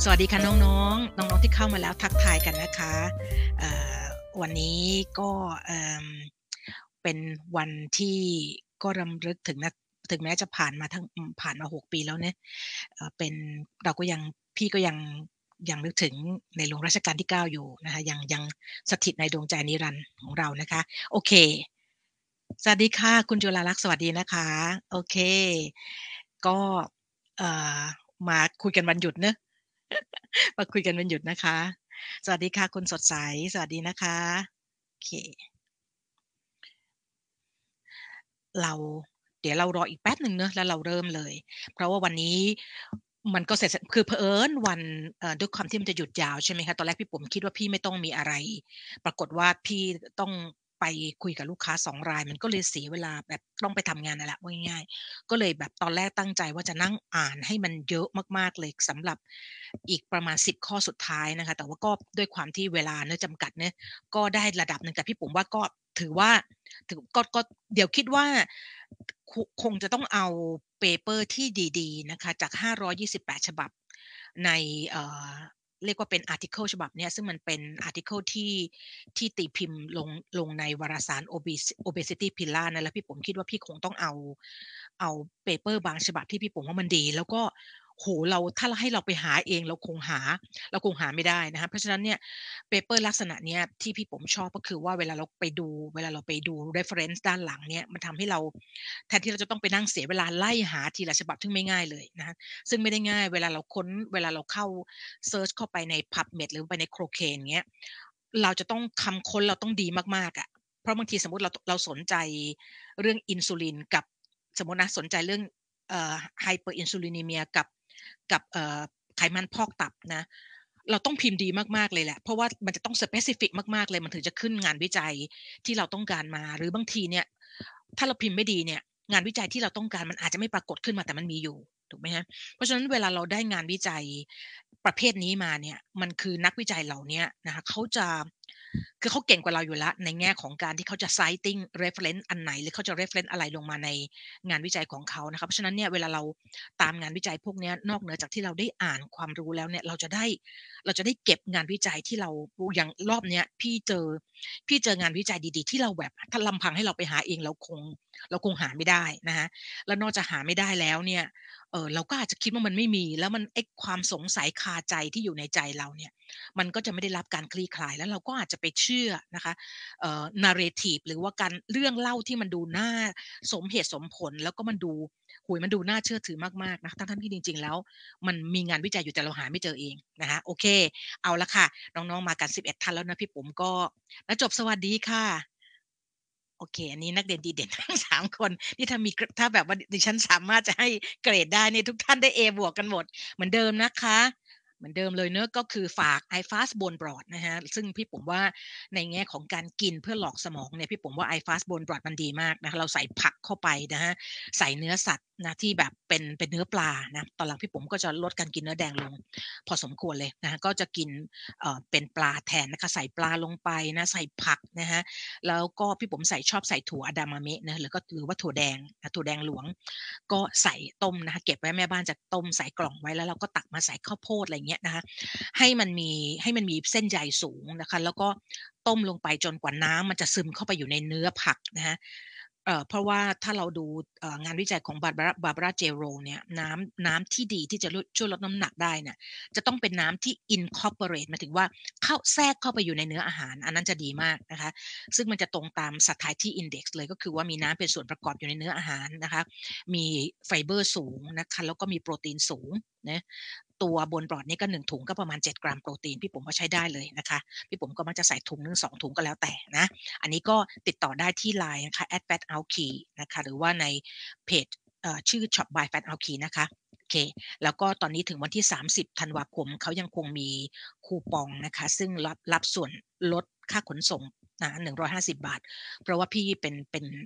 สวัสดีค่ะน้องๆน้องๆที่เข้ามาแล้วทักทายกันนะคะเอ่อวันนี้ก็เป็นวันที่ก็รำลึกถึงแม้จะผ่านมา6ปีแล้วเนี่ยเป็นเราก็ยังพี่ก็ยังนึกถึงในหลวงรัชกาลที่9อยู่นะคะยังสถิตในดวงใจนิรันดร์ของเรานะคะโอเคสวัสดีค่ะคุณจุฬาลักษณ์สวัสดีนะคะโอเคก็เอ่อมาคุยกันวันหยุดเนอะ มาคุยกันวันหยุดนะคะสวัสดีค่ะคุณสดใสสวัสดีนะคะโอเคเราเดี๋ยวเรารออีกแป๊บหนึ่งเนอะแล้วเราเริ่มเลยเพราะว่าวันนี้มันก็เสร็จคือเผอิญวันด้วยความที่มันจะหยุดยาวใช่ไหมคะตอนแรกพี่ปุ๋มคิดว่าพี่ไม่ต้องมีอะไรปรากฏว่าพี่ต้องไปคุยกับลูกค้า2รายมันก็เลยเสียเวลาแบบต้องไปทำงานนั่นแหละว่าง่ายๆก็เลยแบบตอนแรกตั้งใจว่าจะนั่งอ่านให้มันเยอะมากๆเลยสำหรับอีกประมาณ10ข้อสุดท้ายนะคะแต่ว่าก็ด้วยความที่เวลาเนาะจำกัดเนี่ยก็ได้ระดับหนึ่งแต่พี่ปุ๋มว่าก็ถือว่าก็เดี๋ยวคิดว่าคงจะต้องเอาเปเปอร์ที่ดีๆนะคะจาก528ฉบับในเอ่อเรียกว่าเป็นอาร์ติเคิลฉบับเนี้ยซึ่งมันเป็นอาร์ติเคิลที่ตีพิมพ์ลงในวารสาร Obesity Pillar นั่นแหละพี่ผมคิดว่าพี่คงต้องเอาเปเปอร์บางฉบับที่พี่ผมว่ามันดีแล้วก็โอ้โฮถ้าให้เราไปหาเองเราคงหาไม่ได้นะคะเพราะฉะนั้นเนี่ยเปเปอร์ลักษณะเนี้ยที่พี่ผมชอบก็คือว่าเวลาเราไปดู reference ด้านหลังเนี่ยมันทำให้เราแทนที่เราจะต้องไปนั่งเสียเวลาไล่หาทีละฉบับซึ่งไม่ง่ายเลยนะคะซึ่งไม่ได้ง่ายเวลาเราเข้าเซิร์ชเข้าไปใน PubMed หรือไปใน Cochrane อย่างเงี้ยเราจะต้องคำค้นเราต้องดีมากๆอะเพราะบางทีสมมุติเราสนใจเรื่องอินซูลินกับสมมุตินะสนใจเรื่องhyperinsulinemia กับไขมันพอกตับนะเราต้องพิมพ์ดีมากๆเลยแหละเพราะว่ามันจะต้อง specific มากๆเลยมันถึงจะขึ้นงานวิจัยที่เราต้องการมาหรือบางทีเนี่ยถ้าเราพิมพ์ไม่ดีเนี่ยงานวิจัยที่เราต้องการมันอาจจะไม่ปรากฏขึ้นมาแต่มันมีอยู่ถูกไหมคะเพราะฉะนั้นเวลาเราได้งานวิจัยประเภทนี้มาเนี่ยมันคือนักวิจัยเหล่าเนี้ยนะคะคือเขาเก่งกว่าเราอยู่แล้วในแง่ของการที่เขาจะ citing reference อันไหนหรือเขาจะ reference อะไรลงมาในงานวิจัยของเขานะคะเพราะฉะนั้นเนี่ยเวลาเราตามงานวิจัยพวกเนี้ยนอกเหนือจากที่เราได้อ่านความรู้แล้วเนี่ยเราจะได้เก็บงานวิจัยที่เราอย่างรอบเนี้ยพี่เจองานวิจัยดีๆที่เราแบบถ้าลำพังให้เราไปหาเองเราคงหาไม่ได้นะคะแล้วนอกจากหาไม่ได้แล้วเนี่ยเราก็อาจจะคิดว่ามันไม่มีแล้วมันไอ้ความสงสัยคาใจที่อยู่ในใจเราเนี่ยมันก็จะไม่ได้รับการคลี่คลายแล้วเราก็อาจจะไปเชื่อนะคะnarrative หรือว่าการเรื่องเล่าที่มันดูน่าสมเหตุสมผลแล้วก็มันดูโอ้โฮมันดูน่าเชื่อถือมากๆนะทั้งๆที่จริงๆแล้วมันมีงานวิจัยอยู่แต่เราหาไม่เจอเองนะคะโอเคเอาละค่ะน้องๆมากัน11ท่านแล้วนะพี่ปุ๋มก็ณจบสวัสดีค่ะโอเคอันนี้นักเรียนดีเด่นทั้ง3คนนี่ถ้าแบบว่าดิฉันสามารถจะให้เกรดได้นี่ทุกท่านได้เอบวกกันหมดเหมือนเดิมนะคะเหมือนเดิมเลยเนาะก็คือฝาก iFast Bone Broth นะคะซึ่งพี่ปุ๋มว่าในแง่ของการกินเพื่อหลอกสมองเนี่ยพี่ปุ๋มว่า iFast Bone Broth มันดีมากนะคะเราใส่ผักเข้าไปนะคะใส่เนื้อสัตว์นะที่แบบเป็นเนื้อปลานะตอนหลังพี่ปุ๋มก็จะลดการกินเนื้อแดงลงพอสมควรเลยนะคะก็จะกินเป็นปลาแทนนะคะใส่ปลาลงไปนะใส่ผักนะคะ แล้วก็พี่ผมชอบใส่ถั่ว Edamame นะหรือว่าถั่วแดงถั่วแดงหลวงก็ใส่ต้มนะคะเก็บไว้แม่บ้านจะต้มใส่กล่องไว้แล้วเราก็ตักมาใส่ข้าวโพดอะไรอย่างเงี้ยนะคะให้มันมีเส้นใยสูงนะคะแล้วก็ต้มลงไปจนกว่าน้ำมันจะซึมเข้าไปอยู่ในเนื้อผักนะคะเพราะว่าถ้าเราดูงานวิจัยของ Barbara Jero เนี่ยน้ำที่ดีที่จะช่วยลดน้ำหนักได้เนี่ยจะต้องเป็นน้ำที่ incorporate หมายถึงว่าแทรกเข้าไปอยู่ในเนื้ออาหารอันนั้นจะดีมากนะคะ ซึ่งมันจะตรงตาม Satiety Index เลยก็คือว่ามีน้ำเป็นส่วนประกอบอยู่ในเนื้ออาหารนะคะมีไฟเบอร์สูงนะคะแล้วก็มีโปรตีนสูงนะตัวบนบรอดนี่ก็1ถุงก็ประมาณ7กรัมโปรตีนพี่ผมว่าใช้ได้เลยนะคะพี่ผมก็มักจะใส่ถุงหนึ่ง2ถุงก็แล้วแต่นะอันนี้ก็ติดต่อได้ที่ LINE นะคะ @fatout นะคะหรือว่าในเพจชื่อ Shop by Fatout นะคะโอเคแล้วก็ตอนนี้ถึงวันที่30ธันวาคมเขายังคงมีคูปองนะคะซึ่งรับส่วนลดค่าขนส่งนะ150 บาทเพราะว่าพี่เป็น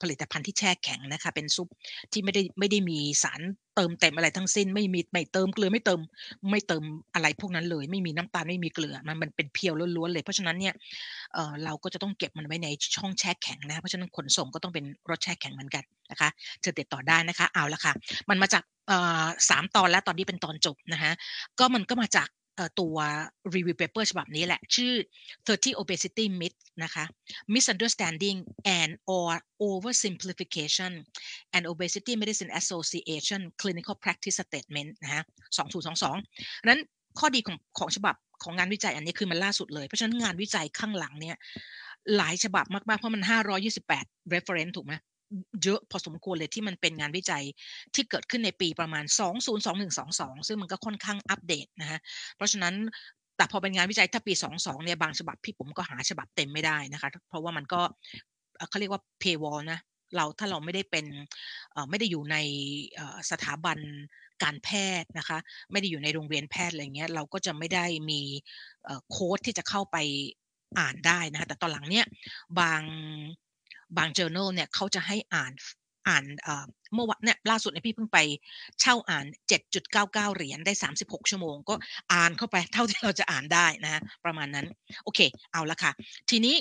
ผลิตภัณฑ์ที่แช่แข็งนะคะเป็นซุปที่ไม่ได้มีสารเติมเต็มอะไรทั้งสิ้นไม่เติมเกลือไม่เติมอะไรพวกนั้นเลยไม่มีน้ำตาลไม่มีเกลือมันเป็นเพียวล้วนๆเลยเพราะฉะนั้นเนี่ยเราก็จะต้องเก็บมันไว้ในช่องแช่แข็งนะคะเพราะฉะนั้นขนส่งก็ต้องเป็นรถแช่แข็งเหมือนกันนะคะจะติดต่อได้นะคะเอาละค่ะมันมาจาก3ตอนแล้วตอนนี้เป็นตอนจบนะคะมันก็มาจากตัว review paper ฉบับนี้แหละชื่อ30 obesity myths นะคะ misunderstanding and or oversimplification and obesity medicine association clinical practice statement นะคะ2022นั้นข้อดีของฉบับของงานวิจัยอันนี้คือมันล่าสุดเลยเพราะฉะนั้นงานวิจัยข้างหลังเนี่ยหลายฉบับมากๆเพราะมัน528 reference ถูกไหมเยอะพอสมควรเลยที่มันเป็นงานวิจัยที่เกิดขึ้นในปีประมาณ2021-22ซึ่งมันก็ค่อนข้างอัปเดตนะคะเพราะฉะนั้นแต่พอเป็นงานวิจัยถ้าปี22เนี่ยบางฉบับพี่ผมก็หาฉบับเต็มไม่ได้นะคะเพราะว่ามันก็เขาเรียกว่า paywall นะถ้าเราไม่ได้เป็นไม่ได้อยู่ในสถาบันการแพทย์นะคะไม่ได้อยู่ในโรงเรียนแพทย์อะไรเงี้ยเราก็จะไม่ได้มีโค้ดที่จะเข้าไปอ่านได้นะคะแต่ตอนหลังเนี่ยบางjournal เนี่ยเขาจะให้อ่านเมื่อวันเนี่ยล่าสุดเนี่ยพี่เพิ่งไปเช่าอ่าน7.99เหรียญได้36ชั่วโมงก็อ่านเข้าไปเท่าที่เราจะอ่านได้นะประมาณนั้นโอเคเอาละค่ะทีนี้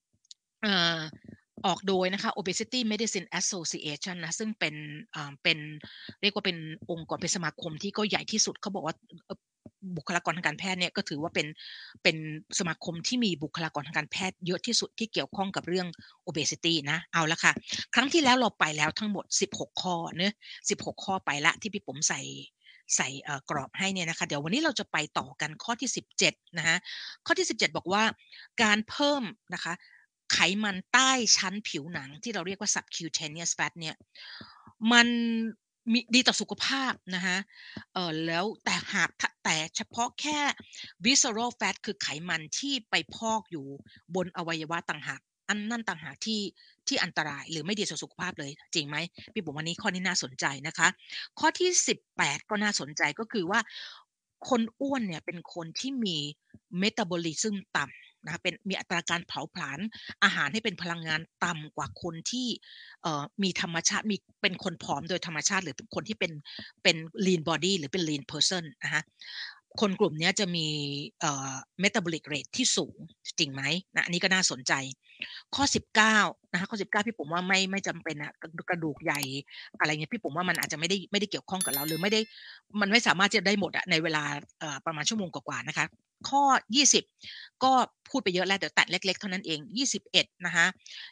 ออกโดยนะคะ Obesity Medicine Association นะซึ่งเป็นเรียกว่าเป็นองค์กรเป็นสมาคมที่ก็ใหญ่ที่สุดเขาบอกว่าบุคลากรทางการแพทย์เนี่ยก็ถือว่าเป็นสมาคมที่มีบุคลากรทางการแพทย์เยอะที่สุดที่เกี่ยวข้องกับเรื่อง obesity นะเอาละค่ะครั้งที่แล้วเราไปแล้วทั้งหมด16ข้อเนอะ16ข้อไปละที่พี่ผมใส่กรอบให้เนี่ยนะคะเดี๋ยววันนี้เราจะไปต่อกันข้อที่17นะคะข้อที่17บอกว่าการเพิ่มนะคะไขมันใต้ชั้นผิวหนังที่เราเรียกว่า subcutaneous fat เนี่ยมันมีดีต่อสุขภาพนะคะแล้วแต่เฉพาะแค่ visceral fat คือไขมันที่ไปพอกอยู่บนอวัยวะต่างหากนั่นต่างหากที่อันตรายหรือไม่ดีต่อสุขภาพเลยจริงไหมพี่ผมวันนี้ข้อนี้น่าสนใจนะคะข้อที่18ก็น่าสนใจก็คือว่าคนอ้วนเนี่ยเป็นคนที่มี metabolism ต่ำนะคะมีอัตราการเผาผลาญอาหารให้เป็นพลังงานต่ำกว่าคนที่มีธรรมชาติเป็นคนผอมโดยธรรมชาติหรือเป็นคนที่เป็น lean body หรือเป็น lean person นะคะคนกลุ่มนี้จะมีmetabolic rate ที่สูงจริงไหมนะอันนี้ก็น่าสนใจข้อ19นะคะข้อ19พี่ผมว่าไม่จำเป็นอะกระดูกใหญ่อะไรเงี้ยพี่ผมว่ามันอาจจะไม่ได้เกี่ยวข้องกับเราหรือมันไม่สามารถจะได้หมดอะในเวลาประมาณชั่วโมงกว่าๆนะคะข้อ20ก็พูดไปเยอะแล้วเดี๋ยวแตะเล็กๆเท่านั้นเอง21นะคะ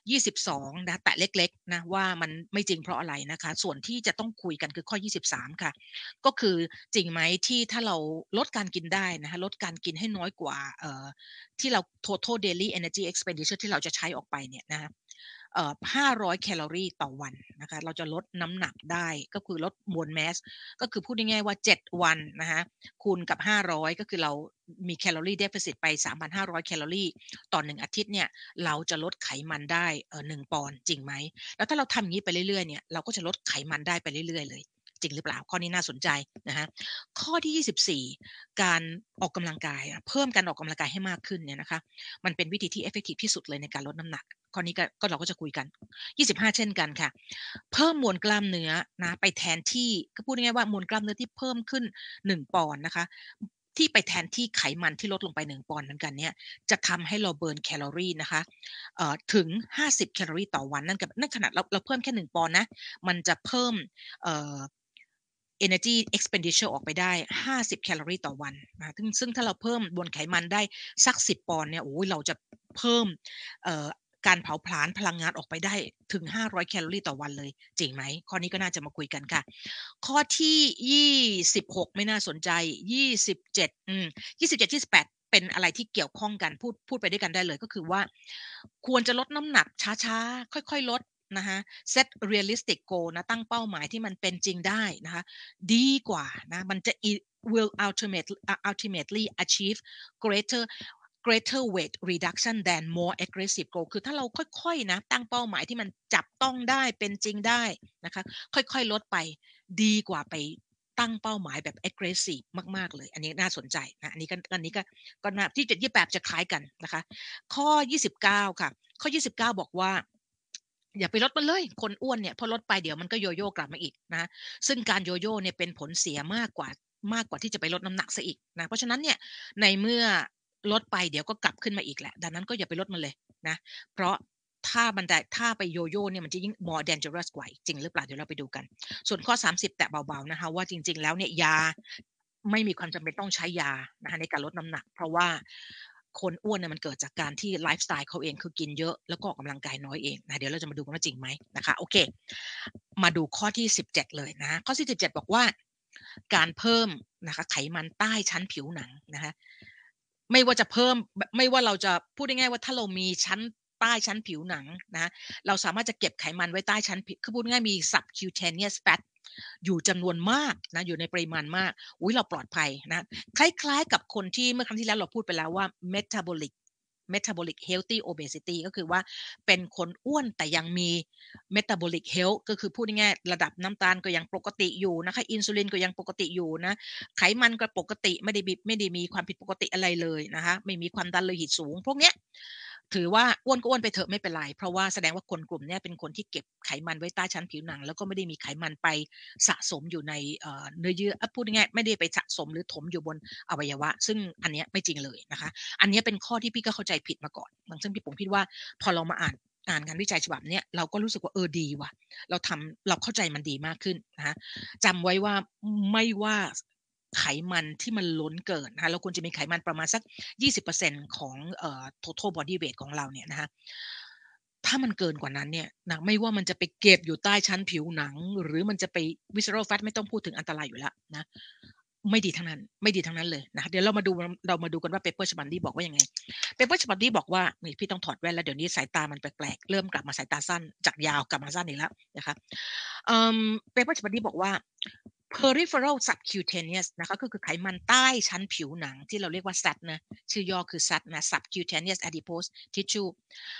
22นะแตะเล็กๆนะว่ามันไม่จริงเพราะอะไรนะคะส่วนที่จะต้องคุยกันคือข้อ23ค่ะก็คือจริงไหมที่ถ้าเราลดการกินได้นะคะลดการกินให้น้อยกว่าที่เรา total daily energy expenditure ที่เราจะใช้ออกไปเนี่ยนะคะ500แคลอรีต่อวันนะคะเราจะลดน้ำหนักได้ก็คือลดมวลแมสก็คือพูดง่ายๆว่า7วันนะคะคูณกับ500ก็คือเรามีแคลอรีเดฟฟิซิตไป 3,500 แคลอรีต่อ1อาทิตย์เนี่ยเราจะลดไขมันได้1ปอนด์จริงไหมแล้วถ้าเราทำอย่างนี้ไปเรื่อยๆเนี่ยเราก็จะลดไขมันได้ไปเรื่อยๆเลยจริงหรือเปล่าข้อนี้น่าสนใจนะคะข้อที่24การออกกำลังกายเพิ่มการออกกำลังกายให้มากขึ้นเนี่ยนะคะมันเป็นวิธีที่ effective ที่สุดเลยในการลดน้ำหนักข้อนี้ก็เราก็จะคุยกัน25เช่นกันค่ะเพิ่มมวลกล้ามเนื้อนะไปแทนที่ก็พูดง่ายๆว่ามวลกล้ามเนื้อที่เพิ่มขึ้น1ปอนด์นะคะที่ไปแทนที่ไขมันที่ลดลงไป1ปอนด์เหมือนกันเนี่ยจะทำให้เราเบิร์นแคลอรีนะคะถึง50แคลอรีต่อวันนั่นขนาดเราเพิ่มแค่1ปอนด์นะมันจะเพิ่มenergy expenditure ออกไปได้50แคลอรีต่อวันนะซึ่งถ้าเราเพิ่มบนไขมันได้สัก10ปอนด์เนี่ยโอ้ยเราจะเพิ่มการเผาผลาญพลังงานออกไปได้ถึง500แคลอรีต่อวันเลยจริงไหมข้อนี้ก็น่าจะมาคุยกันค่ะข้อที่26ไม่น่าสนใจ27 27 28เป็นอะไรที่เกี่ยวข้องกันพูดไปด้วยกันได้เลยก็คือว่าควรจะลดน้ำหนักช้าๆค่อยๆลดนะคะ set realistic goal นะตั้งเป้าหมายที่มันเป็นจริงได้นะคะดีกว่านะมันจะ will ultimately achieve greater weight reduction than more aggressive goal คือถ้าเราค่อยๆนะตั้งเป้าหมายที่มันจับต้องได้เป็นจริงได้นะคะค่อยๆลดไปดีกว่าไปตั้งเป้าหมายแบบ aggressive มากๆเลยอันนี้น่าสนใจนะอันนี้ก็น่าที่7 28จะคล้ายกันนะคะข้อ29ค่ะข้อ29บอกว่าอย่าไปลดมันเลยคนอ้วนเนี่ยพอลดไปเดี๋ยวมันก็โยโย่กลับมาอีกนะซึ่งการโยโย่เนี่ยเป็นผลเสียมากกว่าที่จะไปลดน้ำหนักเสียอีกนะเพราะฉะนั้นเนี่ยในเมื่อลดไปเดี๋ยวก็กลับขึ้นมาอีกแหละดังนั้นก็อย่าไปลดมันเลยนะเพราะถ้าไปโยโย่เนี่ยมันจะยิ่ง more dangerous กว่าอีกจริงหรือเปล่าเดี๋ยวเราไปดูกันส่วนข้อ30แตะเบาๆนะคะว่าจริงๆแล้วเนี่ยยาไม่มีความจำเป็นต้องใช้ยานะคะในการลดน้ำหนักเพราะว่าคนอ้วนเนี่ยมันเกิดจากการที่ไลฟ์สไตล์เขาเองคือกินเยอะแล้วก็ออกกำลังกายน้อยเองนะเดี๋ยวเราจะมาดูกันว่าจริงไหมนะคะโอเคมาดูข้อที่17เลยนะข้อที่17บอกว่าการเพิ่มนะคะไขมันใต้ชั้นผิวหนังนะคะไม่ว่าจะเพิ่มไม่ว่าเราจะพูดง่ายๆว่าถ้าเรามีชั้นใต้ชั้นผิวหนังนะเราสามารถจะเก็บไขมันไว้ใต้ชั้นผิวคือพูดง่ายๆมี subcutaneous fat อยู่จำนวนมากนะอยู่ในปริมาณมากอุ๊ยเราปลอดภัยนะคล้ายๆกับคนที่เมื่อครั้งที่แล้วเราพูดไปแล้วว่า metabolic healthy obesity ก็คือว่าเป็นคนอ้วนแต่ยังมี metabolic health ก็คือพูดง่ายๆระดับน้ำตาลก็ยังปกติอยู่นะคะอินซูลินก็ยังปกติอยู่นะไขมันก็ปกติไม่ได้มีความผิดปกติอะไรเลยนะคะไม่มีความดันโลหิตสูงพวกเนี้ยถือว่าอ้วนก็อ้วนไปเถอะไม่เป็นไรเพราะว่าแสดงว่าคนกลุ่มนี้เป็นคนที่เก็บไขมันไว้ใต้ชั้นผิวหนังแล้วก็ไม่ได้มีไขมันไปสะสมอยู่ในเนื้อเยื่อพูดง่ายๆไม่ได้ไปสะสมหรือถมอยู่บนอวัยวะซึ่งอันนี้ไม่จริงเลยนะคะอันนี้เป็นข้อที่พี่ก็เข้าใจผิดมาก่อนซึ่งพี่ผมคิดว่าพอเรามาอ่านงานวิจัยฉบับนี้เราก็รู้สึกว่าดีว่ะเราเข้าใจมันดีมากขึ้นนะคะจำไว้ว่าไม่ว่าไขมันที่มันล้นเกินนะคะเราควรจะมีไขมันประมาณสัก20%ของtotal body weight ของเราเนี่ยนะคะถ้ามันเกินกว่านั้นเนี่ยนะไม่ว่ามันจะไปเก็บอยู่ใต้ชั้นผิวหนังหรือมันจะไป visceral fat ไม่ต้องพูดถึงอันตรายอยู่แล้วนะไม่ดีทั้งนั้นไม่ดีทั้งนั้นเลยนะเดี๋ยวเรามาดูกันว่าเปเปอร์ฉบับนี้บอกว่ายังไงเปเปอร์ฉบับนี้บอกว่านี่พี่ต้องถอดแว่นแล้วเดี๋ยวนี้สายตามันแปลกๆเริ่มกลับมาสายตาสั้นจากยาวกลับมาสั้นอีกแล้วนะคะเปเปอร์ฉบับนี้บอกว่า peripheral subcutaneous นะคะก็คือไขมันใต้ชั้นผิวหนังที่เราเรียกว่า SAT นะชื่อย่อคือ SAT นะ subcutaneous adipose tissue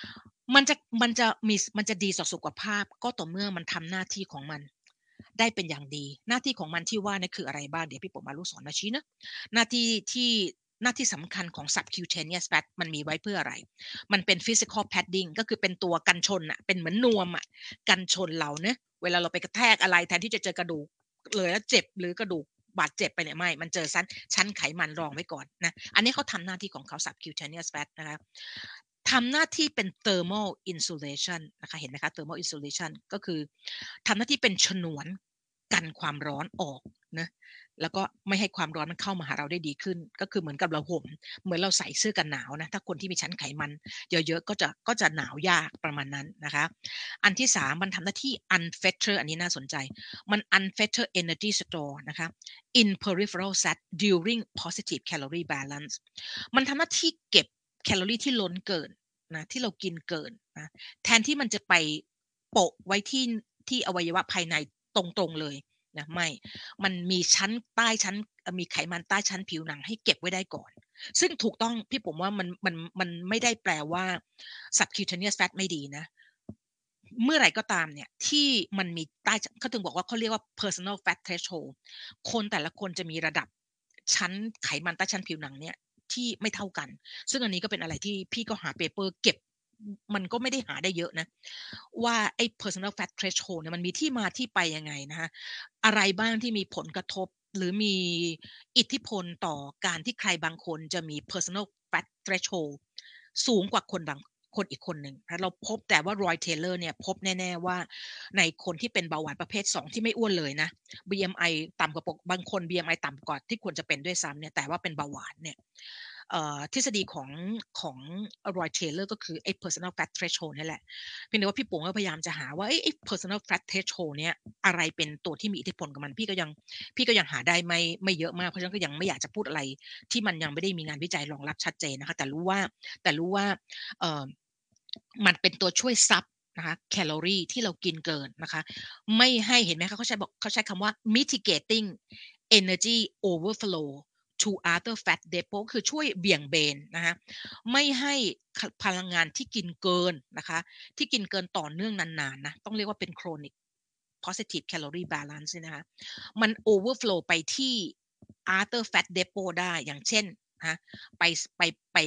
มันจะดีต่อสุขภาพก็ต่อเมื่อมันทำหน้าที่ของมันได้เป็นอย่างดีหน้าที่ของมันที่ว่านี่คืออะไรบ้างเดี๋ยวพี่ผมมาลูกศรมาชี้นะหน้าที่ที่หน้าที่สำคัญของ subcutaneous fat มันมีไว้เพื่ออะไรมันเป็น physical padding ก็คือเป็นตัวกันชนอะเป็นเหมือนนวมอะกันชนเราเนะเวลาเราไปกระแทกอะไรแทนที่จะเจอกระดูกเลยแล้วเจ็บหรือกระดูกบาดเจ็บไปเนี่ยไม่มันเจอชั้นไขมันรองไว้ก่อนนะอันนี้เขาทำหน้าที่ของเขา subcutaneous fat นะคะทำหน้าที่เป็น thermal insulation นะคะเห็นไหมคะ thermal insulation ก็คือทำหน้าที่เป็นฉนวนกันความร้อนออกนะแล้วก็ไม่ให้ความร้อนมันเข้ามาหาเราได้ดีขึ้นก็คือเหมือนกับเราห่มเหมือนเราใส่เสื้อกันหนาวนะถ้าคนที่มีชั้นไขมันเยอะๆก็จะหนาวยากประมาณนั้นนะคะอันที่3มันทำหน้าที่ unfetter อันนี้น่าสนใจมัน unfetter energy store นะคะ in peripheral fat during positive calorie balance มันทำหน้าที่เก็บแคลอรี่ที่ล้นเกินนะที่เรากินเกินนะแทนที่มันจะไปโปะไว้ที่อวัยวะภายในตรงๆเลยนะไม่มันมีชั้นมีไขมันใต้ชั้นผิวหนังให้เก็บไว้ได้ก่อนซึ่งถูกต้องพี่ผมว่ามันไม่ได้แปลว่า subcutaneous fat ไม่ดีนะเมื่อไหร่ก็ตามเนี่ยที่มันมีใต้เขาถึงบอกว่าเขาเรียกว่า personal fat threshold คนแต่ละคนจะมีระดับชั้นไขมันใต้ชั้นผิวหนังเนี่ยที่ไม่เท่ากันซึ่งอันนี้ก็เป็นอะไรที่พี่ก็หาเปเปอร์เก็บมันก็ไม่ได้หาได้เยอะนะว่าไอ้ personal fat threshold เนี่ยมันมีที่มาที่ไปยังไงนะคะอะไรบ้างที่มีผลกระทบหรือมีอิทธิพลต่อการที่ใครบางคนจะมี personal fat threshold สูงกว่าคนอีกคนหนึ่งเราพบแต่ว่ารอยเทเลอร์เนี่ยพบแน่ๆว่าในคนที่เป็นเบาหวานประเภท2ที่ไม่อ้วนเลยนะ BMI ต่ำกว่าบางคน BMI ต่ำกว่าที่ควรจะเป็นด้วยซ้ำเนี่ยแต่ว่าเป็นเบาหวานเนี่ยทฤษฎีของรอยเทเลอร์ก็คือไอ้ personal fat threshold นี่แหละเพียงแต่ว่าพี่ปุ๋งก็พยายามจะหาว่าไอ้ personal fat threshold เนี่ยอะไรเป็นตัวที่มีอิทธิพลกับมันพี่ก็ยังหาได้ไม่เยอะมากเพราะฉะนั้นก็ยังไม่อยากจะพูดอะไรที่มันยังไม่ได้มีงานวิจัยรองรับชัดเจนนะคะแต่รู้ว่าเอ่อมันเป็นตัวช่วยซับนะคะแคลอรี่ที่เรากินเกินนะคะไม่ให้เห็นไหมคะเขาใช้คำว่า mitigating energy overflow to other fat depot คือช่วยเบี่ยงเบนนะคะไม่ให้พลังงานที่กินเกินนะคะที่กินเกินต่อเนื่องนานๆนะต้องเรียกว่าเป็น chronic positive calorie balance นะคะมัน overflow ไปที่ other fat depot ได้อย่างเช่นนะไปไป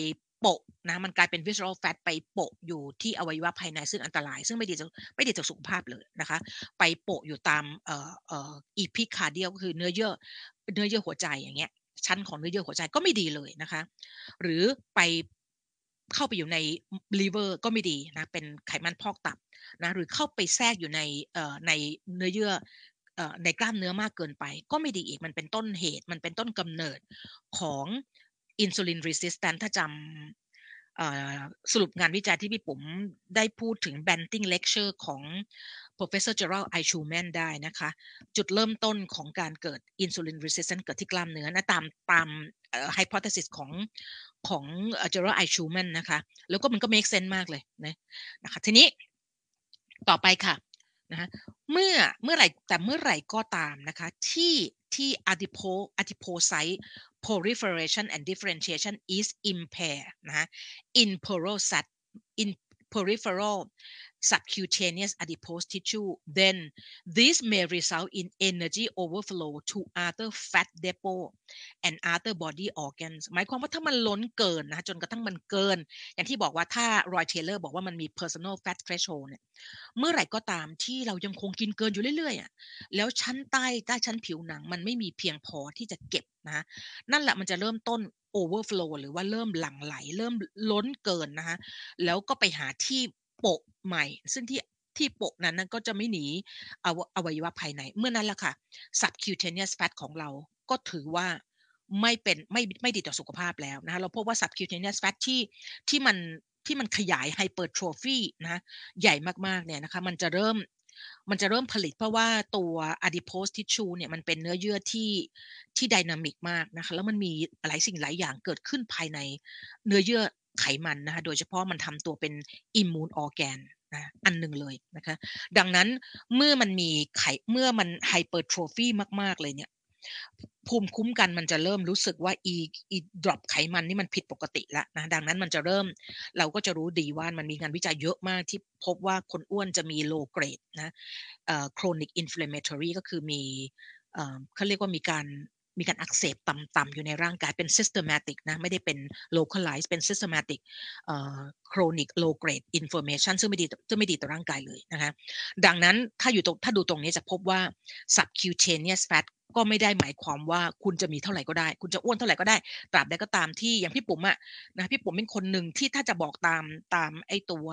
โปะนะมันกลายเป็น visceral fat ไปโปะอยู่ที่อวัยวะภายในซึ่งอันตรายซึ่งไม่ดีต่อสุขภาพเลยนะคะไปโปะอยู่ตามepicardial ก็คือเนื้อเยื่อหัวใจอย่างเงี้ยชั้นของเนื้อเยื่อหัวใจก็ไม่ดีเลยนะคะหรือไปเข้าไปอยู่ใน liver ก็ไม่ดีนะเป็นไขมันพอกตับนะหรือเข้าไปแทรกอยู่ในเนื้อเยื่อในกล้ามเนื้อมากเกินไปก็ไม่ดีอีกมันเป็นต้นเหตุมันเป็นต้นกำเนิดของ insulin resistant ถ้าจำสรุปงานวิจัยที่พี่ปุ๋มได้พูดถึง Banting lecture ของ Professor Gerald Eichmann ได้นะคะจุดเริ่มต้นของการเกิด insulin resistant เกิดที่กล้ามเนื้อนะตามhypothesis ของGerald Eichmann นะคะแล้วก็มันก็ make sense มากเลยนะคะทีนี้ต่อไปค่ะนะคะเมื่อไหร่ก็ตามนะคะที่ adipocyte proliferation and differentiation is impaired นะคะ in peripheral subcutaneous adipose tissue then this may result in energy overflow to other fat depot and other body organs หมายความว่าถ้ามันล้นเกินนะจนกระทั่งมันเกินอย่างที่บอกว่าถ้ารอยเทเลอร์บอกว่ามันมี personal fat threshold เนี่ยเมื่อไหร่ก็ตามที่เรายังคงกินเกินอยู่เรื่อยๆแล้วชั้นใต้ชั้นผิวหนังมันไม่มีเพียงพอที่จะเก็บนะนั่นแหละมันจะเริ่มต้น overflow หรือว่าเริ่มหลั่งไหลเริ่มล้นเกินนะคะแล้วก็ไปหาที่โปะใหม่ซึ่งที่โปะนั้นก็จะไม่หนีอวัยวะภายในเมื่อนั้นแหละค่ะ subcutaneous fat ของเราก็ถือว่าไม่ดีต่อสุขภาพแล้วนะคะเราพบว่า subcutaneous fat ที่มันขยาย hypertrophy นะใหญ่มากๆเนี่ยนะคะมันจะเริ่มผลิตเพราะว่าตัว adipose tissue เนี่ยมันเป็นเนื้อเยื่อที่ไดนามิกมากนะคะแล้วมันมีหลายสิ่งหลายอย่างเกิดขึ้นภายในเนื้อเยื่อไขมันนะคะโดยเฉพาะมันทำตัวเป็น immune organ นะอันหนึ่งเลยนะคะดังนั้นเมื่อมัน hypertrophy มากๆเลยเนี่ยภูมิคุ้มกันมันจะเริ่มรู้สึกว่าดรอปไขมันนี่มันผิดปกติแล้วนะดังนั้นมันจะเราก็จะรู้ดีว่ามันมีงานวิจัยเยอะมากที่พบว่าคนอ้วนจะมี low grade นะchronic inflammatory ก็คือเขาเรียกว่ามีการอักเสบต่ำๆอยู่ในร่างกายเป็น systematic นะไม่ได้เป็น localized เป็น systematic chronic low grade inflammation ซึ่งไม่ดีต่อร่างกายเลยนะคะดังนั้นถ้าดูตรงนี้จะพบว่า subcutaneous fat ก็ไม่ได้หมายความว่าคุณจะมีเท่าไหร่ก็ได้คุณจะอ้วนเท่าไหร่ก็ได้ตราบใดก็ตามที่อย่างพี่ปุ๋มนะพี่ปุ๋มเป็นคนหนึ่งที่ถ้าจะบอกตามไอ้ตัว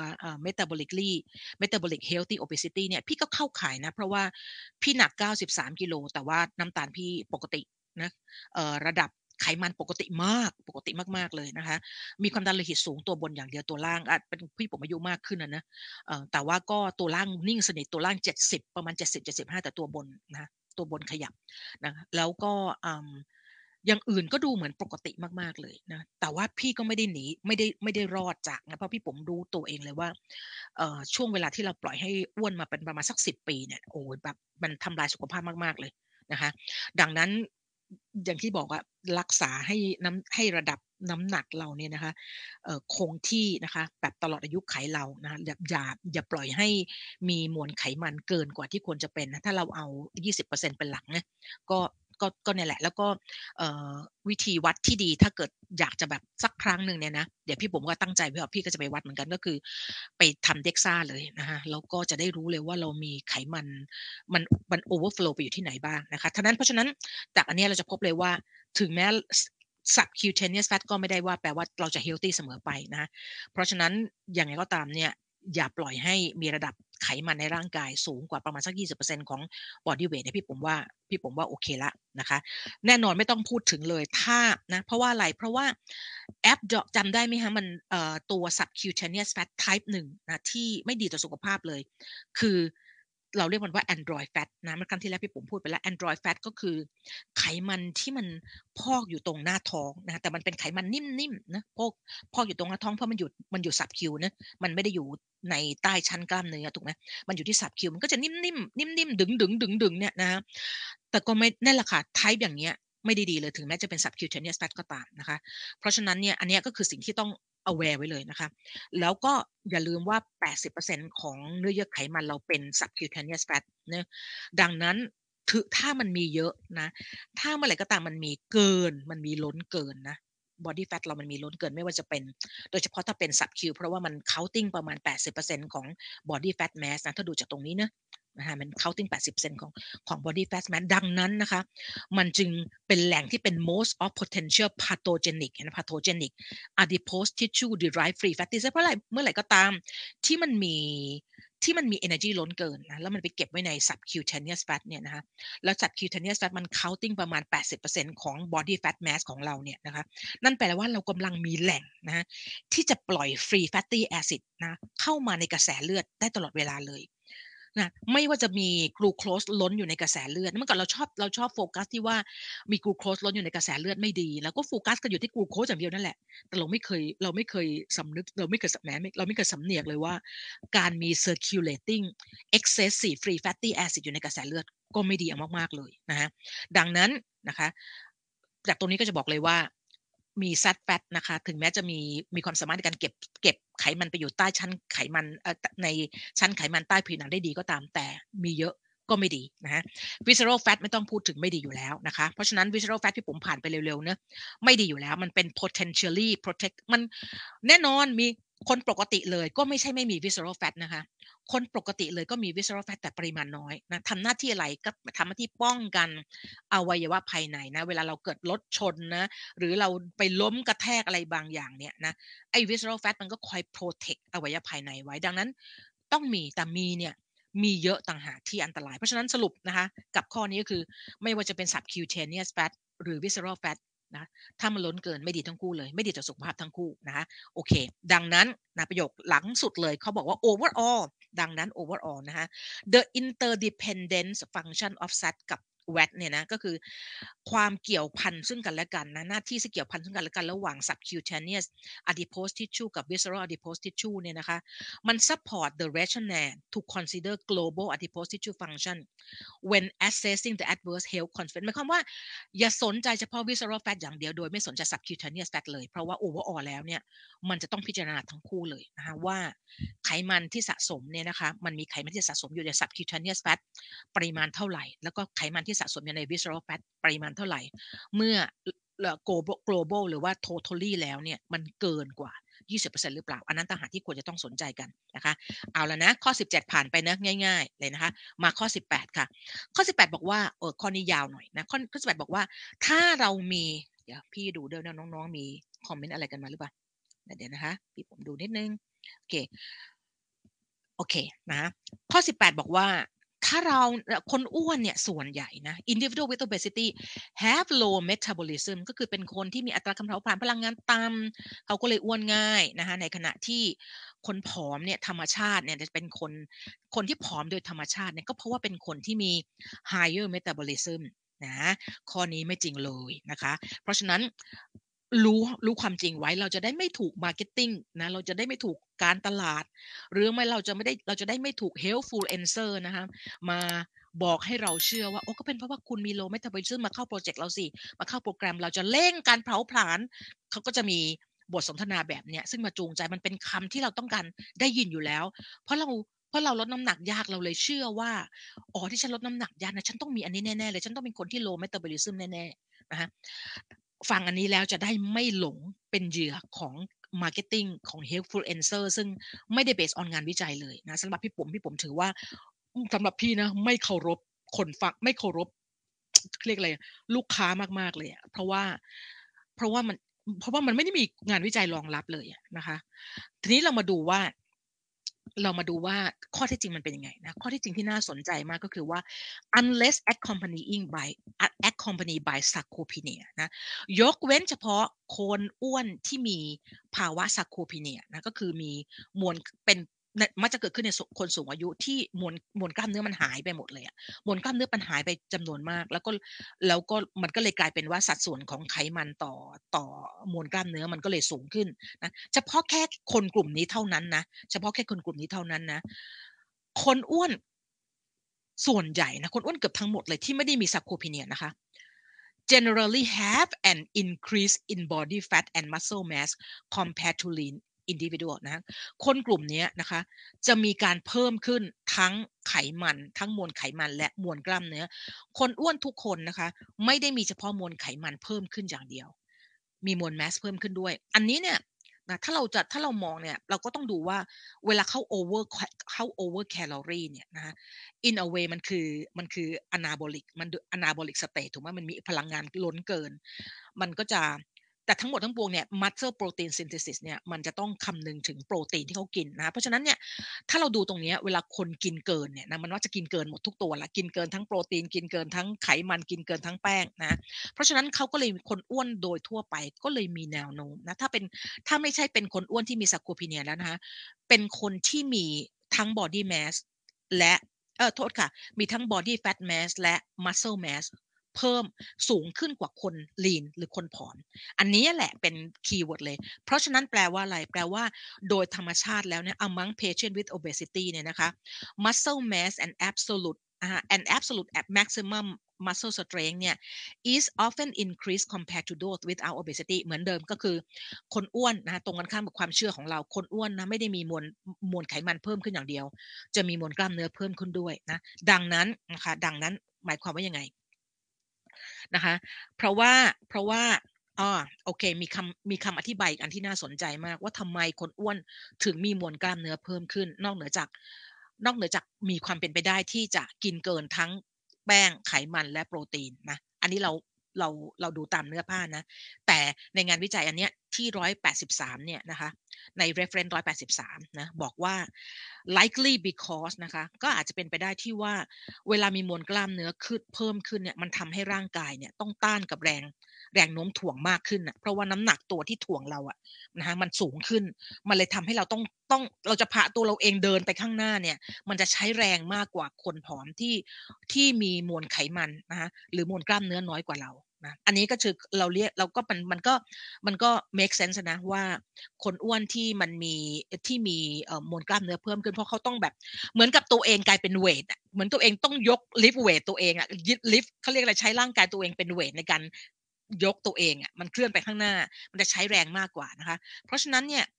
metabolic healthy obesity เนี่ยพี่ก็เข้าข่ายนะเพราะว่าพี่หนัก93กิโลแต่ว่าน้ำตาลพี่ปกตินะระดับไขมันปกติมากเลยนะคะมีความดันโลหิตสูงตัวบนอย่างเดียวตัวล่างเป็นพี่ผมอายุมากขึ้นนะแต่ว่าก็ตัวล่างนิ่งสนิทตัวล่าง70ประมาณ70-75แต่ตัวบนนะตัวบนขยับนะแล้วก็อย่างอื่นก็ดูเหมือนปกติมากๆเลยนะแต่ว่าพี่ก็ไม่ได้หนีไม่ได้รอดจากนะเพราะพี่ผมรู้ตัวเองเลยว่าช่วงเวลาที่เราปล่อยให้อ้วนมาเป็นประมาณสัก10ปีเนี่ยโอ้แบบมันทำลายสุขภาพมากๆเลยนะคะดังนั้นอย่างที่บอกว่ารักษาให้ระดับน้ำหนักเราเนี่ยนะคะคงที่นะคะแบบตลอดอายุขัยเรานะอย่าปล่อยให้มีมวลไขมันเกินกว่าที่ควรจะเป็นนะถ้าเราเอา20%เป็นหลักนะก็เนี่ยแหละแล้วก็วิธีวัดที่ดีถ้าเกิดอยากจะแบบสักครั้งหนึ่งเนี่ยนะเดี๋ยวพี่ผมก็ตั้งใจไว้ว่าพี่ก็จะไปวัดเหมือนกันก็คือไปทำ DEXA เลยนะคะแล้วก็จะได้รู้เลยว่าเรามีไขมัน overflow ไปอยู่ที่ไหนบ้างนะคะเพราะฉะนั้นจากอันนี้เราจะพบเลยว่าถึงแม้ subcutaneous fat ก็ไม่ได้ว่าแปลว่าเราจะ healthy เสมอไปนะเพราะฉะนั้นอย่างไรก็ตามเนี่ยอย่าปล่อยให้มีระดับไขมันในร่างกายสูงกว่าประมาณสัก20%ของ body weight เนี่ยพี่ผมว่าโอเคละนะคะแน่นอนไม่ต้องพูดถึงเลยถ้านะเพราะว่าอะไรเพราะว่าแอปจำได้ไหมคะมันตัว subcutaneous fat type 1นะที่ไม่ดีต่อสุขภาพเลยคือเราเรียกมันว่า android fat นะเมื่อครั้งที่แล้วพี่ผมพูดไปแล้ว android fat ก็คือไขมันที่มันพอกอยู่ตรงหน้าท้องนะแต่มันเป็นไขมันนิ่มๆนะพอกอยู่ตรงหน้าท้องเพราะมันอยู่สับคิวนะมันไม่ได้อยู่ในใต้ชั้นกล้ามเนื้อถูกไหมมันอยู่ที่สับคิวมันก็จะนิ่มดึงเนี่ยนะแต่ก็ไม่นั่นแหละค่ะไทป์อย่างเงี้ยไม่ได้ดีเลยถึงแม้จะเป็น subcutaneous fat ก็ตามนะคะเพราะฉะนั้นเนี่ยอันนี้ก็คือสิ่งที่ต้อง aware ไว้เลยนะคะแล้วก็อย่าลืมว่า80%ของเนื้อเยื่อไขมันเราเป็น subcutaneous fat นะดังนั้นถ้ามันมีเยอะนะถ้าเมื่อไหร่ก็ตามมันมีล้นเกินนะ body fat เรามันมีล้นเกินไม่ว่าจะเป็นโดยเฉพาะถ้าเป็น sub Q เพราะว่ามัน counting ประมาณ 80% ของ body fat mass นะถ้าดูจากตรงนี้นะคะมัน counting 80%ของ body fat mass ดังนั้นนะคะมันจึงเป็นแหล่งที่เป็น most of potential pathogenic pathogenic adipose tissue derived free fatty acid เพราะอะไรเมื่อไหร่ก็ตามที่มันมีenergy ล้นเกินนะแล้วมันไปเก็บไว้ใน subcutaneous fat เนี่ยนะคะแล้ว subcutaneous fat มัน counting ประมาณ 80% ของ body fat mass ของเราเนี่ยนะคะนั่นแปลว่าเรากำลังมีแหล่งนะที่จะปล่อย free fatty acid นะเข้ามาในกระแสเลือดได้ตลอดเวลาเลยนะไม่ว่าจะมีกลูโคสล้นอยู่ในกระแสเลือดเมื่อก่อนเราชอบโฟกัสที่ว่ามีกลูโคสล้นอยู่ในกระแสเลือดไม่ดีแล้วก็โฟกัสกันอยู่ที่กลูโคสอย่างเดียวนั่นแหละแต่เราไม่เคยสำนึกเราไม่เคยสำเนียกเลยว่าการมี circulating excessive free fatty acid อยู่ในกระแสเลือดก็ไม่ดีมากๆเลยนะฮะดังนั้นนะคะจากตรงนี้ก็จะบอกเลยว่ามี fat fat นะคะถึงแม้จะมีความสามารถในการเก็บไขมันไปอยู่ใต้ชั้นไขมันในชั้นไขมันใต้ผิวหนังได้ดีก็ตามแต่มีเยอะก็ไม่ดีนะฮะ visceral fat ไม่ต้องพูดถึงไม่ดีอยู่แล้วนะคะเพราะฉะนั้น visceral fat ที่ผมผ่านไปเร็วๆเนอะไม่ดีอยู่แล้วมันเป็น potentially protect มันแน่นอนมีคนปกติเลยก็ไม่ใช่ไม่มี visceral fat นะคะคนปกติเลยก็มี visceral fat แต่ปริมาณน้อยนะทำหน้าที่อะไรก็ทำหน้าที่ป้องกันอวัยวะภายในนะเวลาเราเกิดรถชนนะหรือเราไปล้มกระแทกอะไรบางอย่างเนี่ยนะไอ้ visceral fat มันก็คอย protect อวัยวะภายในไว้ดังนั้นต้องมีแต่มีเนี่ยมีเยอะต่างหากที่อันตรายเพราะฉะนั้นสรุปนะคะกับข้อนี้ก็คือไม่ว่าจะเป็น subcutaneous fat หรือ visceral fat นะถ้ามันล้นเกินไม่ดีทั้งคู่เลยไม่ดีต่อสุขภาพทั้งคู่นะคะโอเคดังนั้นนะประโยคหลังสุดเลยเขาบอกว่า overall ดังนั้น overall นะคะ the interdependence function of fat กับ fat เนี่ยนะก็คือความเกี่ยวพันซึ่งกันและกันนะหน้าที่ที่เกี่ยวพันซึ่งกันและกันระหว่าง subcutaneous adipose tissue กับ visceral adipose tissue เนี่ยนะคะมัน support the rationale to consider global adipose tissue function when assessing the adverse health consequence หมายความว่าอย่าสนใจเฉพาะ visceral fat อย่างเดียวโดยไม่สนใจ subcutaneous fat เลยเพราะว่า overall แล้วเนี่ยมันจะต้องพิจารณาทั้งคู่เลยนะคะว่าไขมันที่สะสมเนี่ยนะคะมันมีไขมันที่สะสมอยู่ใน subcutaneous fat ปริมาณเท่าไหร่แล้วก็ไขมันที่สะสมอยู่ใน visceral fat ปริมาณเท่าไหร่เมื่อ global หรือว่า totally แล้วเนี่ยมันเกินกว่า20%หรือเปล่าอันนั้นต่างหากที่ควรจะต้องสนใจกันนะคะเอาละนะข้อ17ผ่านไปนะง่ายๆเลยนะคะมาข้อ18ค่ะข้อ18บอกว่าข้อนี้ยาวหน่อยนะข้อ18บอกว่าถ้าเรามีเดี๋ยวพี่ดูด้วยนะน้องๆมีคอมเมนต์อะไรกันมาหรือเปล่าเดี๋ยวนะคะพี่ผมดูนิดนึงโอเคนะข้อ18บอกว่าถ้าเราคนอ้วนเนี่ยส่วนใหญ่นะ individual with obesity have low metabolism ก็คือเป็นคนที่มีอัตราการเผาผลาญพลังงานต่ำเขาก็เลยอ้วนง่ายนะคะในขณะที่คนผอมเนี่ยธรรมชาติเนี่ยจะเป็นคนที่ผอมโดยธรรมชาติเนี่ยก็เพราะว่าเป็นคนที่มี higher metabolism นะข้อนี้ไม่จริงเลยนะคะเพราะฉะนั้นรู้ความจริงไว้เราจะได้ไม่ถูก marketing นะเราจะได้ไม่ถูกการตลาดหรือไม่เราจะได้ไม่ถูก healthfluencer นะคะมาบอกให้เราเชื่อว่าโอ้ก็เป็นเพราะว่าคุณมี low metabolism มาเข้าโปรเจกต์เราสิมาเข้าโปรแกรมเราจะเร่งการเผาผลาญเขาก็จะมีบทสนทนาแบบเนี้ยซึ่งมาจูงใจมันเป็นคำที่เราต้องการได้ยินอยู่แล้วเพราะเราลดน้ำหนักยากเราเลยเชื่อว่าอ๋อที่ฉันลดน้ำหนักยากนะฉันต้องมีอันนี้แน่ๆเลยฉันต้องเป็นคนที่ low metabolism แน่ๆนะคะฟังอันนี้แล้วจะได้ไม่หลงเป็นเหยื่อของ marketing ของ healthfluencer ซึ่งไม่ได้ based on งานวิจัยเลยนะสำหรับพี่ผมถือว่าสำหรับพี่นะไม่เคารพคนฟังไม่เคารพเรียกอะไรลูกค้ามากๆเลยอะเพราะว่ามันไม่ได้มีงานวิจัยรองรับเลยนะคะทีนี้เรามาดูว่าข้อเท็จจริงมันเป็นยังไงนะข้อเท็จจริงที่น่าสนใจมากก็คือว่า unless accompanied by sarcopenia นะยกเว้นเฉพาะคนอ้วนที่มีภาวะ sarcopenia นะก็คือมีมวลเป็นมักจะเกิดขึ้นในคนสูงอายุที่มวลกล้ามเนื้อมันหายไปหมดเลยอะมวลกล้ามเนื้อมันหายไปจำนวนมากแล้วก็มันก็เลยกลายเป็นว่าสัดส่วนของไขมันต่อมวลกล้ามเนื้อมันก็เลยสูงขึ้นนะเฉพาะแค่คนกลุ่มนี้เท่านั้นนะเฉพาะแค่คนกลุ่มนี้เท่านั้นนะคนอ้วนส่วนใหญ่นะคนอ้วนเกือบทั้งหมดเลยที่ไม่ได้มี sarcopenia นะคะ generally have an increase in body fat and muscle mass compared to lean individual นะคนกลุ่มนี้นะคะจะมีการเพิ่มขึ้นทั้งไขมันทั้งมวลไขมันและมวลกล้ามเนื้อคนอ้วนทุกคนนะคะไม่ได้มีเฉพาะมวลไขมันเพิ่มขึ้นอย่างเดียวมีมวล mass เพิ่มขึ้นด้วยอันนี้เนี่ยนะถ้าเรามองเนี่ยเราก็ต้องดูว่าเวลาเข้า over calorie เนี่ยนะคะ in a way มันคือ anabolic anabolic state ถูกไหมมันมีพลังงานล้นเกินมันก็จะแต่ทั้งหมดทั้งปวงเนี่ย muscle protein synthesis เนี่ยมันจะต้องคำนึงถึงโปรตีนที่เขากินนะเพราะฉะนั้นเนี่ยถ้าเราดูตรงเนี้ยเวลาคนกินเกินเนี่ยนะมันว่าจะกินเกินหมดทุกตัวละกินเกินทั้งโปรตีนกินเกินทั้งไขมันกินเกินทั้งแป้งนะเพราะฉะนั้นเขาก็เลยคนอ้วนโดยทั่วไปก็เลยมีแนวโน้มนะถ้าไม่ใช่เป็นคนอ้วนที่มี sarcopenia แล้วนะคะเป็นคนที่มีทั้ง body mass และโทษค่ะมีทั้ง body fat mass และ muscle mass เพิ่มสูงขึ้นกว่าคน lean หรือคนผอมอันนี้แหละเป็นคีย์เวิร์ดเลยเพราะฉะนั้นแปลว่าอะไรแปลว่าโดยธรรมชาติแล้วเนี่ย among patient with obesity เนี่ยนะคะ muscle mass and absolute maximum muscle strength เนี่ย is often increased compared to those without obesity เหมือนเดิมก็คือคนอ้วนนะตรงกันข้ามกับความเชื่อของเราคนอ้วนนะไม่ได้มีมวลไขมันเพิ่มขึ้นอย่างเดียวจะมีมวลกล้ามเนื้อเพิ่มขึ้นด้วยนะดังนั้นหมายความว่ายังไงนะคะเพราะว่าโอเคมีคำอธิบายอีกอันที่น่าสนใจมากว่าทำไมคนอ้วนถึงมีมวลกล้ามเนื้อเพิ่มขึ้นนอกเหนือจากมีความเป็นไปได้ที่จะกินเกินทั้งแป้งไขมันและโปรตีนนะอันนี้เราดูตามเนื้อผ้านะแต่ในงานวิจัยอันเนี้ยที่183เนี่ยนะคะใน reference 183นะบอกว่า likely because นะคะก็อาจจะเป็นไปได้ที่ว่าเวลามีมวลกล้ามเนื้อขึ้นเพิ่มขึ้นเนี่ยมันทำให้ร่างกายเนี่ยต้องต้านกับแรงโน้มถ่วงมากขึ้นนะเพราะว่าน้ำหนักตัวที่ถ่วงเราอะนะคะมันสูงขึ้นมันเลยทำให้เราต้องเราจะพาตัวเราเองเดินไปข้างหน้าเนี่ยมันจะใช้แรงมากกว่าคนผอมที่มีมวลไขมันนะคะหรือมวลกล้ามเนื้อน้อยกว่าเรานะอันนี้ก็คือเราก็มันก็ make sense นะว่าคนอ้วนที่มีมวลกล้ามเนื้อเพิ่มขึ้นเพราะเขาต้องแบบเหมือนกับตัวเองกลายเป็นเวทอะเหมือนตัวเองต้องยกลิฟต์เวทตัวเองอะลิฟต์เขาเรียกอะไรใช้ร่างกายตัวเองเป็นเวทในการยกตัวเองอะมันเคลื่อนไปข้างหน้ามันจะใช้แรงมากกว่านะคะเพราะฉะนั้นเนี่ย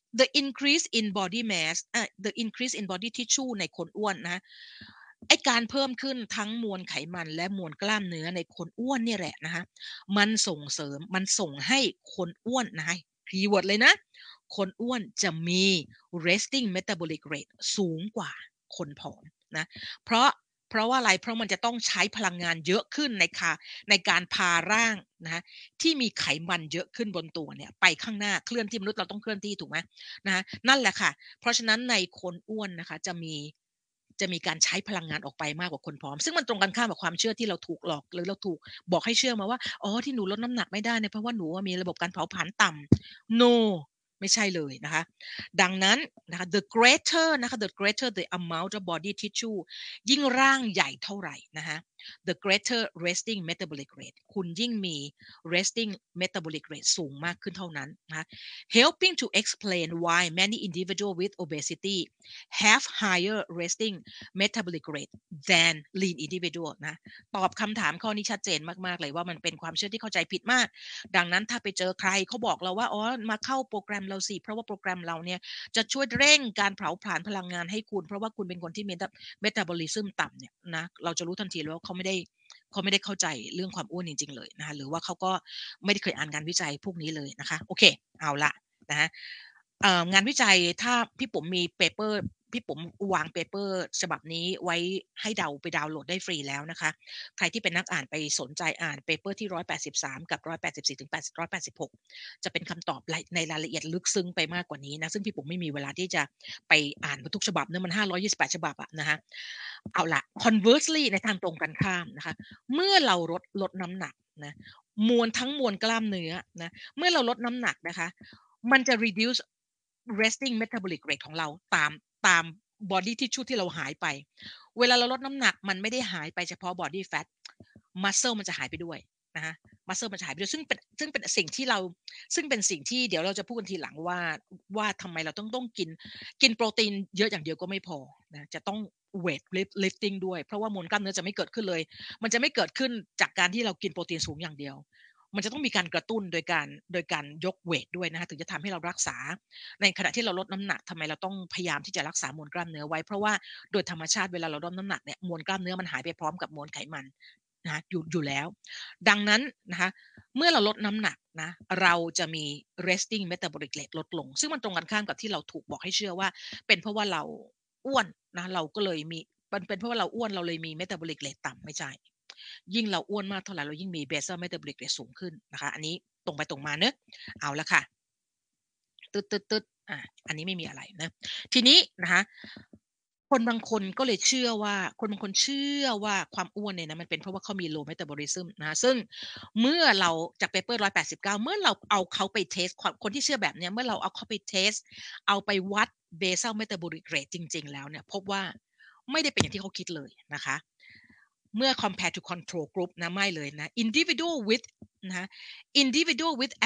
the increase in body tissue ในคนอ้วนนะไอการเพิ่มขึ้นทั้งมวลไขมันและมวลกล้ามเนื้อในคนอ้วนเนี่ยแหละนะคะมันส่งให้คนอ้วนนะคะคีย์เวิร์ดเลยนะคนอ้วนจะมี resting metabolic rate สูงกว่าคนผอมนะเพราะเพราะว่าอะไรเพราะมันจะต้องใช้พลังงานเยอะขึ้นในการพาร่างนะคะที่มีไขมันเยอะขึ้นบนตัวเนี่ยไปข้างหน้าเคลื่อนที่มนุษย์เราต้องเคลื่อนที่ถูกไหมนะคะนั่นแหละค่ะเพราะฉะนั้นในคนอ้วนนะคะจะมีการใช้พลังงานออกไปมากกว่าคนผอมซึ่งมันตรงกันข้ามกับความเชื่อที่เราถูกหลอกหรือเราถูกบอกให้เชื่อมาว่าอ๋อที่หนูลดน้ำหนักไม่ได้เนี่ยเพราะว่าหนูมีระบบการเผาผลาญต่ำ no ไม่ใช่เลยนะคะดังนั้นนะคะ the greater the amount of body tissue ยิ่งร่างใหญ่เท่าไหร่นะคะ the greater resting metabolic rate คุณยิ่งมี resting metabolic rate สูงมากขึ้นเท่านั้นนะคะ helping to explain why many individuals with obesity have higher resting metabolic rate than lean individual นะตอบคำถามข้อนี้ชัดเจนมากๆเลยว่ามันเป็นความเชื่อที่เข้าใจผิดมากดังนั้นถ้าไปเจอใครเขาบอกเราว่าอ๋อมาเข้าโปรแกรมเราสิเพราะว่าโปรแกรมเราเนี่ยจะช่วยเร่งการเผาผลาญพลังงานให้คุณเพราะว่าคุณเป็นคนที่มีเมตาบอลิซึมต่ำเนี่ยนะเราจะรู้ทันทีเลยว่าเขาไม่ได้เข้าใจเรื่องความอ้วนจริงๆเลยนะคะหรือว่าเขาก็ไม่ได้เคยอ่านงานวิจัยพวกนี้เลยนะคะโอเคเอาละนะงานวิจัยถ้าพี่ปุ๋มมีเปเปอร์พี่ปุ๋มวางเปเปอร์ฉบับนี้ไว้ให้ไปดาวน์โหลดได้ฟรีแล้วนะคะใครที่เป็นนักอ่านไปสนใจอ่านเปเปอร์ที่183กับ184ถึง186จะเป็นคำตอบในรายละเอียดลึกซึ้งไปมากกว่านี้นะซึ่งพี่ปุ๋มไม่มีเวลาที่จะไปอ่านทุกฉบับเนี่ยมัน528ฉบับอะนะคะเอาละ conversely ในทางตรงกันข้ามนะคะเมื่อเราลดน้ำหนักนะทั้งมวลกล้ามเนื้อนะเมื่อเราลดน้ำหนักนะคะมันจะ reduce resting metabolic rate ของเราตาม body tissue ที่เราหายไปเวลาเราลดน้ำหนักมันไม่ได้หายไปเฉพาะ body fat muscle มันจะหายไปด้วยนะคะ muscle มันจะหายไปด้วยซึ่งเป็นสิ่งที่เดี๋ยวเราจะพูดกันทีหลังว่าทำไมเราต้องกินโปรตีนเยอะอย่างเดียวก็ไม่พอนะจะต้อง weight lifting ด้วยเพราะว่ามวลกล้ามเนื้อจะไม่เกิดขึ้นเลยมันจะไม่เกิดขึ้นจากการที่เรากินโปรตีนสูงอย่างเดียวมันจะต้องมีการกระตุ้นโดยการยกเวทด้วยนะคะถึงจะทำให้เรารักษาในขณะที่เราลดน้ำหนักทำไมเราต้องพยายามที่จะรักษามวลกล้ามเนื้อไว้เพราะว่าโดยธรรมชาติเวลาเราลดน้ำหนักเนี่ยมวลกล้ามเนื้อมันหายไปพร้อมกับมวลไขมันนะอยู่แล้วดังนั้นนะคะเมื่อเราลดน้ำหนักนะเราจะมี resting metabolic rate ลดลงซึ่งมันตรงกันข้ามกับที่เราถูกบอกให้เชื่อว่าเป็นเพราะว่าเราอ้วนนะเราก็เลยมีเป็นเพราะว่าเราอ้วนเราเลยมี metabolic rate ต่ำไม่ใช่ยิ่งเราอ้วนมากเท่าไหร่เรายิ่งมี basal metabolic rate สูงขึ้นนะคะอันนี้ตรงไปตรงมาเนอะเอาละค่ะตึ๊ดอันนี้ไม่มีอะไรนะทีนี้นะคะคนบางคนก็เลยเชื่อว่าคนบางคนเชื่อว่าความอ้วนเนี่ยนะมันเป็นเพราะว่าเขามี low metabolism นะซึ่งเมื่อเราจาก paper 189เมื่อเราเอาเขาไปเทสคนที่เชื่อแบบเนี้ยเมื่อเราเอาเขาไปเทสเอาไปวัด basal metabolic rate จริงๆแล้วเนี่ยพบว่าไม่ได้เป็นอย่างที่เขาคิดเลยนะคะเมื่อ compare to control group นะไม่เลยนะ individual with นะ individual with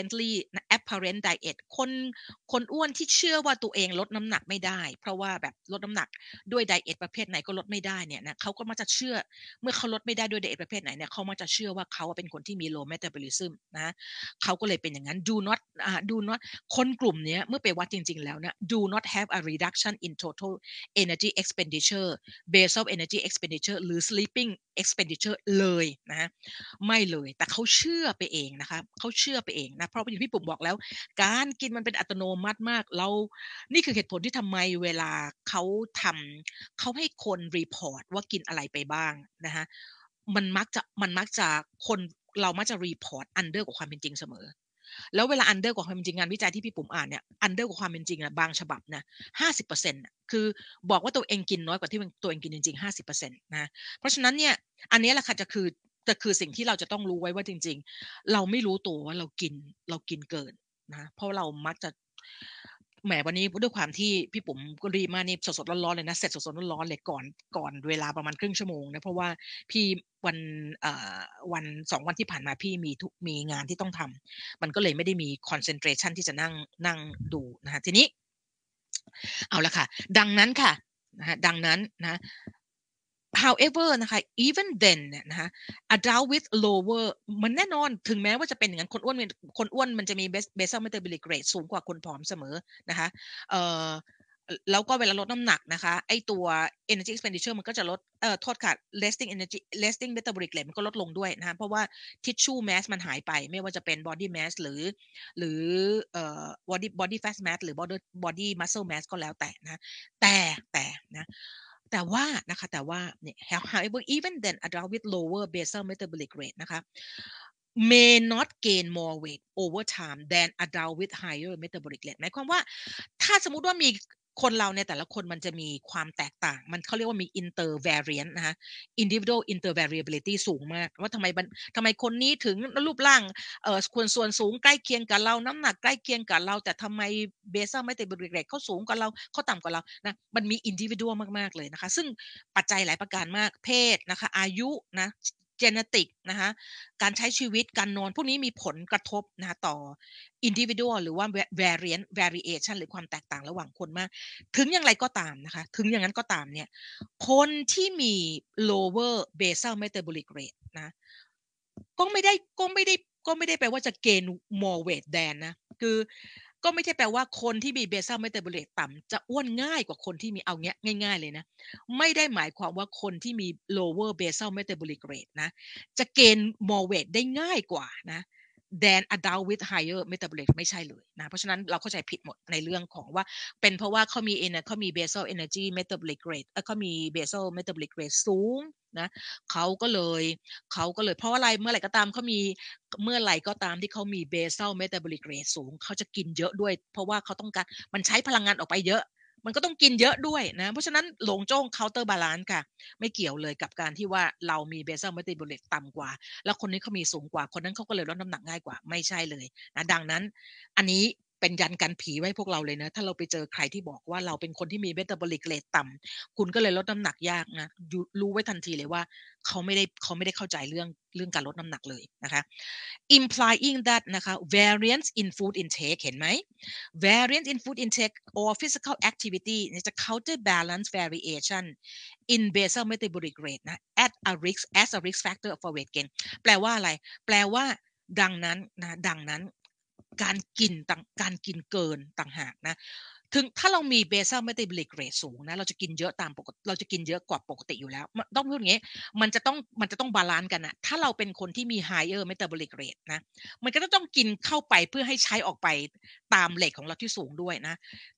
apparent diet คนอ้วนที่เชื่อว่าตัวเองลดน้ำหนักไม่ได้เพราะว่าแบบลดน้ำหนักด้วยไดเอทประเภทไหนก็ลดไม่ได้เนี่ยนะเขาก็มักจะเชื่อเมื่อเขาลดไม่ได้ด้วยไดเอทประเภทไหนเนี่ยเขามักจะเชื่อว่าเขาเป็นคนที่มี low metabolism นะเขาก็เลยเป็นอย่างนั้น do not คนกลุ่มนี้เมื่อไปวัดจริงๆแล้วนะ do not have a reduction in total energy expenditure basal energy expenditure หรือ sleeping expenditure เลยนะไม่เลยแต่เขาเชื่อไปเองนะคะเขาเชื่อไปเองนะเพราะอย่างที่ผมบอกแล้วการกินมันเป็นอัตโนมัติมากเรานี่คือเหตุผลที่ทำไมเวลาเขาเขาให้คนรีพอร์ตว่ากินอะไรไปบ้างนะคะมันมักจะคนเรามักจะรีพอร์ตอันเดอร์กว่าความเป็นจริงเสมอแล้วเวลาอันเดอร์กว่าความเป็นจริงงานวิจัยที่พี่ปุ๋มอ่านเนี่ยอันเดอร์กว่าความเป็นจริงอะบางฉบับนะ50%อะคือบอกว่าตัวเองกินน้อยกว่าที่ตัวเองกินจริงๆ50%นะเพราะฉะนั้นเนี่ยอันนี้แหละค่ะจะคือสิ่งที่เราจะต้องรู้ไว้ว่าจริงๆเราไม่รู้ตัวว่าเรากินเกินนะเพราะเรามักจะแหมวันนี้ด้วยความที่พี่ปุ๋มก็รีบมากนี่สดๆร้อนๆเลยนะเสร็จสดๆร้อนๆเลยก่อนเวลาประมาณครึ่งชั่วโมงนะเพราะว่าพี่วันเอ่อวัน2วันที่ผ่านมาพี่มีงานที่ต้องทำมันก็เลยไม่ได้มี concentration ที่จะนั่งดูนะคะทีนี้เอาละค่ะดังนั้นค่ะนะคะดังนั้นนะ however นะคะ even then เนี่ยนะคะ adult with lower มันแน่นอนถึงแม้ว่าจะเป็นอย่างนั้นคนอ้วนมันจะมี basal metabolic rate สูงกว่าคนผอมเสมอนะคะเอ่อแล้วก็เวลาลดน้ำหนักนะคะไอตัว energy expenditure มันก็จะลดโทษค่ะ resting metabolic rate มันก็ลดลงด้วยนะคะเพราะว่า tissue mass มันหายไปไม่ว่าจะเป็น body mass หรือbody fat mass หรือ body muscle mass ก็แล้วแต่นะแต่นะแต่ว่าเนี่ย however even then adult with lower basal metabolic rate นะคะ may not gain more weight over time than adult with higher metabolic rate หมายความว่าถ้าสมมุติว่ามีคนเราในแต่ละคนมันจะมีความแตกต่างมันเขาเรียกว่ามี intervariant นะคะ individual intervariability สูงมากว่าทำไมคนนี้ถึงรูปร่างส่วนสูงใกล้เคียงกับเราน้ำหนักใกล้เคียงกับเราแต่ทำไม basal metabolic rate เขาสูงกว่าเราเขาต่ำกว่าเรานะมันมี individual มากๆเลยนะคะซึ่งปัจจัยหลายประการมากเพศนะคะอายุนะ genetic นะคะการใช้ชีวิตการนอนพวกนี้มีผลกระทบนะคะต่อ individual หรือว่า variation หรือความแตกต่างระหว่างคนมากถึงอย่างไรก็ตามนะคะถึงอย่างนั้นก็ตามเนี่ยคนที่มี lower basal metabolic rate นะก็ไม่ได้ก็ไม่ได้ก็ไม่ได้แปลว่าจะ gain more weight than นะคือก็ไม่ใช่แปลว่าคนที่มี basal metabolic rate ต่ำจะอ้วนง่ายกว่าคนที่มีเอาเงี้ยง่ายๆเลยนะไม่ได้หมายความว่าคนที่มี lower basal metabolic rate นะจะ gain more weight ได้ง่ายกว่านะ than adult with higher metabolic ไม่ใช่เลยนะเพราะฉะนั้นเราเข้าใจผิดหมดในเรื่องของว่าเป็นเพราะว่าเขามี basal energy metabolic rate เขามี basal metabolic rate สูงนะเขาก็เลยเพราะว่าอะไรเมื่อไหร่ก็ตามเมื่อไหร่ก็ตามที่เขามี basal metabolic rate สูงเขาจะกินเยอะด้วยเพราะว่าเขาต้องการมันใช้พลังงานออกไปเยอะมันก็ต้องกินเยอะด้วยนะเพราะฉะนั้นหลงโจ้ง counter balance ค่ะไม่เกี่ยวเลยกับการที่ว่าเรามี basal metabolic ต่ำกว่าแล้วคนนี้เขามีสูงกว่าคนนั้นเขาก็เลยลดน้ำหนักง่ายกว่าไม่ใช่เลยนะดังนั้นอันนี้เป็นยันกันผีไว้พวกเราเลยนะถ้าเราไปเจอใครที่บอกว่าเราเป็นคนที่มี metabolic rate ต่ำคุณก็เลยลดน้ำหนักยากนะรู้ไว้ทันทีเลยว่าเขาไม่ได้เข้าใจเรื่องการลดน้ำหนักเลยนะคะ implying that นะคะ variance in food intake เห็นไหม variance in food intake or physical activity จะ counterbalance variation in basal metabolic rate นะ as a risk factor for weight gain แปลว่าอะไรแปลว่าดังนั้นการกินเกินต่างหากนะถึงถ้าเรามี basal metabolic rate สูงนะเราจะกินเยอะตามปกติเราจะกินเยอะกว่าปกติอยู่แล้วต้องพูดอย่างงี้มันจะต้องบาลันซ์กันน่ะถ้าเราเป็นคนที่มี higher metabolic rate นะมันก็จะต้องกินเข้าไปเพื่อให้ใช้ออกไปตามเรตของเราที่สูงด้วยนะ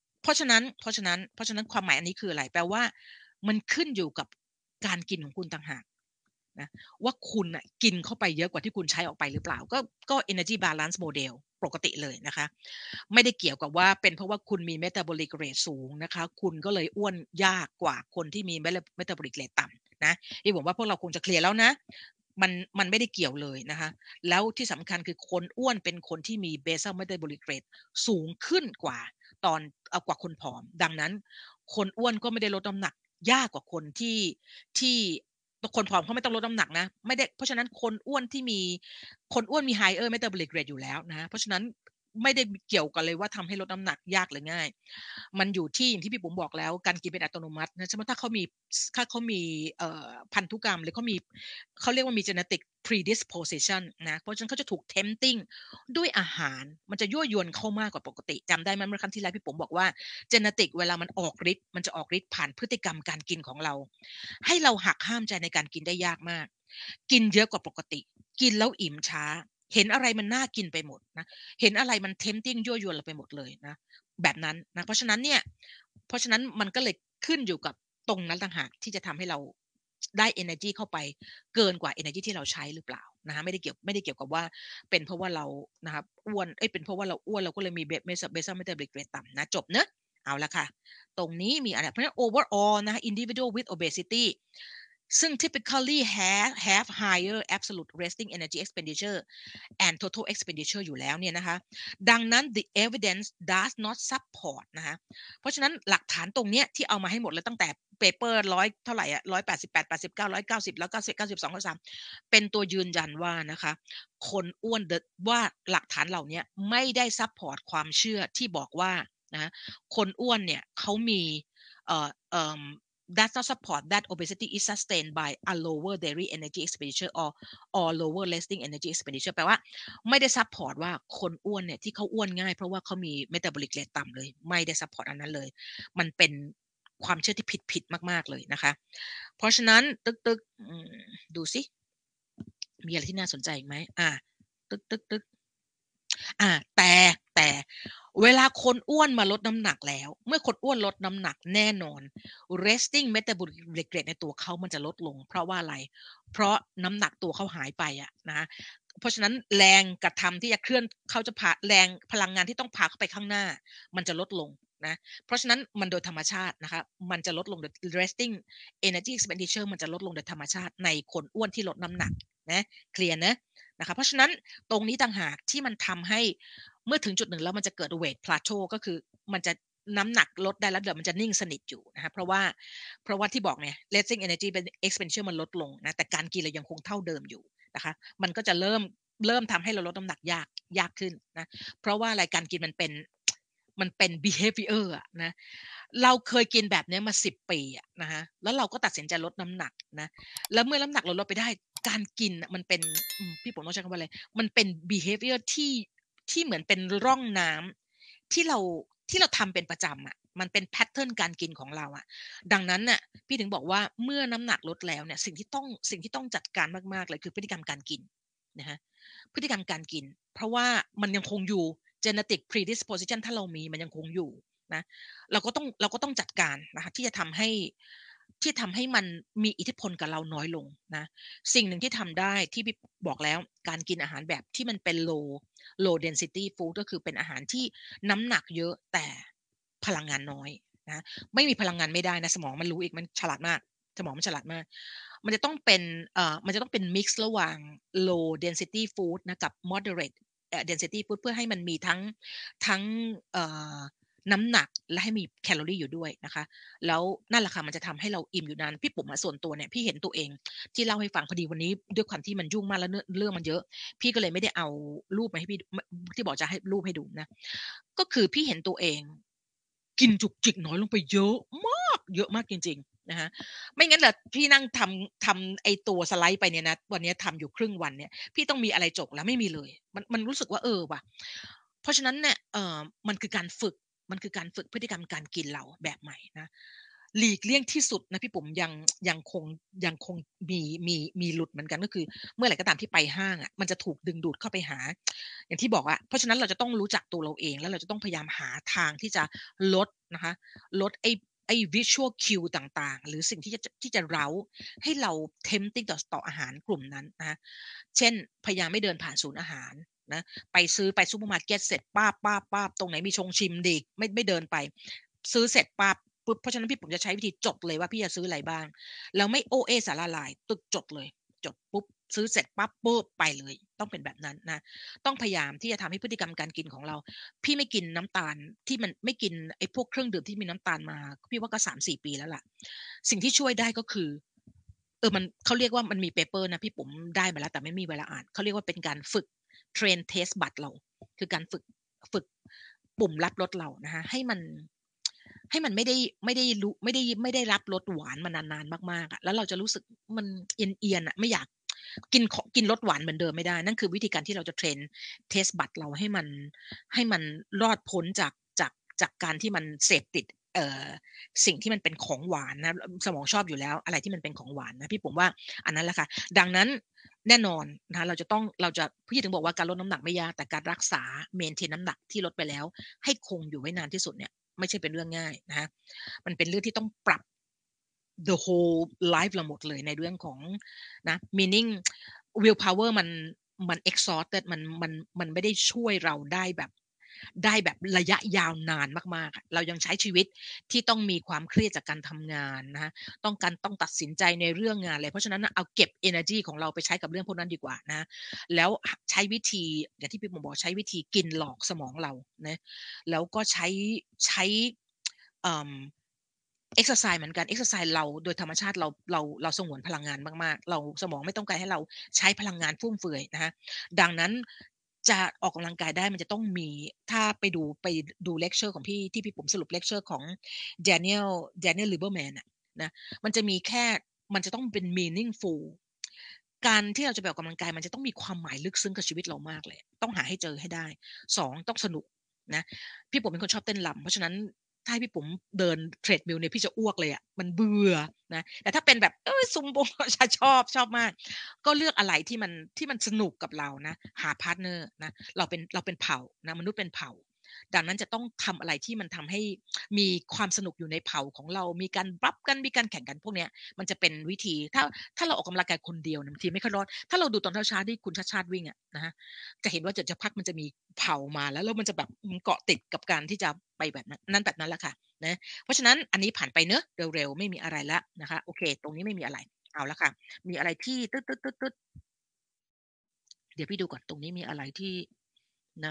เพราะฉะนั้นความหมายอันนี้คืออะไรแปลว่ามันขึ้นอยู่กับการกินของคุณต่างหากนะว่าคุณน่ะกินเข้าไปเยอะกว่าที่คุณใช้ออกไปหรือเปล่าก็ energy balance model ปกติเลยนะคะไม่ได้เกี่ยวกับว่าเป็นเพราะว่าคุณมี metabolic rate สูงนะคะคุณก็เลยอ้วนยากกว่าคนที่มี metabolic rate ต่ำนะที่ผมว่าพวกเราคงจะเคลียร์แล้วนะมันไม่ได้เกี่ยวเลยนะคะแล้วที่สำคัญคือคนอ้วนเป็นคนที่มี basal metabolic rate สูงขึ้นกว่าตอนกว่าคนผอมดังนั้นคนอ้วนก็ไม่ได้ลดน้ำหนักยากกว่าคนที่คนผอมเขาไม่ต้องลดน้ำหนักนะไม่ได้เพราะฉะนั้นคนอ้วนมี higher metabolic rate อยู่แล้วนะเพราะฉะนั้นไม่ได้เกี่ยวกันเลยว่าทำให้ลดน้ำหนักยากหรือง่ายมันอยู่ที่อย่างที่พี่ปุ๋มบอกแล้วการกินเป็นอัตโนมัตินะใช่ไหมถ้าเขามีพันธุกรรมหรือเขาเรียกว่ามี genetic predisposition นะเพราะฉะนั้นเขาจะถูก tempting ด้วยอาหารมันจะยั่วยวนเขามากกว่าปกติจำได้ไหมเมื่อครั้งที่แล้วพี่ปุ๋มบอกว่า genetic เวลามันออกฤทธิ์มันจะออกฤทธิ์ผ่านพฤติกรรมการกินของเราให้เราหักห้ามใจในการกินได้ยากมากกินเยอะกว่าปกติกินแล้วอิ่มช้าเห็นอะไรมันน่ากินไปหมดนะเห็นอะไรมัน tempting ยั่วยวนเราไปหมดเลยนะแบบนั้นนะเพราะฉะนั้นมันก็เลยขึ้นอยู่กับตรงนั้นต่างหากที่จะทำให้เราได้ energy เข้าไปเกินกว่า energy ที่เราใช้หรือเปล่านะคะไม่ได้เกี่ยวกับว่าเป็นเพราะว่าเรานะครับอ้วนเป็นเพราะว่าเราอ้วนเราก็เลยมี basal metabolic rate ต่ำนะจบเนอะเอาละค่ะตรงนี้มีอะไรเพราะฉะนั้น overall นะคะ individual with obesity ซึ่ง typically have higher absolute resting energy expenditure and total expenditure อยู่แล้วเนี่ยนะคะดังนั้น the evidence does not support นะคะเพราะฉะนั้นหลักฐานตรงเนี้ยที่เอามาให้หมดเลยตั้งแต่เปเปอร์ร้อยเท่าไหร่อ่ะ188 89 190แล้ว90 92 93เป็นตัวยืนยันว่านะคะคนอ้วนว่าหลักฐานเหล่านี้ไม่ได้ซัพพอร์ตความเชื่อที่บอกว่านะคนอ้วนเนี่ยเขามีเอ่อเอ่อ does not support that obesity is sustained by a lower daily energy expenditure or lower resting energy expenditure แปลว่าไม่ได้ซัพพอร์ตว่าคนอ้วนเนี่ยที่เขาอ้วนง่ายเพราะว่าเขามี metabolic rate ต่ำเลยไม่ได้ซัพพอร์ตอันนั้นเลยมันเป็นความเชื่อที่ผิดมากๆเลยนะคะเพราะฉะนั้นตึกๆดูสิมีอะไรที่น่าสนใจอีกไหมตึกแต่เวลาคนอ้วนมาลดน้ำหนักแล้วเมื่อคนอ้วนลดน้ำหนักแน่นอน resting metabolic rate ในตัวเขามันจะลดลงเพราะว่าอะไรเพราะน้ำหนักตัวเขาหายไปอะนะเพราะฉะนั้นแรงกระทำที่จะเคลื่อนเขาจะพาแรงพลังงานที่ต้องพาเข้าไปข้างหน้ามันจะลดลงนะเพราะฉะนั้นมันโดยธรรมชาตินะคะมันจะลดลงโดย resting energy expenditure มันจะลดลงโดยธรรมชาติในคนอ้วนที่ลดน้ำหนักนะเคลียร์นะนะคะเพราะฉะนั้นตรงนี้ต่างหากที่มันทำให้เมื่อถึงจุดหนึ่งแล้วมันจะเกิด weight plateau ก็คือมันจะน้ำหนักลดได้แล้วเดี๋ยวมันจะนิ่งสนิทอยู่นะคะเพราะว่าที่บอกเนี่ย resting energy expenditure มันลดลงนะแต่การกินเรายังคงเท่าเดิมอยู่นะคะมันก็จะเริ่มทำให้เราลดน้ำหนักยากขึ้นนะเพราะว่าอะไรการกินมันเป็น behavior อะนะเราเคยกินแบบนี้มา10 ปีอะนะคะแล้วเราก็ตัดสินใจลดน้ำหนักนะแล้วเมื่อน้ำหนักเราลดไปได้การกินมันเป็นพี่ผมต้องใช้คำว่าอะไรมันเป็น behavior ที่เหมือนเป็นร่องน้ำที่เราทำเป็นประจำอะมันเป็นแพทเทิร์นการกินของเราอะดังนั้นน่ะพี่ถึงบอกว่าเมื่อน้ำหนักลดแล้วเนี่ยสิ่งที่ต้องจัดการมากๆเลยคือพฤติกรรมการกินนะคะพฤติกรรมการกินเพราะว่ามันยังคงอยู่ genetic predisposition ถ้าเรามีมันยังคงอยู่นะเราก็ต้องจัดการนะคะที่ทำให้มันมีอิทธิพลกับเราน้อยลงนะสิ่งหนึ่งที่ทำได้ที่พี่บอกแล้วการกินอาหารแบบที่มันเป็น low density food ก็คือเป็นอาหารที่น้ำหนักเยอะแต่พลังงานน้อยนะไม่มีพลังงานไม่ได้นะสมองมันรู้อีกมันฉลาดมากสมองมันฉลาดมากมันจะต้องเป็น mix ระหว่าง low density food นะกับ moderate density food เพื่อให้มันมีทั้งน้ำหนักและให้มีแคลอรี่อยู่ด้วยนะคะแล้วนั่นแหละค่ะมันจะทำให้เราอิ่มอยู่นานพี่ปุ๋มส่วนตัวเนี่ยพี่เห็นตัวเองที่เล่าให้ฟังพอดีวันนี้ด้วยความที่มันยุ่งมากแล้วเรื่องมันเยอะพี่ก็เลยไม่ได้เอารูปมาให้พี่ที่บอกจะให้รูปให้ดูนะก็คือพี่เห็นตัวเองกินจุกจิกน้อยลงไปเยอะมากจริงๆนะคะไม่งั้นเหรอพี่นั่งทำไอตัวสไลด์ไปเนี่ยนะวันนี้ทำอยู่ครึ่งวันเนี่ยพี่ต้องมีอะไรจกแล้วไม่มีเลยมันรู้สึกว่าว่ะเพราะฉะนั้นเนี่ยมันคือการฝึกมันคือการฝึกพฤติกรรมการกินเราแบบใหม่นะหลีกเลี่ยงที่สุดนะพี่ผมยังคงมีหลุดเหมือนกันก็คือเมื่อไหร่ก็ตามที่ไปห้างอะมันจะถูกดึงดูดเข้าไปหาอย่างที่บอกอะเพราะฉะนั้นเราจะต้องรู้จักตัวเราเองแล้วเราจะต้องพยายามหาทางที่จะลดนะคะลดไอ้ visual cue ต่างๆหรือสิ่งที่จะเร้าให้เรา tempting ต่ออาหารกลุ่มนั้นนะคะเช่นพยายามไม่เดินผ่านศูนย์อาหารนะไปซูเปอร์มาร์เกตเสร็จป้าบตรงไหนมีชงชิมดีไม่เดินไปซื้อเสร็จปั๊บเพราะฉะนั้นพี่ผมจะใช้วิธีจดเลยว่าพี่จะซื้ออะไรบ้างแล้วไม่โอเอสาระลายตึกจดเลยจดปุ๊บซื้อเสร็จปั๊บปุ๊บไปเลยต้องเป็นแบบนั้นนะต้องพยายามที่จะทำให้พฤติกรรมการกินของเราพี่ไม่กินน้ำตาลที่มันไม่กินไอ้พวกเครื่องดื่มที่มีน้ำตาลมาพี่ว่าก็3-4 ปีแล้วล่ะสิ่งที่ช่วยได้ก็คือมันเขาเรียกว่ามันมีเปเปอร์นะพี่ผมได้มาแล้วแต่ไม่มีเวลาอ่านเขาเรียกว่าเป็นการฝึกเทรนเทสบัตเราคือการฝึกปุ่มรับรสเรานะคะให้มันไม่ได้รับรสหวานมานานๆมากๆอะแล้วเราจะรู้สึกมันเอียนๆอะไม่อยากกินรสหวานเหมือนเดิมไม่ได้นั่นคือวิธีการที่เราจะเทรนเทสบัดเราให้มันรอดพ้นจากการที่มันเสพติดเอ่อสิ่งที่มันเป็นของหวานนะสมองชอบอยู่แล้วอะไรที่มันเป็นของหวานนะพี่ผมว่าอันนั้นแหละค่ะดังนั้นแน่นอนนะคะเราจะพี่ถึงบอกว่าการลดน้ำหนักไม่ยากแต่การรักษาเมนเทนน้ำหนักที่ลดไปแล้วให้คงอยู่ไว้นานที่สุดเนี่ยไม่ใช่เป็นเรื่องง่ายนะคะมันเป็นเรื่องที่ต้องปรับ the whole life เราหมดเลยในเรื่องของนะ meaning willpower มัน exhausted มันไม่ได้ช่วยเราได้แบบระยะยาวนานมากๆเรายังใช้ชีวิตที่ต้องมีความเครียดจากการทำงานนะคะต้องตัดสินใจในเรื่องงานเลยเพราะฉะนั้นเอาเก็บ energy ของเราไปใช้กับเรื่องพวกนั้นดีกว่านะแล้วใช้วิธีอย่างที่พี่ผมบอกใช้วิธีกินหลอกสมองเรานะแล้วก็ใช้เอ่อ exercise เหมือนกัน exercise เราโดยธรรมชาติเราสงวนพลังงานมากๆเราสมองไม่ต้องการให้เราใช้พลังงานฟุ่มเฟือยนะคะดังนั้นจะออกกำลังกายได้มันจะต้องมีถ้าไปดูเลคเชอร์ของพี่ที่พี่ผมสรุปเลคเชอร์ของ Daniel Lieberman อะนะมันจะมีแค่มันจะต้องเป็น meaningful การที่เราจะไปออกกำลังกายมันจะต้องมีความหมายลึกซึ้งกับชีวิตเรามากเลยต้องหาให้เจอให้ได้2ต้องสนุกนะพี่ผมเป็นคนชอบเต้นรำเพราะฉะนั้น ถ้าให้พี่ปุ๋มเดิน treadmill เนี่ยพี่จะอ้วกเลยอะมันเบื่อนะแต่ถ้าเป็นแบบซุมโบจะชอบมากก็เลือกอะไรที่มันสนุกกับเรานะหาพาร์ตเนอร์นะเราเป็นเผ่านะมนุษย์เป็นเผ่าดังนั้นจะต้องทำอะไรที่มันทำให้มีความสนุกอยู่ในเผ่าของเรามีการบัฟกันมีการแข่งกันพวกเนี้ยมันจะเป็นวิธีถ้าเราออกกำลังกายคนเดียวเนี่ยบางทีไม่ค่อยรอดถ้าเราดูตอนเช้าๆที่คุณชาติวิ่งอะนะคะจะเห็นว่าจะพักมันจะมีเผ่ามาแล้วมันจะแบบเกาะติดกับการที่จะไปแบบนั้นแบบนั้นแหละค่ะ นะเพราะฉะนั้นอันนี้ผ่านไปเนอะเร็วๆไม่มีอะไรแล้วนะคะโอเคตรงนี้ไม่มีอะไรเอาละค่ะมีอะไรที่ตึ๊ดเดี๋ยวพี่ดูก่อนตรงนี้มีอะไรที่นะ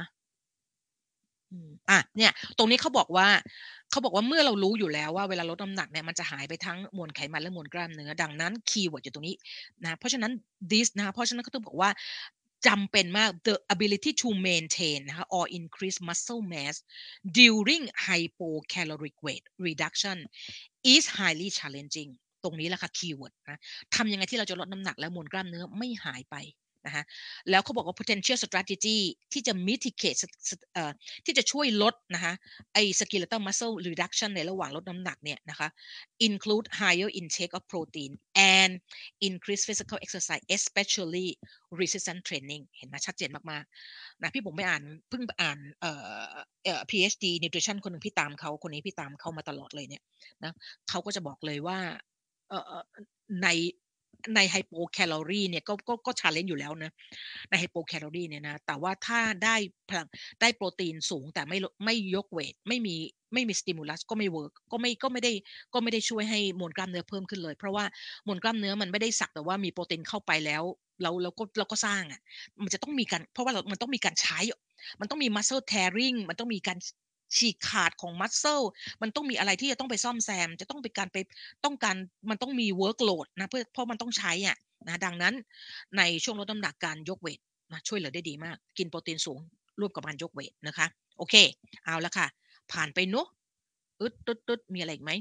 เนี่ยตรงนี้เขาบอกว่าเมื่อเรารู้อยู่แล้วว่าเวลาลดน้ำหนักเนี่ยมันจะหายไปทั้งมวลไขมันและมวลกล้ามเนื้อดังนั้นคีย์เวิร์ดอยู่ตรงนี้นะเพราะฉะนั้น this นะคะเพราะฉะนั้นเขาต้องบอกว่าจำเป็นมาก the ability to maintain นะคะ or increase muscle mass during hypocaloric weight reduction is highly challenging ตรงนี้แหละค่ะคีย์เวิร์ดนะทำยังไงที่เราจะลดน้ำหนักและมวลกล้ามเนื้อไม่หายไปนะคะแล้วเขาบอกว่า potential strategy ที่จะ mitigate ที่จะช่วยลดนะคะไอ้ skeletal muscle reduction ในระหว่างลดน้ำหนักเนี่ยนะคะ include higher intake of protein and increase physical exercise especially resistance training เห็นไหมชัดเจนมากๆนะพี่ผมไปอ่านเพิ่งไปอ่านPhD nutrition คนหนึ่งพี่ตามเขาคนนี้พี่ตามเขามาตลอดเลยเนี่ยนะเขาก็จะบอกเลยว่าเอ่อในไฮโปแคลอรีเนี่ยก็ challenge อยู่แล้วนะในไฮโปแคลอรีเนี่ยนะแต่ว่าถ้าได้พลังได้โปรตีนสูงแต่ไม่ยกเวทไม่มีสติมูลัสก็ไม่เวิร์กก็ไม่ได้ช่วยให้มวลกล้ามเนื้อเพิ่มขึ้นเลยเพราะว่ามวลกล้ามเนื้อมันไม่ได้สักแต่ว่ามีโปรตีนเข้าไปแล้วเราก็สร้างอะมันจะต้องมีการเพราะว่ามันต้องมีการใช้มันต้องมี muscle tearing มันต้องมีการฉีกขาดของ muscle มันต้องมีอะไรที่จะต้องไปซ่อมแซมจะต้องเป็นการไปต้องการมันต้องมี workload นะเพราะมันต้องใช้อะนะดังนั้นในช่วงลดน้ำหนักการยกเวทนะช่วยเหลือได้ดีมากกินโปรตีนสูงร่วมกับการยกเวทนะคะโอเคเอาละค่ะผ่านไปเนาะตึ๊ดมีอะไรอีกไหม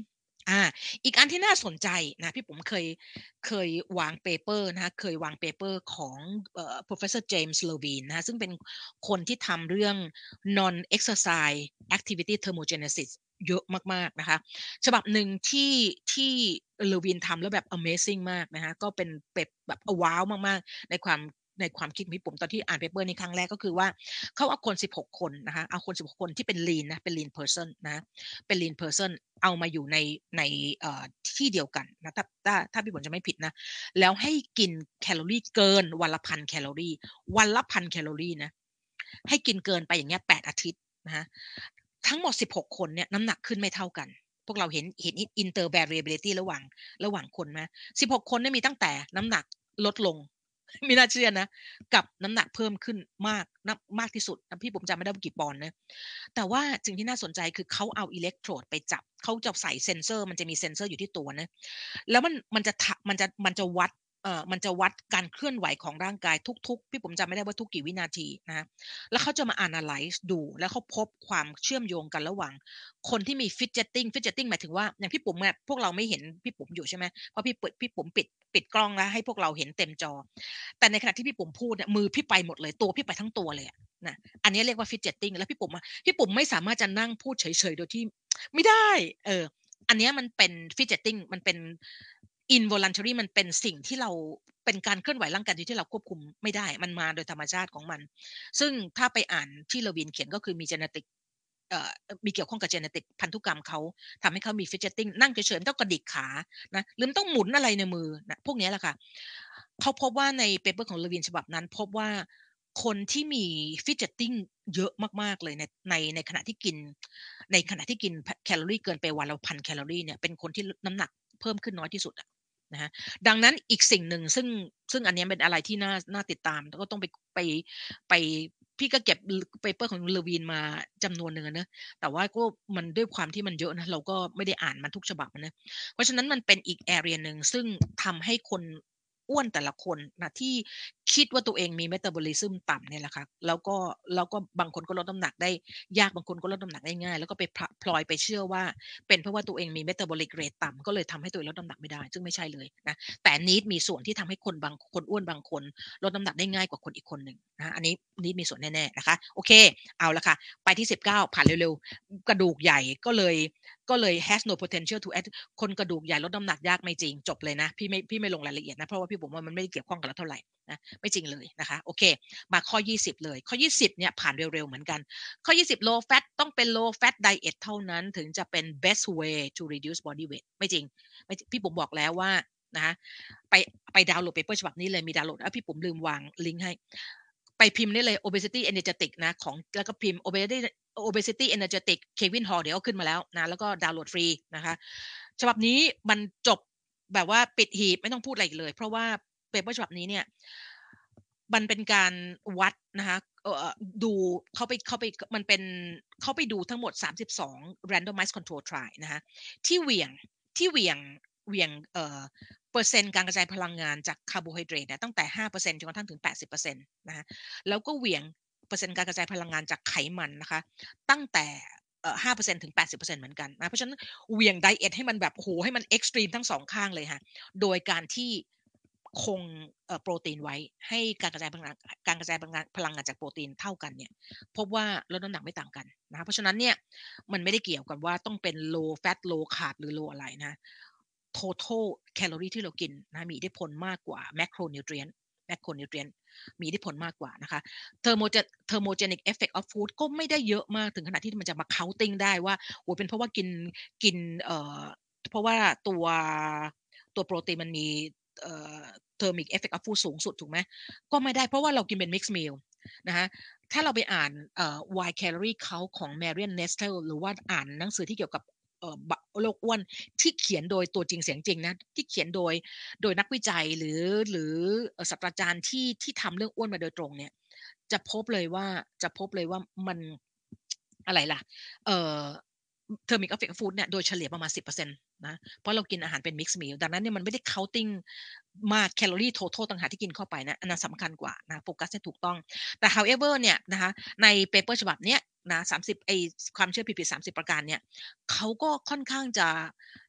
อาอีกอันที่น่าสนใจนะพี่ผมเคยวางเปเปอร์นะคะเคยวางเปเปอร์ของProfessor James Levine นะคะซึ่งเป็นคนที่ทำเรื่อง Non-exercise activity thermogenesis เยอะมากๆนะคะฉบับหนึ่งที่ Levine ทำแล้วแบบ amazing มากนะคะก็เป็นแบบว้าวมากๆในความคิดของพี่ผมตอนที่อ่านเปเปอร์นี้ครั้งแรกก็คือว่าเขาเอาคน16คนนะคะเอาคน16คนที่เป็น lean นะเป็น lean person นะเป็น lean person เอามาอยู่ในที่เดียวกันนะถ้าพี่ฝนจะไม่ผิดนะแล้วให้กินแคลอรี่เกินวันละ1,000แคลอรี่วันละ1,000แคลอรี่นะให้กินเกินไปอย่างเงี้ย8อาทิตย์นะคะทั้งหมด16คนเนี่ยน้ำหนักขึ้นไม่เท่ากันพวกเราเห็น inter variability ระหว่างคนไหม16คนเนี่ยมีตั้งแต่น้ำหนักลดลงไม่น่าเชื่อนะกับน้ำหนักเพิ่มขึ้นมากที่สุดพี่ผมจำไม่ได้ว่ากี่ปอนด์นะ แต่ว่าสิ่งที่น่าสนใจคือเขาเอาอิเล็กโทรดไปจับเขาจะใส่เซ็นเซอร์มันจะมีเซ็นเซอร์อยู่ที่ตัวนะแล้วมันจะวัดการเคลื่อนไหวของร่างกายทุกๆพี่ผมจำไม่ได้ว่าทุกกี่วินาทีนะแล้วเขาจะมา analyze ดูแล้วเขาพบความเชื่อมโยงกันระหว่างคนที่มี fidgeting หมายถึงว่าอย่างพี่ปุ๋มเนี่ยพวกเราไม่เห็นพี่ปุ๋มอยู่ใช่ไหมเพราะพี่ปุ๋มปิดกล้องแล้วให้พวกเราเห็นเต็มจอแต่ในขณะที่พี่ปุ๋มพูดเนี่ยมือพี่ไปหมดเลยตัวพี่ไปทั้งตัวเลยนะอันนี้เรียกว่า fidgeting แล้วพี่ปุ๋มไม่สามารถจะนั่งพูดเฉยๆโดยที่ไม่ได้อันนี้มันเป็น fidgeting มันเป็น involuntary มันเป็นสิ่งที่เราเป็นการเคลื่อนไหวร่างกายที่เราควบคุมไม่ได้มันมาโดยธรรมชาติของมันซึ่งถ้าไปอ่านที่เลวินเขียนก็คือมีgenetic มีเกี่ยวข้องกับ genetic พันธุกรรมเขาทำให้เขามี fidgeting นั่งเฉยๆต้องกระดิกขานะหรือต้องหมุนอะไรในมือนะพวกนี้แหละค่ะเขาพบว่าในเปเปอร์ของเลวินฉบับนั้นพบว่าคนที่มี fidgeting เยอะมากๆเลยในขณะที่กินแคลอรี่เกินไปวันละ1,000แคลอรี่เนี่ยเป็นคนที่น้ำหนักเพิ่มขึ้นน้อยที่สุดนะฮะดังนั้นอีกสิ่งหนึ่งซึ่งอันนี้เป็นอะไรที่น่าติดตามแล้วก็ต้องไปพี่ก็เก็บเปเปอร์ของเลวีนมาจำนวนหนึ่งนะแต่ว่าก็มันด้วยความที่มันเยอะนะเราก็ไม่ได้อ่านมันทุกฉบับนะเพราะฉะนั้นมันเป็นอีกแอเรียหนึ่งซึ่งทำให้คนอ้วนแต่ละคนนะที่คิดว่าตัวเองมีเมตาบอลิซึมต่ำเนี่ยแหละค่ะแล้วก็บางคนก็ลดน้ำหนักได้ยากบางคนก็ลดน้ำหนักได้ง่ายแล้วก็ไปพลอยไปเชื่อว่าเป็นเพราะว่าตัวเองมีเมตาบอลิกเรทต่ำก็เลยทำให้ตัวเองลดน้ำหนักไม่ได้ซึ่งไม่ใช่เลยนะแต่นีดมีส่วนที่ทำให้คนอ้วนบางคนลดน้ำหนักได้ง่ายกว่าคนอีกคนหนึ่งนะอันนี้นีดมีส่วนแน่ๆนะคะโอเคเอาละค่ะไปที่19ผ่านเร็วๆกระดูกใหญ่ก็เลย has no potential to add คนกระดูกใหญ่ลดน้ำหนักยากไม่จริงจบเลยนะพี่ไม่ลงรายละเอียดนะเพราะว่าพี่บอกว่ามันไม่ได้เกี่ยวข้องกับเราเท่าไหร่นะไม่จริงเลยนะคะโอเคมาข้อ20เลยข้อ20เนี่ยผ่านเร็วๆเหมือนกันข้อ20 low fat ต้องเป็น low fat diet เท่านั้นถึงจะเป็น best way to reduce body weight ไม่จริงพี่ผมบอกแล้วว่านะคะไปดาวน์โหลดเปเปอร์ฉบับนี้เลยมีดาวน์โหลดพี่ผมลืมวางลิงก์ให้ไปพิมพ์ได้เลย obesity energetic นะของแล้วก็พิมพ์ obesity energetic Kevin Hall เดี๋ยวขึ้นมาแล้วนะแล้วก็ดาวน์โหลดฟรีนะคะฉบับนี้มันจบแบบว่าปิดหีบไม่ต้องพูดอะไรเลยเพราะว่าเปเปอร์ฉบับนี้เนี่ยมันเป็นการวัดนะคะดูเขาไปมันเป็นเขาไปดูทั้งหมด32 randomized control trial นะคะที่เหวี่ยงเปอร์เซ็นต์การกระจายพลังงานจากคาร์โบไฮเดรตเนี่ยตั้งแต่ 5% จนกระทั่งถึง 80%นะคะแล้วก็เหวี่ยงเปอร์เซ็นต์การกระจายพลังงานจากไขมันนะคะตั้งแต่5%ถึง 80%เหมือนกันนะเพราะฉะนั้นเหวี่ยงไดเอทให้มันแบบโหให้มันเอ็กซ์ตรีมทั้งสองข้างเลยค่ะโดยการที่คงโปรตีนไว้ให้การกระจายพลังงานจากโปรตีนเท่ากันเนี่ยพบว่าลดน้ำหนักไม่ต่างกันนะเพราะฉะนั้นเนี่ยมันไม่ได้เกี่ยวกับว่าต้องเป็น low fat low carb หรือ low อะไรนะ total แคลอรี่ที่เรากินนะมีอิทธิพลมากกว่า macronutrient มีอิทธิพลมากกว่านะคะ thermogenic effect of food ก็ไม่ได้เยอะมากถึงขนาดที่มันจะมา counting ได้ว่าโอ้เป็นเพราะว่ากินเพราะว่าตัวโปรตีนมันมีthermic effect of food สูงสุดถูกไหมก็ไม่ได้เพราะว่าเรากินเป็น mixed meal นะคะถ้าเราไปอ่านwhy calorie count ของ Marian Nestle หรือว่าอ่านหนังสือที่เกี่ยวกับโรคอ้วนที่เขียนโดยตัวจริงเสียงจริงนะที่เขียนโดยนักวิจัยหรือศาสตราจารย์ที่ทำเรื่องอ้วนมาโดยตรงเนี่ยจะพบเลยว่ามันอะไรล่ะเอ่อเทอร์มิกออฟเฟกต์ฟู้ดเนี่ยโดยเฉลี่ยประมาณ10%นะเพราะเรากินอาหารเป็นมิกซ์มิลดังนั้นเนี่ยมันไม่ได้ counting มากแคลอรี่ total ต่างหากที่กินเข้าไปนะอันนั้นสำคัญกว่านะโฟกัสให้ถูกต้องแต่ however เนี่ยนะคะในเปเปอร์ฉบับเนี้ยนะ30ความเชื่อผิดๆ30ประการเนี่ยเขาก็ค่อนข้างจะ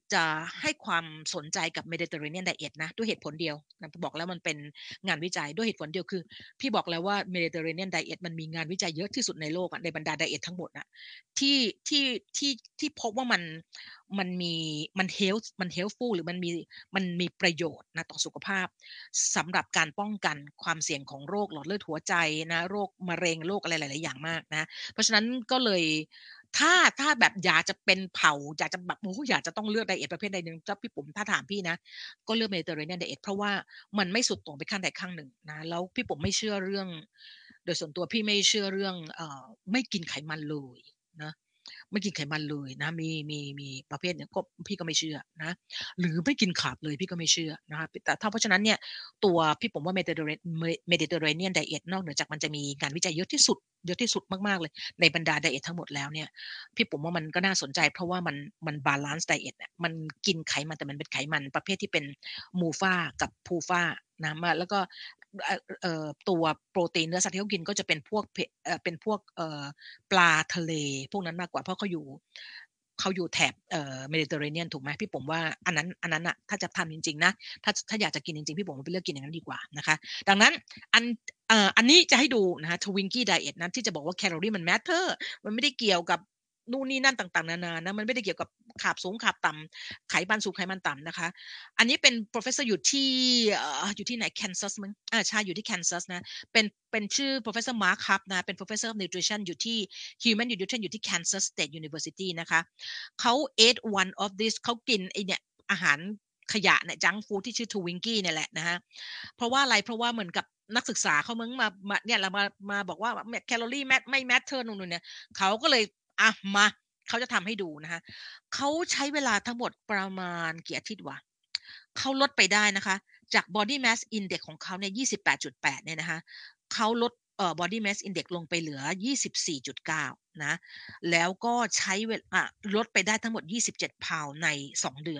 จะให้ความสนใจกับ Mediterranean Diet นะด้วยเหตุผลเดียวนะบอกแล้วมันเป็นงานวิจัยด้วยเหตุผลเดียวคือพี่บอกแล้วว่า Mediterranean Diet มันมีงานวิจัยเยอะที่สุดในโลกในบรรดาไดเอททั้งหมดนะที่ที่ที่พบว่ามันมีมัน helpful หรือมันมีประโยชน์นะต่อสุขภาพสำหรับการป้องกันความเสี่ยงของโรคหลอดเลือดหัวใจนะโรคมะเร็งโรคอะไรหลายๆอย่างมากนะเพราะฉะนั้นก็เลยถ้าแบบอยากจะเป็นเผ่าอยากจะแบบอยากจะต้องเลือกไดเอทประเภทใดหนึ่งถ้าพี่ปุ๋มถ้าถามพี่นะก็เลือก Mediterranean Diet เพราะว่ามันไม่สุดโต่งไปข้างใดข้างหนึ่งนะแล้วพี่ปุ๋มไม่เชื่อเรื่องโดยส่วนตัวพี่ไม่เชื่อเรื่องไม่กินไขมันเลยนะไม่กินไขมันเลยนะมีประเภทเนี่ยก็พี่ก็ไม่เชื่อนะหรือไม่กินขาบเลยพี่ก็ไม่เชื่อนะคะแต่ถ้าเพราะฉะนั้นเนี่ยตัวพี่ผมว่า Mediterranean Diet นอกเหนือจากมันจะมีงานวิจัยเยอะที่สุดมากๆเลยในบรรดาไดเอททั้งหมดแล้วเนี่ยพี่ผมว่ามันก็น่าสนใจเพราะว่ามันบาลานซ์ไดเอทเนี่ยมันกินไขมันแต่มันเป็นไขมันประเภทที่เป็นมูฟากับพูฟานะมาแล้วก็ตัวโปรตีนเนื้อสัตว์ที่เขากินก็จะเป็นพวกเป็นพวกปลาทะเลพวกนั้นมากกว่าเพราะเขาอยู่แถบเมดิเตอร์เรเนียนถูกไหมพี่ผมว่าอันนั้นอะถ้าจะทำจริงๆนะถ้าอยากจะกินจริงๆพี่ผมไปเลือกกินอย่างนั้นดีกว่านะคะดังนั้นอันนี้จะให้ดูนะคะทวิงกี้ไดเอทนั้นที่จะบอกว่าแคลอรี่มันแมทเทอร์มันไม่ได้เกี่ยวกับนู่นนี่นั่นต่างๆนานานะมันไม่ได้เกี่ยวกับขาบสูงขาบต่ำไขมันสูงไขมันต่ำนะคะอันนี้เป็น professor อยู่ที่ไหนแคนซัสมั้งใช่อยู่ที่แคนซัสนะเป็นชื่อ professor Mark Huff นะเป็น professor of nutrition อยู่ที่ human nutrition อยู่ที่ Kansas State University นะคะเขา ate one of this เขากินไอเนี่ยอาหารขยะเนี่ยจังฟู้ดที่ชื่อทวิงกี้เนี่ยแหละนะฮะเพราะว่าอะไรเพราะว่าเหมือนกับนักศึกษาเขามึงมาเนี่ยเรามาบอกว่าแคลอรี่ไม่แมทเทอร์นู่นเนี่ยเขาก็เลยมาเขาจะทำให้ดูนะคะเขาใช้เวลาทั้งหมดประมาณกี่อาทิตย์วะเขาลดไปได้นะคะจาก body mass index ของเขาเนี่ย28.8เนี่ยนะคะเขาลดbody mass index ลงไปเหลือ24.9นะแล้วก็ใช้ลดไปได้ทั้งหมด27พาวใน2เดือน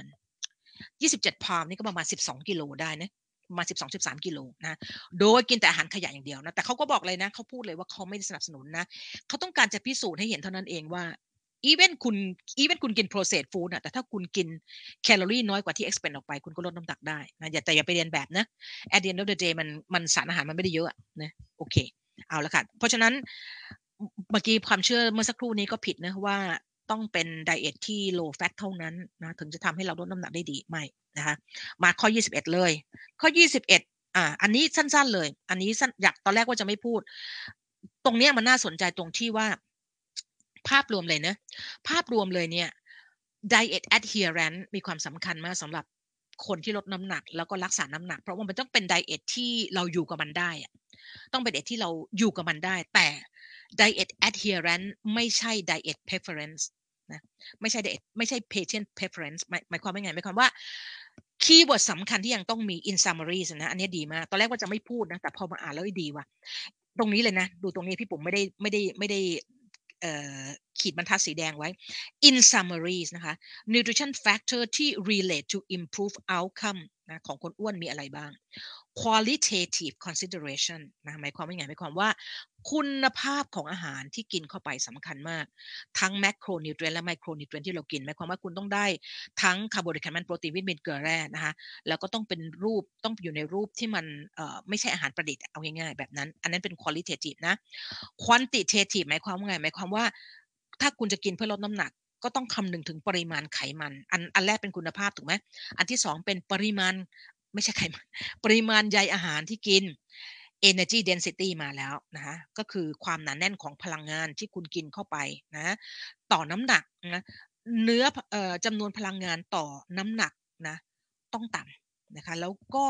27พาวนี่ก็ประมาณ12กิโลได้นะมา12-13กิโลนะโดยกินแต่อาหารขยะอย่างเดียวนะแต่เขาก็บอกเลยนะเขาพูดเลยว่าเขาไม่ได้สนับสนุนนะเขาต้องการจะพิสูจน์ให้เห็นเท่านั้นเองว่าอีเวนคุณกิน processed food นะแต่ถ้าคุณกินแคลอรี่น้อยกว่าที่ expect ออกไปคุณก็ลดน้ำหนักได้นะอย่าไปเรียนแบบนะ at the end of the day มันสารอาหารมันไม่ได้เยอะนะโอเคเอาละค่ะเพราะฉะนั้นเมื่อกี้ความเชื่อเมื่อสักครู่นี้ก็ผิดนะว่าต้องเป็นไดเอทที่ low fat เท่านั้นนะถึงจะทำให้เราลดน้ำหนักได้ดีไม่นะคะมาข้อ21เลยข้อ21อันนี้สั้นๆเลยอันนี้อยากตอนแรกว่าจะไม่พูดตรงนี้มันน่าสนใจตรงที่ว่าภาพรวมเลยนะภาพรวมเลยเนี่ย diet adherence มีความสำคัญมากสำหรับคนที่ลดน้ำหนักแล้วก็รักษาน้ำหนักเพราะว่ามันต้องเป็นไดเอทที่เราอยู่กับมันได้ต้องเป็นไดเอทที่เราอยู่กับมันได้แต่ diet adherence ไม่ใช่ diet preference นะไม่ใช่ diet ไม่ใช่ patient preference หมายความว่าไงหมายความว่าคีย์เวิร์ดสำคัญที่ยังต้องมี in summaries นะอันนี้ดีมากตอนแรกว่าจะไม่พูดนะแต่พอมาอ่านแล้วดีว่ะตรงนี้เลยนะดูตรงนี้พี่ผมไม่ได้ขีดบรรทัดสีแดงไว้ in summaries นะคะ nutrition factor ที่ relate to improve outcome นะของคนอ้วนมีอะไรบ้าง qualitative consideration นะหมายความว่าไงหมายความว่าคุณภาพของอาหารที่กินเข้าไปสำคัญมากทั้ง macronutrient และ micronutrient ที่เรากินหมายความว่าคุณต้องได้ทั้งคาร์โบไฮเดรตไขมันโปรตีนวิตามินเกลือแร่นะคะแล้วก็ต้องอยู่ในรูปที่มันไม่ใช่อาหารประดิษฐ์เอาง่ายๆแบบนั้นอันนั้นเป็น qualitative นะ quantitative หมายความว่าไงหมายความว่าถ้าคุณจะกินเพื่อลดน้ำหนักก็ต้องคำนึงถึงปริมาณไขมันอันแรกเป็นคุณภาพถูกไหมอันที่สองเป็นปริมาณไม่ใช่ไขมันปริมาณใยอาหารที่กิน energy density มาแล้วนะก็คือความหนาแน่นของพลังงานที่คุณกินเข้าไปนะต่อน้ำหนักนะเนื้อจำนวนพลังงานต่อน้ำหนักนะต้องต่ำนะคะแล้วก็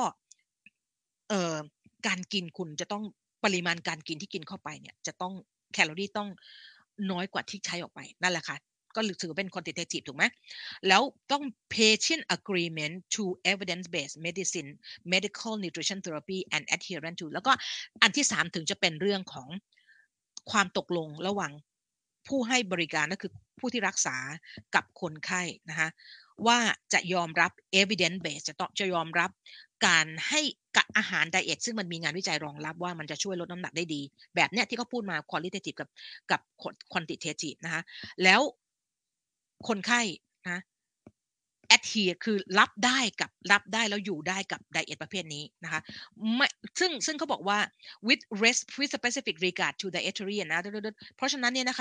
การกินคุณจะต้องปริมาณการกินที่กินเข้าไปเนี่ยจะต้องแคลอรี่ต้องน้อยกว่าที่ใช้ออกไปนั่นแหละค่ะก็ถือเป็น quantitative ถูกไหมแล้วต้อง patient agreement to evidence based medicine medical nutrition therapy and adherence to แล้วก็อันที่3ถึงจะเป็นเรื่องของความตกลงระหว่างผู้ให้บริการก็คือผู้ที่รักษากับคนไข้นะคะว่าจะยอมรับ evidence based จะยอมรับการให้กับอาหารไดเอทซึ่งมันมีงานวิจัยรองรับว่ามันจะช่วยลดน้ำหนักได้ดีแบบเนี้ยที่เขาพูดมา qualitative กับ quantitative นะคะแล้วคนไข้นะ adhere คือรับได้แล้วอยู่ได้กับไดเอทประเภทนี้นะคะไม่ซึ่งเขาบอกว่า with specific regard to dietary นะเพราะฉะนั้นเนี่ยนะคะ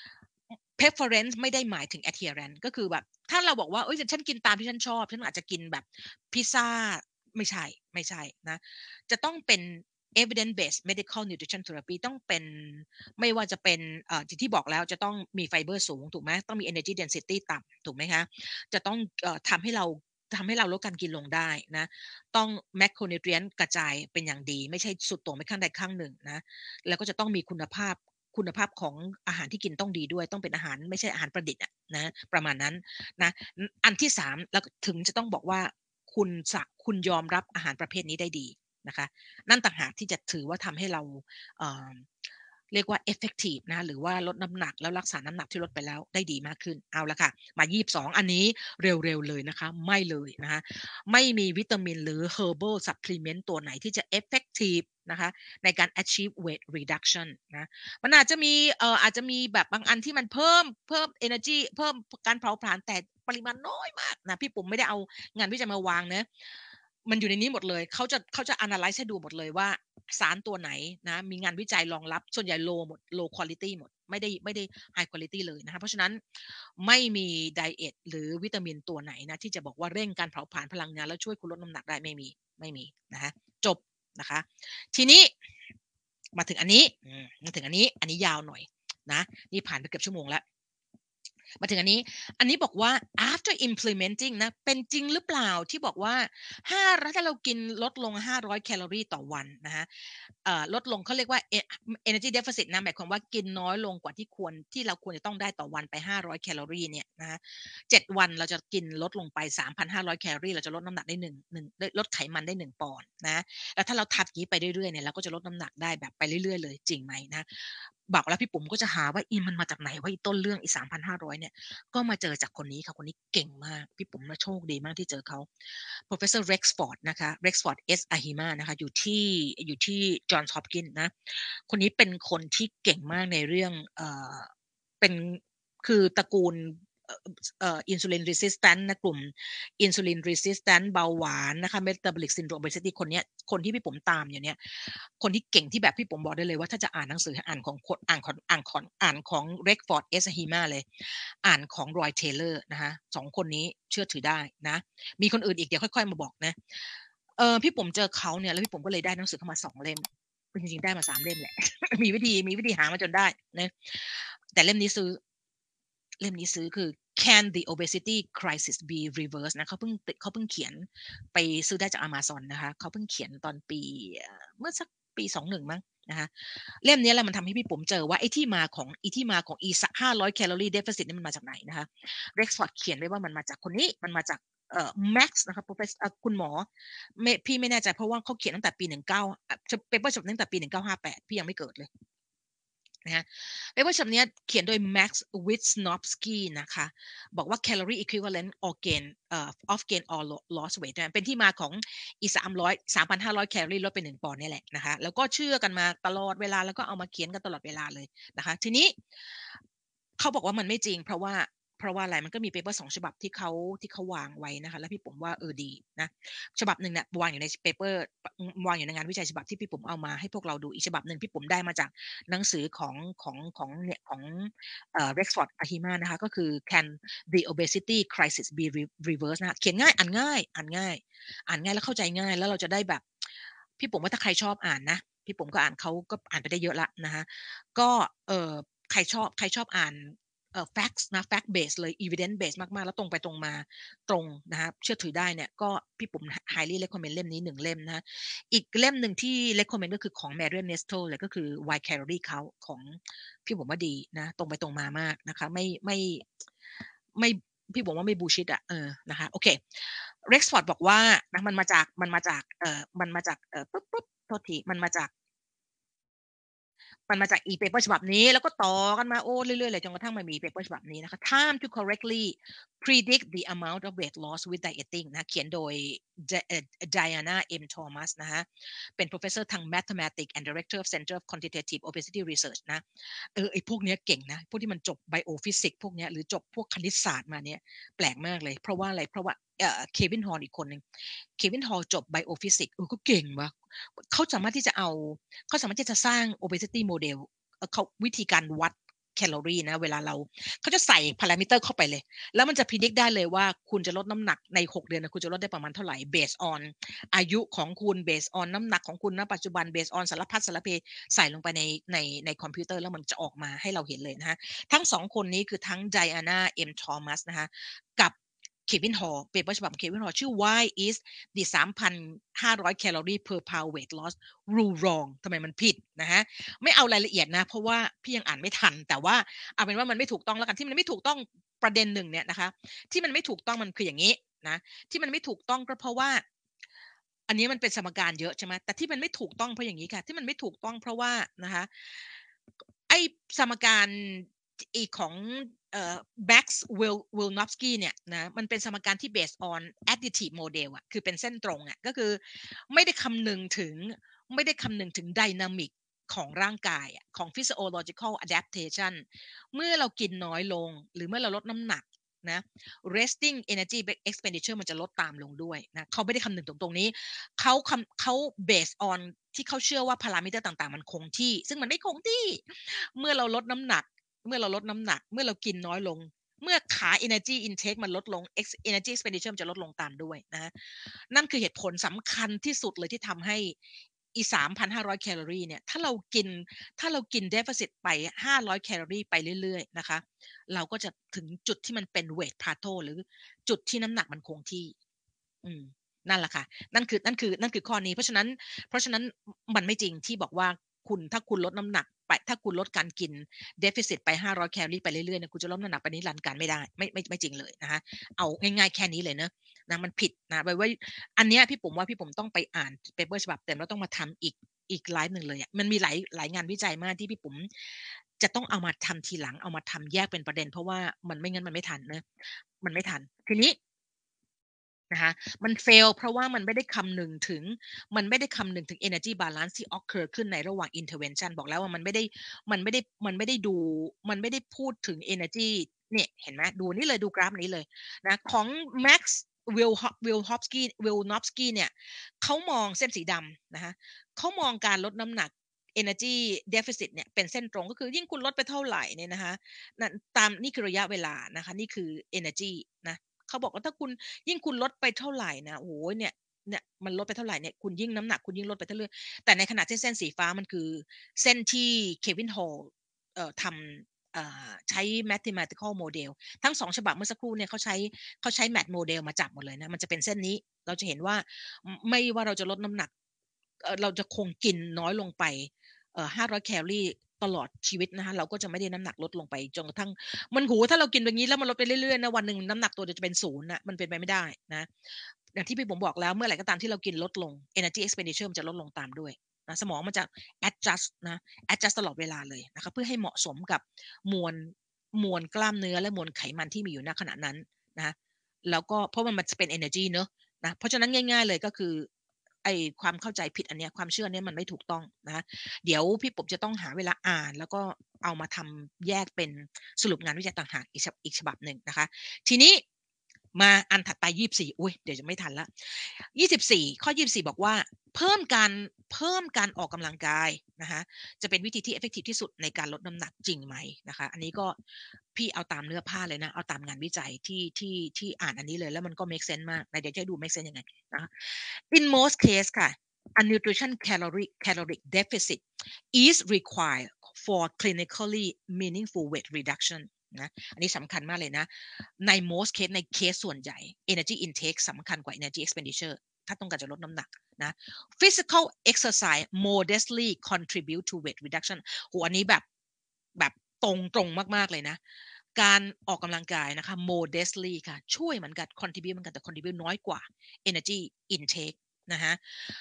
preference ไม่ได้หมายถึง adherence ก็คือแบบถ้าเราบอกว่าเอ้ยฉันกินตามที่ฉันชอบฉันอาจจะกินแบบพิซซ่าไม่ใช่นะจะต้องเป็น evidence based medical nutrition therapy ต้องเป็นไม่ว่าจะเป็นที่บอกแล้วจะต้องมีไฟเบอร์สูงถูกไหมต้องมี energy density ต่ำถูกไหมคะจะต้องทำให้เราลดการกินลงได้นะต้อง macronutrient กระจายเป็นอย่างดีไม่ใช่สุดโต่งไปข้างใดข้างหนึ่งนะแล้วก็จะต้องมีคุณภาพของอาหารที่กินต้องดีด้วยต้องเป็นอาหารไม่ใช่อาหารประดิษฐ์นะประมาณนั้นนะอันที่3แล้วถึงจะต้องบอกว่าคุณยอมรับอาหารประเภทนี้ได้ดีนะคะนั่นต่างหากที่จะถือว่าทำให้เราเเรียกว่า effective นะหรือว่าลดน้ำหนักแล้วรักษาน้ำหนักที่ลดไปแล้วได้ดีมากขึ้นเอาละค่ะมา22อันนี้เร็วๆเลยนะคะไม่เลยนะคะไม่มีวิตามินหรือ herbal supplement ตัวไหนที่จะ effective นะคะในการ achieve weight reduction นะมันอาจจะมีแบบบางอันที่มันเพิ่ม energy เพิ่มการเผาผลาญแต่ปริมาณน้อยมากนะพี่ปุ๋มไม่ได้เอางานวิจัยมาวางนะมันอยู่ในนี้หมดเลยเขาจะ analyze ให้ดูหมดเลยว่าสารตัวไหนนะมีงานวิจัยรองรับส่วนใหญ่ low quality หมดไม่ได้ high quality เลยนะคะเพราะฉะนั้นไม่มีไดเอทหรือวิตามินตัวไหนนะที่จะบอกว่าเร่งการเผาผลาญพลังงานแล้วช่วยคุณลดน้ำหนักได้ไม่มีนะคะจบนะคะทีนี้มาถึงอันนี้อันนี้ยาวหน่อยนะนี่ผ่านไปเกือบชั่วโมงแล้วมาถึงอันนี้บอกว่า after implementing นะเป็นจริงหรือเปล่าที่บอกว่าถ้าเรากินลดลง500แคลอรี่ต่อวันนะคะลดลงเขาเรียกว่า energy deficit นะหมายความว่ากินน้อยลงกว่าที่เราควรจะต้องได้ต่อวันไป500แคลอรี่เนี่ยนะคะ7วันเราจะกินลดลงไป 3,500 แคลอรี่เราจะลดน้ำหนักได้ลดไขมันได้1ปอนด์นะแล้วถ้าเราทำอย่างนี้ไปเรื่อยๆเนี่ยเราก็จะลดน้ำหนักได้แบบไปเรื่อยๆเลยจริงไหมนะบอกแล้วพี่ปุ๋มก็จะหาว่ามันมาจากไหนว่าต้นเรื่อง3,500เนี่ยก็มาเจอจากคนนี้ค่ะคนนี้เก่งมากพี่ปุ๋มโชคดีมากที่เจอเขา Professor Rexford นะคะ Rexford S Ahima นะคะอยู่ที่ Johns Hopkins นะคนนี้เป็นคนที่เก่งมากในเรื่องเป็นคือตระกูลอินซูลินรีสิสแตนต์นะกลุ่มอินซูลินรีสิสแตนต์เบาหวานนะคะเมตาบอลิกซินโดรมเบสิตี้คนที่พี่ผมตามอยู่เนี่ยคนที่เก่งที่แบบพี่ผมบอกได้เลยว่าถ้าจะอ่านหนังสืออ่านของเร็กฟอร์ดเอสฮีมาเลยอ่านของรอยเทเลอร์นะคะ2คนนี้เชื่อถือได้นะมีคนอื่นอีกเดี๋ยวค่อยๆมาบอกนะพี่ผมเจอเขาเนี่ยแล้วพี่ผมก็เลยได้หนังสือเข้ามา2เล่มจริงๆได้มา3เล่มแหละ มีวิธีหามาจนได้นะแต่เล่มนี้ซื้อคือ Can the obesity crisis be reversed นะเขาเพิ่งเขียนไปซื้อได้จาก Amazon นะคะเขาเพิ่งเขียนตอนเมื่อสักปี21มั้งนะคะเล่มนี้แหละมันทำให้พี่ปุ๋มเจอว่าไอ้ที่มาของ500 calorie deficit นี่มันมาจากไหนนะคะ Rexford เขียนไว้ว่ามันมาจากคนนี้มันมาจากMax นะคะ Professor คุณหมอพี่ไม่แน่ใจเพราะว่าเขาเขียนตั้งแต่ปีเปเปอร์ฉบับตั้งแต่ปี1958พี่ยังไม่เกิดเลยนะฮะเปเปอร์ฉบับนี้เขียนโดย Max Wisnowski นะคะบอกว่า calorie equivalent or gain of gain or loss weight เป็นที่มาของ3,500แคลอรี่ลดไป1ปอนด์นี่แหละนะคะแล้วก็เชื่อกันมาตลอดเวลาแล้วก็เอามาเขียนกันตลอดเวลาเลยนะคะทีนี้เขาบอกว่ามันไม่จริงเพราะว่าอะไรมันก็มีเปเปอร์2ฉบับที่เขาวางไว้นะคะแล้วพี่ผมว่าดีนะฉบับหนึ่งเนี่ยวางอยู่ในเปเปอร์วางอยู่ในงานวิจัยฉบับที่พี่ผมเอามาให้พวกเราดูอีกฉบับหนึ่งพี่ผมได้มาจากหนังสือของRexford Ahima นะคะก็คือ Can the obesity crisis be reversed นะคะเขียนง่ายอ่านง่ายแล้วเข้าใจง่ายแล้วเราจะได้แบบพี่ผมว่าถ้าใครชอบอ่านนะพี่ผมก็อ่านเขาก็อ่านไปได้เยอะละนะคะก็ใครชอบอ่านfacts นะ fact base เลย evidence base มากๆแล้วตรงไปตรงมาตรงนะคะเชื่อถือได้เนี่ยก็พี่ปุ๋ม highly recommend เล่มนี้1เล่มนะอีกเล่มหนึ่งที่ recommend ก็คือของ Marion Nestle เลยก็คือ Why Calorie Count ของพี่ผมว่าดีนะตรงไปตรงมามากนะคะไม่พี่บอกว่าไม่บูชิดนะคะโอเค Rexford บอกว่านะมันมาจากปุ๊บโทษทีมันมาจากมันมาจาก e-paper ฉบับนี้แล้วก็ต่อกันมาโอ้เรื่อยๆเลยจนกระทั่งมันมี paper ฉบับนี้นะคะ Time to correctly predict the amount of weight loss with dieting นะเขียนโดย Diana M. Thomas นะคะเป็น professor ทาง mathematics and director of Center of Quantitative Obesity Research นะไอ้พวกเนี้ยเก่งนะพวกที่มันจบ biophysics พวกเนี้ยหรือจบพวกคณิตศาสตร์มาเนี่ยแปลกมากเลยเพราะว่าอะไรเพราะว่าเควินฮอลอีกคนหนึ่งเควินฮอลจบ biophysics ก็เก่งวะเขาสามารถที่จะสร้าง obesity model เขาวิธีการวัดแคลอรี่นะเวลาเขาจะใส่พารามิเตอร์เข้าไปเลยแล้วมันจะพิจิตรได้เลยว่าคุณจะลดน้ำหนักใน6เดือนนะคุณจะลดได้ประมาณเท่าไหร่ based on อายุของคุณ based on น้ำหนักของคุณณปัจจุบัน based on สารพัดสารเพใส่ลงไปในคอมพิวเตอร์แล้วมันจะออกมาให้เราเห็นเลยนะฮะทั้งสองคนนี้คือทั้ง Diana M. Thomas นะคะกับเควินฮอลเปเปอร์ฉบับเควินฮอลชื่อ Why is the 3,500 แคลอรี่ per pound weight loss rule wrong ทำไมมันผิดนะฮะไม่เอารายละเอียดนะเพราะว่าพี่ยังอ่านไม่ทันแต่ว่าเอาเป็นว่ามันไม่ถูกต้องแล้วกันที่มันไม่ถูกต้องประเด็นหนึ่งเนี่ยนะคะที่มันไม่ถูกต้องมันคืออย่างนี้นะที่มันไม่ถูกต้องก็เพราะว่าอันนี้มันเป็นสมการเยอะใช่ไหมแต่ที่มันไม่ถูกต้องเพราะอย่างนี้ค่ะที่มันไม่ถูกต้องเพราะว่านะคะไอ้สมการอีกของMax Wilnowski เนี่ยนะมันเป็นสมการที่ based on additive model อ่ะคือเป็นเส้นตรงอ่ะก็คือไม่ได้คำนึงถึงdynamic ของร่างกายของ physiological adaptation เมื่อเรากินน้อยลงหรือเมื่อเราลดน้ำหนักนะ resting energy expenditure มันจะลดตามลงด้วยนะเขาไม่ได้คำนึงตรงนี้เขา based on ที่เขาเชื่อว่าพารามิเตอร์ต่างๆมันคงที่ซึ่งมันไม่คงที่เมื่อเราลดน้ำหนักเมื่อเรากินน้อยลงเมื่อขา energy intake มันลดลง energy expenditure มันจะลดลงตามด้วยนะนั่นคือเหตุผลสำคัญที่สุดเลยที่ทำให้อี3,500 แคลอรี่เนี่ยถ้าเรากิน deficit ไป500 แคลอรี่ไปเรื่อยๆนะคะเราก็จะถึงจุดที่มันเป็น weight plateau หรือจุดที่น้ำหนักมันคงที่นั่นแหละค่ะนั่นคือข้อนี้เพราะฉะนั้นมันไม่จริงที่บอกว่าถ้าคุณลดน้ำหนักไปถ้าคุณลดการกิน deficit ไป500 แคลอรี่ไปเรื่อยๆเนี่ยคุณจะลดน้ำหนักไปนิรันดร์การไม่ได้ไม่จริงเลยนะคะเอาง่ายๆแค่นี้เลยเนอะนะมันผิดนะไว้อันเนี้ยพี่ผมว่าพี่ผมต้องไปอ่านเปเปอร์ฉบับเต็มแล้วต้องมาทำอีกไลฟ์หนึ่งเลยอ่ะมันมีหลายงานวิจัยมากที่พี่ผมจะต้องเอามาทำทีหลังเอามาทำแยกเป็นประเด็นเพราะว่ามันไม่งั้นมันไม่ทันนะมันไม่ทันทีนี้นะคะมันเฟลเพราะว่ามันไม่ได้คำนึงถึง energy balance ที่ occur ขึ้นในระหว่าง intervention บอกแล้วว่ามันไม่ได้พูดถึง energy เนี่ยเห็นไหมดูนี่เลยดูกราฟนี้เลยนะของ Max Wilnowski เนี่ยเขามองเส้นสีดำนะคะเขามองการลดน้ำหนัก energy deficit เนี่ยเป็นเส้นตรงก็คือยิ่งคุณลดไปเท่าไหร่เนี่ยนะคะนี่คือระยะเวลานะคะนี่คือ energy นะเขาบอกว่าถ้าคุณยิ่งคุณลดไปเท่าไหร่นะโอ้โหเนี่ยมันลดไปเท่าไหร่เนี่ยคุณยิ่งน้ำหนักคุณยิ่งลดไปเรื่อยๆแต่ในขณะที่เส้นสีฟ้ามันคือเส้นที่เควินฮอลทำใช้ mathematical model ทั้ง2ฉบับเมื่อสักครู่เนี่ยเขาใช้ math model มาจับหมดเลยนะมันจะเป็นเส้นนี้เราจะเห็นว่าไม่ว่าเราจะลดน้ำหนักเราจะคงกินน้อยลงไป500 แคลอรี่ตลอดชีวิตนะคะเราก็จะไม่ได้น้ำหนักลดลงไปจนกระทั่งมันโหถ้าเรากินแบบนี้แล้วมันลดไปเรื่อยๆนะวันหนึ่งน้ำหนักตัวจะเป็น0นะมันเป็นไปไม่ได้นะอย่างที่พี่ผมบอกแล้วเมื่อไหร่ก็ตามที่เรากินลดลง energy expenditure มันจะลดลงตามด้วยนะสมองมันจะ adjust ตลอดเวลาเลยนะคะเพื่อให้เหมาะสมกับมวลกล้ามเนื้อและมวลไขมันที่มีอยู่ณขณะนั้นนะแล้วก็เพราะมันจะเป็น energy เนอะนะเพราะฉะนั้นง่ายๆเลยก็คือไอความเข้าใจผิดอันเนี้ยความเชื่อเนี้ยมันไม่ถูกต้องนะเดี๋ยวพี่ผมจะต้องหาเวลาอ่านแล้วก็เอามาทำแยกเป็นสรุปงานวิจัยต่างหากอีกฉบับหนึ่งนะคะทีนี้มาอันถัดไป24อุ้ยเดี๋ยวจะไม่ทันละ24ข้อ24บอกว่าเพิ่มการออกกำลังกายนะคะจะเป็นวิธีที่ effective ที่สุดในการลดน้ำหนักจริงไหมนะคะอันนี้ก็พี่เอาตามเนื้อผ้าเลยนะเอาตามงานวิจัยที่อ่านอันนี้เลยแล้วมันก็ make sense มากเดี๋ยวจะดู make sense ยังไงนะ in most case ค่ะ a nutrition caloric deficit is required for clinically meaningful weight reduction นะอันนี้สำคัญมากเลยนะใน most case ในเคสส่วนใหญ่ energy intake สำคัญกว่า energy expenditure ถ้าต้องการจะลดน้ำหนักนะ physical exercise modestly contribute to weight reduction โหอันนี้แบบตรงมากๆเลยนะการออกกำลังกายนะคะ modestly ค่ะช่วยเหมือนกัน contribute เหมือนกันแต่ contribute น้อยกว่า energy intake นะฮะ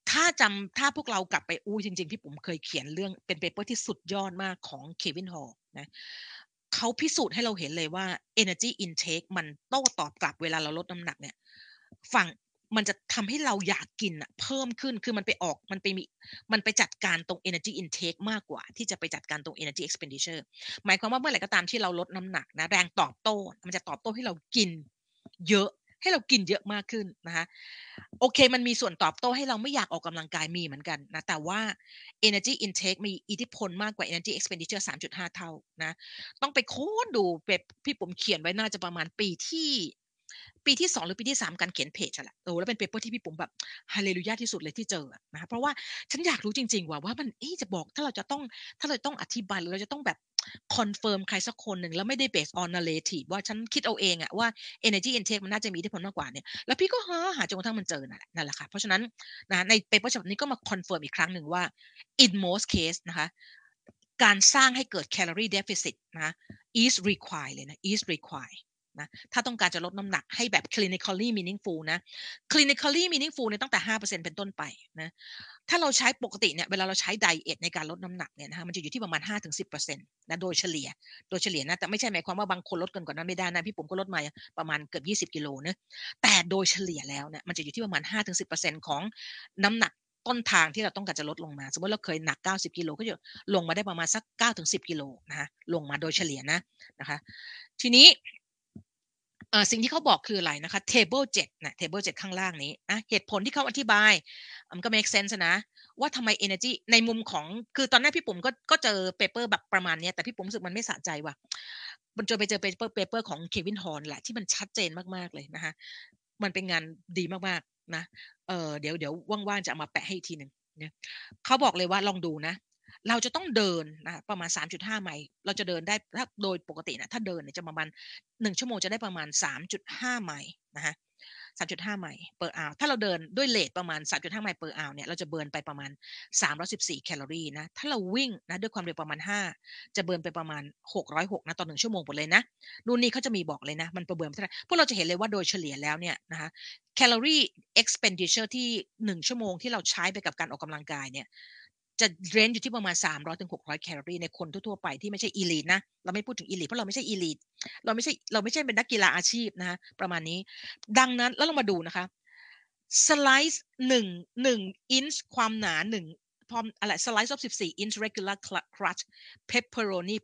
ถ้าพวกเรากลับไปจริงๆพี่ปุ๋มเคยเขียนเรื่องเป็นเปเปอร์ที่สุดยอดมากของ Kevin Hall นะเขาพิสูจน์ให้เราเห็นเลยว่า energy intake มันโต้ตอบกลับเวลาเราลดน้ำหนักเนี่ยฝั่งมันจะทำให้เราอยากกินเพิ่มขึ้นคือมันไปจัดการตรง energy intake มากกว่าที่จะไปจัดการตรง energy expenditure หมายความว่าเมื่อไหร่ก็ตามที่เราลดน้ำหนักนะแรงตอบโต้มันจะตอบโต้ให้เรากินเยอะให้เรากินเยอะมากขึ้นนะคะโอเคมันมีส่วนตอบโต้ให้เราไม่อยากออกกำลังกายมีเหมือนกันนะแต่ว่า energy intake มีอิทธิพลมากกว่า energy expenditure 3.5 เท่านะต้องไปค้นดูพี่ผมเขียนไว้น่าจะประมาณปีที่2หรือปีที่3การเขียนเพจอะแหละแล้วเป็นเปเปอร์ที่พี่ผมแบบฮาเลลูยาที่สุดเลยที่เจอนะเพราะว่าฉันอยากรู้จริงๆว่ามันจะบอกถ้าเราจะต้องอธิบายหรือเราจะต้องแบบคอนเฟิร์มใครสักคนหนึ่งแล้วไม่ได้ based on narrative ว่าฉันคิดเอาเองว่า energy intake มันน่าจะมีอิทธิพลมากกว่าเนี่ยแล้วพี่ก็หาจนกระทั่งมันเจอนั่นแหละค่ะเพราะฉะนั้นนะในเปเปอร์ฉบับนี้ก็มาคอนเฟิร์มอีกครั้งหนึ่งว่า in most case นะคะการสร้างให้เกิด calorie deficit นะ is required เลยนะ is required นะถ้าต้องการจะลดน้ำหนักให้แบบ clinically meaningful นะ clinically meaningful เนี่ยตั้งแต่ 5% เป็นต้นไปนะถ้าเราใช้ปกติเนี่ยเวลาเราใช้ไดเอทในการลดน้ำหนักเนี่ยนะคะมันจะอยู่ที่ประมาณ 5-10% นะโดยเฉลี่ยนะแต่ไม่ใช่หมายความว่าบางคนลดเกินกว่านั้นไม่ได้นะพี่ผมก็ลดมาประมาณเกือบ20กิโลนะแต่โดยเฉลี่ยแล้วเนี่ยมันจะอยู่ที่ประมาณ 5-10% ของน้ำหนักต้นทางที่เราต้องการจะลดลงมาสมมติเราเคยหนัก90กิโลก็จะลงมาได้ประมาณสัก9-10กิโลนะคะลงมาโดยเฉลี่ยนะคะทีนี้สิ่งที่เขาบอกคืออะไรนะคะ table 7นะ table 7ข้างล่างนี้นะเหตุผลที่เขาอธิบายมันก็ make sense นะว่าทำไม energy ในมุมของคือตอนแรกพี่ปุ๋มก็เจอเปเปอร์แบบประมาณนี้แต่พี่ปุ๋มรู้สึกมันไม่สะใจว่ะมันเจอเปเปอร์ของ Kevin Horn แหละที่มันชัดเจนมากๆเลยนะคะมันเป็นงานดีมากๆนะเดี๋ยวว่างๆจะเอามาแปะให้อีกทีหนึ่งเนี่ยเขาบอกเลยว่าลองดูนะเราจะต้องเดินนะประมาณ3.5ไมล์เราจะเดินได้ถ้าโดยปกตินะถ้าเดินเนี่ยจะประมาณ1ชั่วโมงจะได้ประมาณ3.5ไมล์นะคะ3.5ไมล์ per hour ถ้าเราเดินด้วยเรทประมาณ3.5ไมล์ per hour เนี่ยเราจะเบิร์นไปประมาณ314แคลอรี่นะถ้าเราวิ่งนะด้วยความเร็วประมาณ5จะเบิร์นไปประมาณ606นะต่อ1ชั่วโมงหมดเลยนะนู่นนี่เขาจะมีบอกเลยนะมันประเบิร์นเท่าไหร่พวกเราจะเห็นเลยว่าโดยเฉลี่ยแล้วเนี่ยนะคะแคลอรี่ expenditure ที่1ชั่วโมงที่เราใช้ไปกับการออกกำลังกายเนี่ยจะเรนจ์อยู่ที่ประมาณ300-600แคลอรี่ในคนทั่วๆไปที่ไม่ใช่อีลีทนะเราไม่พูดถึงอีลีทเพราะเราไม่ใช่อีลีทเราไม่ใช่เป็นนักกีฬาอาชีพนะคะประมาณนี้ดังนั้นแล้วเรามาดูนะคะสไลซ์หนึ่งอินช์ความหนาพร้อมอะไรสไลซ์of 14 inch regular crust pepperoni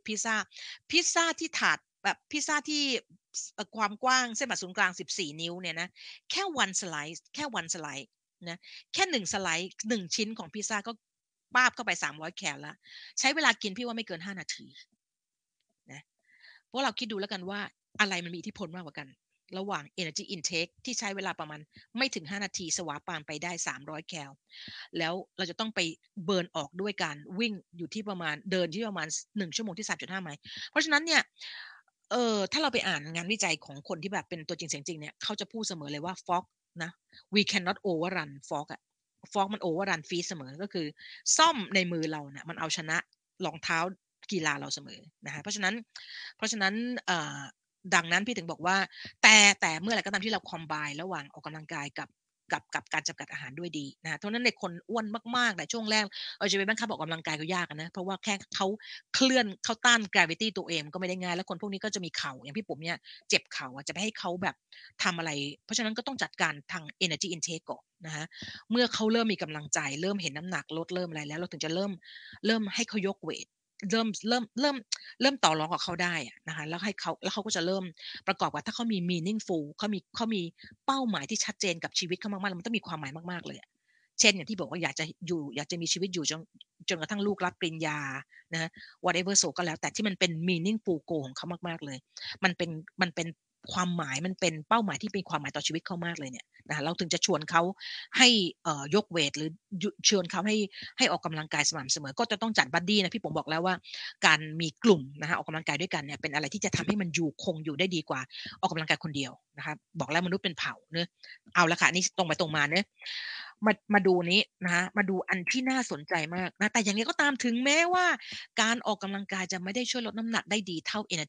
pizza ที่ถาดแบบพิซซ่าที่ความกว้างเส้นผ่าศูนย์กลาง14นิ้วเนี่ยนะแค่ one slice นะแค่1สไลซ์1ชิ้นของพิซซ่าก็ป้าบเข้าไป300แคลแล้วใช้เวลากินพี่ว่าไม่เกิน5นาทีนะเพราะเราคิดดูแล้วกันว่าอะไรมันมีอิทธิพลมากกว่ากันระหว่าง energy intake ที่ใช้เวลาประมาณไม่ถึง5นาทีสวาปามไปได้300แคลแล้วเราจะต้องไปเบิร์นออกด้วยการวิ่งอยู่ที่ประมาณเดินที่ประมาณ1ชั่วโมงที่ 3.5 ไมล์เพราะฉะนั้นเนี่ยถ้าเราไปอ่านงานวิจัยของคนที่แบบเป็นตัวจริงเสียงจริงเนี่ยเขาจะพูดเสมอเลยว่า fog นะ we cannot overrun fog อะ fog มัน overrun feet เสมอก็คือซ่อมในมือเราเนี่ยมันเอาชนะรองเท้ากีฬาเราเสมอนะคะเพราะฉะนั้นดังนั้นพี่ถึงบอกว่าแต่เมื่อไหร่ก็ตามที่เราคอมไบน์ระหว่างออกกำลังกายกับการจำกัดอาหารด้วยดีนะเพราะนั้นในคนอ้วนมากๆในช่วงแรกจะไปบังคับออกกำลังกายก็ยากนะเพราะว่าแค่เขาต้าน gravity ตัวเองก็ไม่ได้ง่ายแล้วคนพวกนี้ก็จะมีเข่าอย่างพี่ผมเนี่ยเจ็บเข่าจะไปให้เขาแบบทำอะไรเพราะฉะนั้นก็ต้องจัดการทาง energy intake ก่อนนะคะเมื่อเขาเริ่มมีกำลังใจเริ่มเห็นน้ำหนักลดเริ่มอะไรแล้วเราถึงจะเริ่มให้เขายกเวทเริ่มต่อรองกับเขาได้นะคะแล้วเขาก็จะเริ่มประกอบกับถ้าเขามี meaningful เขามีเป้าหมายที่ชัดเจนกับชีวิตเขามากๆมันต้องมีความหมายมากๆเลยเช่นอย่างที่บอกว่าอยากจะมีชีวิตอยู่จนกระทั่งลูกรับปริญญานะ whatever so ก็แล้วแต่ที่มันเป็น meaningful goal ของเขามากๆเลยมันเป็นความหมายมันเป็นเป้าหมายที่เป็นความหมายต่อชีวิตเขามากเลยเนี่ยนะเราถึงจะชวนเขาให้ยกเวทหรือชวนเขาให้ออกกำลังกายสม่ำเสมอก็จะต้องจัดบัดดี้นะพี่ผมบอกแล้วว่าการมีกลุ่มนะคะออกกำลังกายด้วยกันเนี่ยเป็นอะไรที่จะทำให้มันคงอยู่ได้ดีกว่าออกกำลังกายคนเดียวนะคะบอกแล้วมนุษย์เป็นเผ่าเนอะเอาละค่ะนี่ตรงไปตรงมาเนอะมาดูนี้นะคะมาดูอันที่น่าสนใจมากนะแต่อย่างนี้ก็ตามถึงแม้ว่าการออกกำลังกายจะไม่ได้ช่วยลดน้ำหนักได้ดีเท่า energy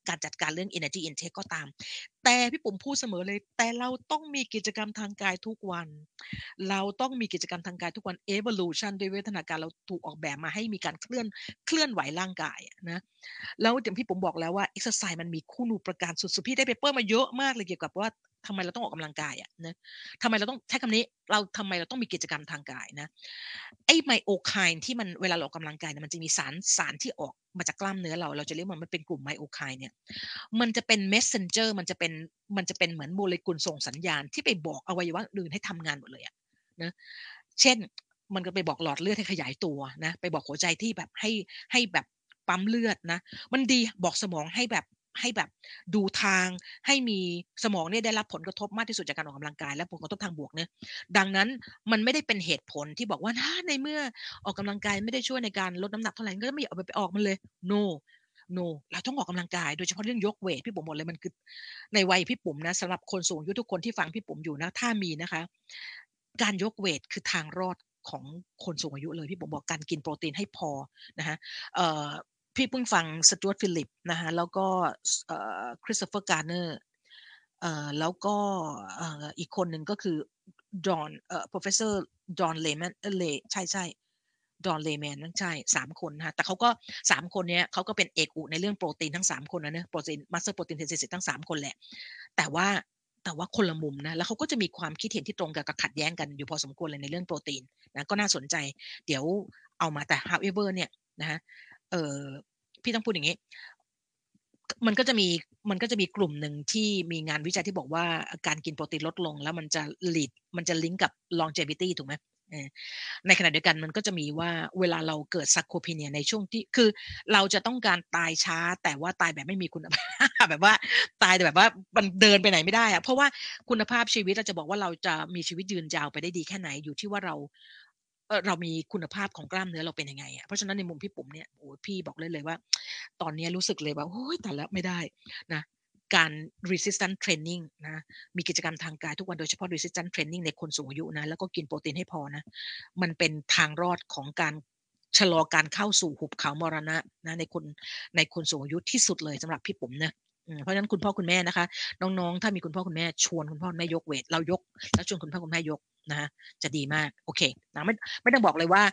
การจัดการเรื่อง energy intake ก็ตามแต่พี่ปุ๋มพูดเสมอเลยแต่เราต้องมีกิจกรรมทางกายทุกวันเราต้องมีกิจกรรมทางกายทุกวัน evolution ด้วยวิวัฒนาการเราถูกออกแบบมาให้มีการเคลื่อนไหวร่างกายนะแล้วอย่างที่ผมบอกแล้วว่า exercise มันมีคุณูปการสุดๆพี่ได้เปเปอร์มาเยอะมากเลยเกี่ยวกับว่าทำไมเราต้องออกกำลังกายนะทำไมเราต้องใช้คำนี้ทำไมเราต้องมีกิจกรรมทางกายนะไอ้ไมโอไคน์ที่มันเวลาเราออกกำลังกายเนี่ยมันจะมีสารที่ออกมาจากกล้ามเนื้อเราจะเรียกว่ามันเป็นกลุ่มไมโอไคน์เนี่ยมันจะเป็น messenger มันจะเป็นเหมือนโมเลกุลส่งสัญญาณที่ไปบอกอวัยวะอื่นให้ทำงานหมดเลยนะเช่นมันก็ไปบอกหลอดเลือดให้ขยายตัวนะไปบอกหัวใจที่แบบให้แบบปั๊มเลือดนะมันดีบอกสมองให้แบบดูทางให้มีสมองเนี่ยได้รับผลกระทบมากที่สุดจากการออกกำลังกายและผลกระทบทางบวกเนี่ยดังนั้นมันไม่ได้เป็นเหตุผลที่บอกว่าในเมื่อออกกำลังกายไม่ได้ช่วยในการลดน้ำหนักเท่าไหร่ก็ไม่เอาไปออกมันเลย no no เราต้องออกกำลังกายโดยเฉพาะเรื่องยกเวทพี่ปุ๋มบอกเลยมันคือในวัยพี่ปุ๋มนะสำหรับคนสูงอายุทุกคนที่ฟังพี่ปุ๋มอยู่นะถ้ามีนะคะการยกเวทคือทางรอดของคนสูงอายุเลยพี่ปุ๋มบอกการกินโปรตีนให้พอนะคะเอ่อพี่เพิ่งฟังสจ๊วตฟิลิปนะคะแล้วก็คริสโตเฟอร์การ์เนอร์แล้วก็อีกคนหนึ่งก็คือจอห์นprofessor จอห์นเลแมนใช่ใช่จอห์นเลแมนนั่นใช่3คนนะคะแต่เขาก็3คนนี้เขาก็เป็นเอกอุในเรื่องโปรตีนทั้ง3คนนะเนอะโปรตีนมาสเตอร์โปรตีนเทนซิสทั้ง3คนแหละแต่ว่าคนละมุมนะแล้วเขาก็จะมีความคิดเห็นที่ตรงกับขัดแย้งกันอยู่พอสมควรเลยในเรื่องโปรตีนนะก็น่าสนใจเดี๋ยวเอามาแต่ however เนี่ยนะฮะเออพี่ต้องพูดอย่างนี้มันก็จะมีกลุ่มหนึ่งที่มีงานวิจัยที่บอกว่าการกินโปรตีนลดลงแล้วมันจะลิงก์กับ longevity ถูกไหมในขณะเดียวกันมันก็จะมีว่าเวลาเราเกิด sarcopenia ในช่วงที่คือเราจะต้องการตายช้าแต่ว่าตายแบบไม่มีคุณภาพ แบบว่าตายแบบว่ามันเดินไปไหนไม่ได้อะเพราะว่าคุณภาพชีวิตเราจะบอกว่าเราจะมีชีวิตยืนยาวไปได้ดีแค่ไหนอยู่ที่ว่าเรามีคุณภาพของกล้ามเนื้อเราเป็นยังไงเพราะฉะนั้นในมุมพี่ปุ๋มเนี่ยโอ้พี่บอกเลยว่าตอนนี้รู้สึกเลยว่าโอ้ยแต่แล้วไม่ได้นะการ resistance training นะมีกิจกรรมทางกายทุกวันโดยเฉพาะ resistance training ในคนสูงอายุนะแล้วก็กินโปรตีนให้พอนะมันเป็นทางรอดของการชะลอการเข้าสู่หุบเขามรณะนะในคนสูงอายุที่สุดเลยสำหรับพี่ปุ๋มนะเพราะฉะนั้นคุณพ่อคุณแม่นะคะน้องๆถ้ามีคุณพ่อคุณแม่ชวนคุณพ่อคุณแม่ยกเวทเรายกแล้วชวนคุณพ่อคุณแม่ยกนะจะดีมากโอเคนะไม่ต้องบอกเลยว่า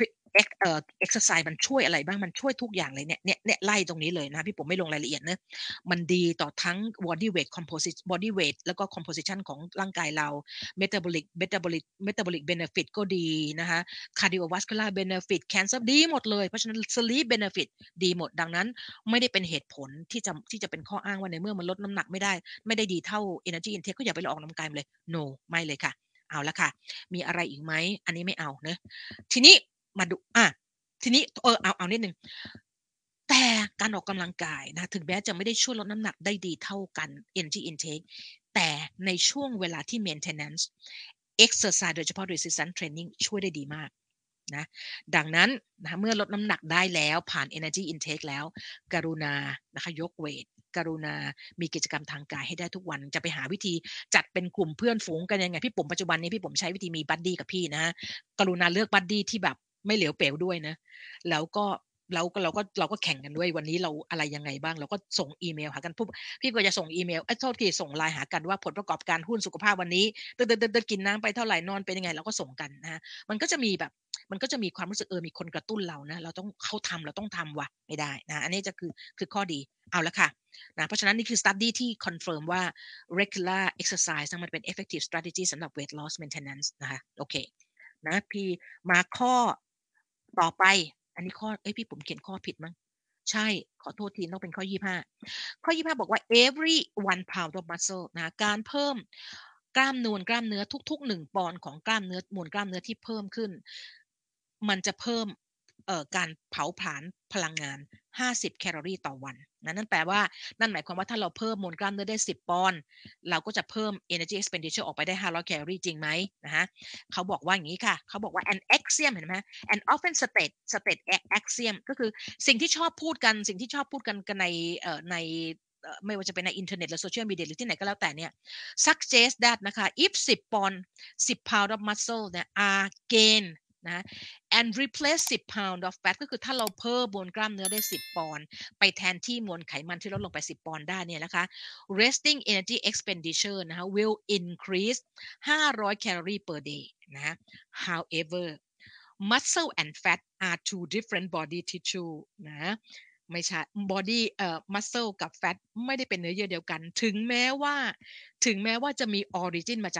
exercise มันช่วยอะไรบ้างมันช่วยทุกอย่างเลยเนี่ยไล่ตรงนี้เลยนะพี่ผมไม่ลงรายละเอียดนะมันดีต่อทั้ง body weight แล้วก็ composition ของร่างกายเรา metabolic benefit ก็ดีนะคะ cardiovascular benefit cancer ดีหมดเลยเพราะฉะนั้น sleep benefit ดีหมดดังนั้นไม่ได้เป็นเหตุผลที่จะเป็นข้ออ้างว่าในเมื่อมันลดน้ำหนักไม่ได้ดีเท่า energy intake ก็อย่าไปออกกำลังกายเลย no ไม่เลยค่ะเอาละค่ะมีอะไรอีกไหมอันนี้ไม่เอาเนะทีนี้มาดูทีนี้เอานิดนึงแต่การออกกำลังกายนะถึงแม้จะไม่ได้ช่วยลดน้ำหนักได้ดีเท่ากัน energy intake แต่ในช่วงเวลาที่ maintenance exercise โดยเฉพาะ resistance training ช่วยได้ดีมากนะดังนั้นนะเมื่อลดน้ำหนักได้แล้วผ่าน energy intake แล้วกรุณานะคะยกเวทกรุณามีกิจกรรมทางกายให้ได้ทุกวันจะไปหาวิธีจัดเป็นกลุ่มเพื่อนฝูงกันยังไงพี่ผมปัจจุบันนี้พี่ผมใช้วิธีมีบัดดี้กับพี่นะกรุณาเลือกบัดดี้ที่แบบไม่เหลวเป๋วด้วยนะแล้วก็เราก็แข่งกันด้วยวันนี้เราอะไรยังไงบ้างเราก็ส่งอีเมลหากันพี่ก็จะส่งอีเมลโทษทีส่งไลน์หากันว่าผลประกอบการหุ้นสุขภาพวันนี้เดินกินน้ำไปเท่าไหร่นอนเป็นยังไงเราก็ส่งกันนะมันก็จะมีความรู้สึกมีคนกระตุ้นเรานะเราต้องทำว่ะไม่ได้นะอันนี้จะคือข้อดีเอาละค่ะนะเพราะฉะนั้นนี่คือ study ที่ confirm ว่า regular exercise มันเป็น effective strategy สำหรับ weight loss maintenance นะคะโอเคนะพี่มาข้อต่อไปอันนี้ข้อพี่ผมเขียนข้อผิดมั้งใช่ขอโทษทีต้องเป็นข้อ25บอกว่า every 1 pound of muscle นะการเพิ่มกล้ามเนื้อทุกๆ1ปอนด์ของกล้ามเนื้อมวลกล้ามเนื้อที่เพิ่มขึ้นมันจะเพิ่มการเผาผลาญพลังงาน50แคลอรี่ต่อวันนั่นแปลว่านั่นหมายความว่าถ้าเราเพิ่มมวลกล้ามเนื้อได้10ปอนด์เราก็จะเพิ่ม energy expenditure ออกไปได้500แคลอรี่จริงไหมนะฮะเขาบอกว่าอย่างนี้ค่ะเขาบอกว่า an axiom เห็นไหม and often state axiom ก็คือสิ่งที่ชอบพูดกันในไม่ว่าจะเป็นในอินเทอร์เน็ตหรือโซเชียลมีเดียหรือที่ไหนก็แล้วแต่เนี่ย suggest that นะคะ if 10 pound of muscle เนี่ย are gain นะ and replace 10 pound of fat ก็คือถ้าเราเพิ่มมวลกล้ามเนื้อได้10 ปอนด์ไปแทนที่มวลไขมันที่ลดลงไป10 ปอนด์ได้เนี่ยนะคะ resting energy expenditure นะคะ will increase 500 calorie per day นะ however muscle and fat are two different body tissue นะไม่ใช่ body muscle กับ fat ไม่ได้เป็นเนื้อเยื่อเดียวกันถึงแม้ว่าจะมี origin มาจาก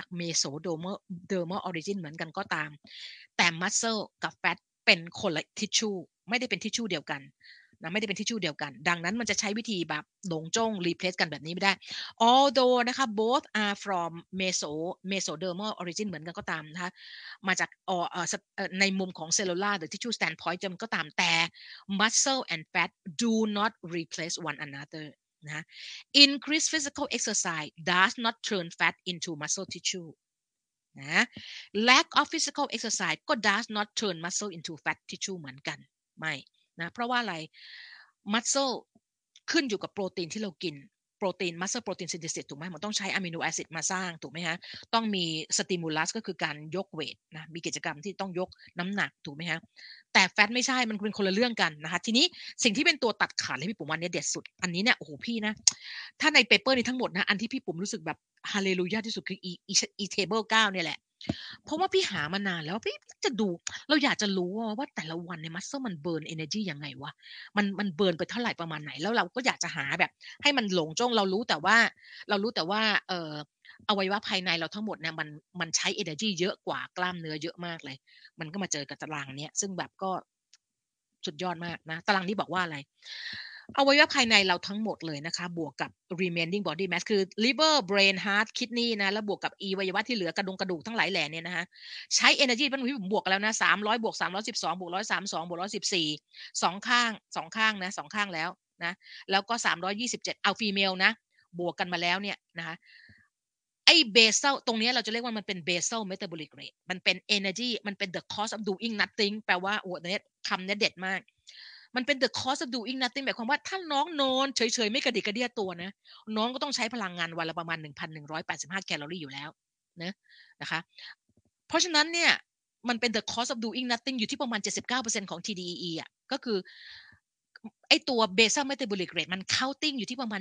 mesodermal origin เหมือนกันก็ตามแต่ muscle กับ fat เป็นคนละ tissue ไม่ได้เป็น tissue เดียวกันนะไม่ได้เป็นทิชชู่เดียวกันดังนั้นมันจะใช้วิธีแบบหลงจ้ง replace กันแบบนี้ไม่ได้ although นะคะ both are from mesodermal origin เหมือนกันก็ตามนะคะมาจากในมุมของ cellular หรือ tissue standpoint จะมันก็ตามแต่ muscle and fat do not replace one another นะ increased physical exercise does not turn fat into muscle tissue นะ lack of physical exercise ก็ does not turn muscle into fat tissue เหมือนกันไม่นะเพราะว่าอะไร muscle ขึ้นอยู่กับโปรตีนที่เรากินโปรตีน muscle protein synthesis ถูกไหมมันต้องใช้อะมิโนแอซิดมาสร้างถูกไหมฮะต้องมี stimulus ก็คือการยกเวทนะมีกิจกรรมที่ต้องยกน้ำหนักถูกไหมฮะแต่แฟตไม่ใช่มันเป็นคนละเรื่องกันนะคะทีนี้สิ่งที่เป็นตัวตัดขาดเลยพี่ปุ๋มวันนี้เด็ดสุดอันนี้เนี่ยโอ้โหพี่นะถ้าในเปเปอร์นี้ทั้งหมดนะอันที่พี่ปุ๋มรู้สึกแบบฮาเลลูยาที่สุดคืออีเทเบิล9เนี่ยแหละเพราะว่าพี่หามานานแล้วพี่จะดูเราอยากจะรู้ว่าแต่ละวันในมัสเซลมันเบิร์น energy ยังไงวะมันเบิร์นไปเท่าไหร่ประมาณไหนแล้วเราก็อยากจะหาแบบให้มันหลงจ้องเรารู้แต่ว่าอวัยวะภายในเราทั้งหมดเนี่ยมันใช้ energy เยอะกว่ากล้ามเนื้อเยอะมากเลยมันก็มาเจอกับตารางเนี้ยซึ่งแบบก็สุดยอดมากนะตารางนี้บอกว่าอะไรอวัยวะภายในเราทั้งหมดเลยนะคะบวกกับ remaining body mass คือ liver brain heart kidney นะแล้วบวกกับอวัยวะที่เหลือกระดูกทั้งหลายแหล่เนี่ยนะคะใช้ energy มันผมบวกแล้วนะ300บวก312บวก132บวก114สองข้างนะ2ข้างแล้วนะแล้วก็327เอา female นะบวกกันมาแล้วเนี่ยนะคะไอ้เบเซลตรงนี้เราจะเรียกว่ามันเป็นเบเซลเมตาบอลิกเรทมันเป็น energy มันเป็น the cost of doing nothing แปลว่าโอ้เนี่ยคำนี้เด็ดมากมันเป็น the cost of doing nothing หมายความว่าถ้าน้องนอนเฉยๆไม่กระดิกกระเดี้ยตัวนะน้องก็ต้องใช้พลังงานวันละประมาณ 1,185 แคลอรี่อยู่แล้วนะคะเพราะฉะนั้นเนี่ยมันเป็น the cost of doing nothing อยู่ที่ประมาณ 79%ของ TDEE อ่ะก็คือไอตัว basal metabolic rate มัน counting อยู่ที่ประมาณ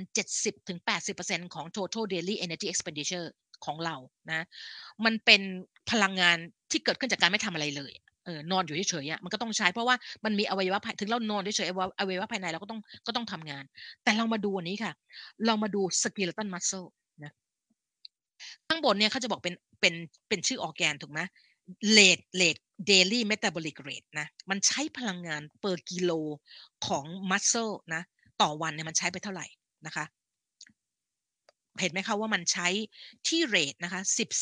70-80% ของ total daily energy expenditure ของเรานะมันเป็นพลังงานที่เกิดขึ้นจากการไม่ทำอะไรเลยนอนอยู่เฉยๆมันก็ต้องใช้เพราะว่ามันมีอวัยวะถึงเรานอนเฉยๆอวัยวะภายในเราก็ต้องทำงานแต่เรามาดูอันนี้ค่ะเรามาดู skeletal muscle นะข้างบนเนี่ยเขาจะบอกเป็นชื่อออร์แกนถูกไหมเลท daily metabolic rate นะมันใช้พลังงาน per กิโลของ muscle นะต่อวันเนี่ยมันใช้ไปเท่าไหร่นะคะเห็นไหมคะว่ามันใช้ที่เรทนะคะ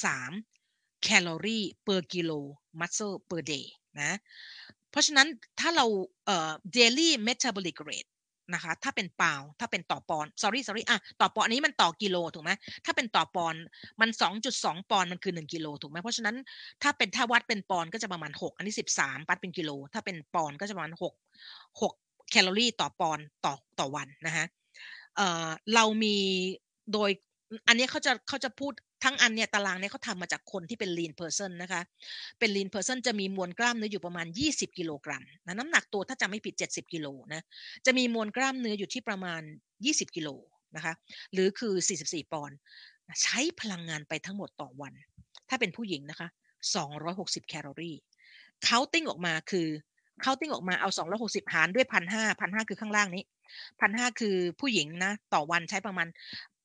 13แคลอรี่ per กิโล muscle per day นะเพราะฉะนั้นถ้าเราdaily metabolic rate นะคะถ้าเป็นถ้าเป็นต่อปอนด์ sorry ต่อปอนด์อันนี้มันต่อกิโลถูกไหมถ้าเป็นต่อปอนด์มัน 2.2 ปอนด์มันคือ1กิโลถูกไหมเพราะฉะนั้นถ้าวัดเป็นปอนด์ก็จะประมาณ6อันนี้13วัดเป็นกิโลถ้าเป็นปอนด์ก็จะประมาณ6แคลอรี่ต่อปอนด์ต่อวันนะคะเรามีโดยอันนี้เขาจะพูดทั้งอันเนี่ยตารางเนี่ยเขาทำมาจากคนที่เป็น lean person นะคะเป็น lean person จะมีมวลกล้ามเนื้ออยู่ประมาณ20กิโลกรัมนะน้ำหนักตัวถ้าจำไม่ผิด70กิโลนะจะมีมวลกล้ามเนื้ออยู่ที่ประมาณ20กิโลนะคะหรือคือ44ปอนด์ใช้พลังงานไปทั้งหมดต่อวันถ้าเป็นผู้หญิงนะคะ260แคลอรี่ counting ออกมาเอา260หารด้วย1,500คือข้างล่างนี้1,500คือผู้หญิงนะต่อวันใช้ประมาณ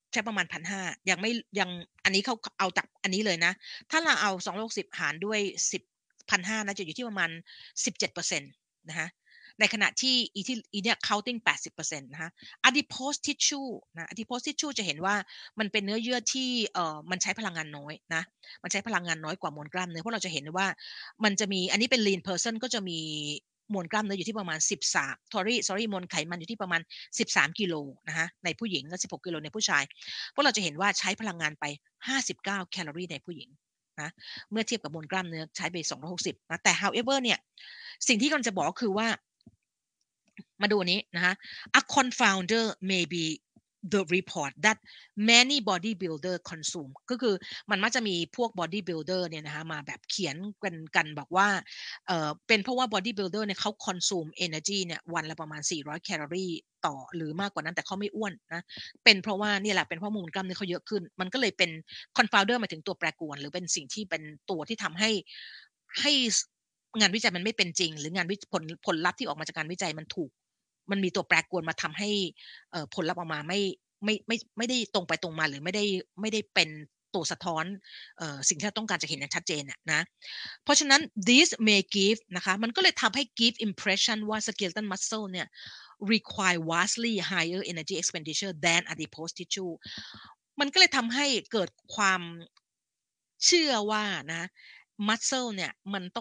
1,500ยังอันนี้เขาเอาจากอันนี้เลยนะถ้าเราเอา260หารด้วย1,500นะจะอยู่ที่ประมาณ 17% นะคะในขณะที่เนี่ย counting 80% นะคะ adipose tissue นะ adipose tissue จะเห็นว่ามันเป็นเนื้อเยื่อที่มันใช้พลังงานน้อยนะมันใช้พลังงานน้อยกว่ามวลกล้ามเนื้อเพราะเราจะเห็นว่ามันจะมีอันนี้เป็น lean person ก็จะมีมวลกล้ามเนื้ออยู่ที่ประมาณ13มวลไขมันอยู่ที่ประมาณ13กิโลนะคะในผู้หญิงและ16กิโลในผู้ชายเพราะเราจะเห็นว่าใช้พลังงานไป59แคลอรี่ในผู้หญิงนะเมื่อเทียบกับมวลกล้ามเนื้อใช้ไป260นะแต่ however เนี่ยสิ่งที่กำลังจะบอกคือว่ามาดูนี้นะคะ a confounder may be the report that many bodybuilder consume ก็คือมันมักจะมีพวก bodybuilder เนี่ยนะคะมาแบบเขียนกันบอกว่าเป็นเพราะว่า bodybuilder เนี่ยเขา consume energy เนี่ยวันละประมาณ400แคลอรี่ต่อหรือมากกว่านั้นแต่เขาไม่อ้วนนะเป็นเพราะว่านี่แหละเป็นเพราะมวลกล้ามเนื้อเขาเยอะขึ้นมันก็เลยเป็น confounder หมายถึงตัวแปรกวนหรือเป็นสิ่งที่เป็นตัวที่ทำให้งานวิจัยมันไม่เป็นจริงหรืองานผลลัพธ์ที่ออกมาจากการวิจัยมันมีตัวแปรกวนมาทำให้ผลลัพธ์ออกมาไม่ได้ตรงไปตรงมาหรือไม่ได้เป็นตัวสะท้อนสิ่งที่เราต้องการจะเห็นอย่างชัดเจนนะเพราะฉะนั้น this may give นะคะมันก็เลยทำให้ give impression ว่า skeletal muscle เนี่ย require vastly higher energy expenditure than adipose tissue มันก็เลยทำให้เกิดความเชื่อว่านะ muscle เนี่ย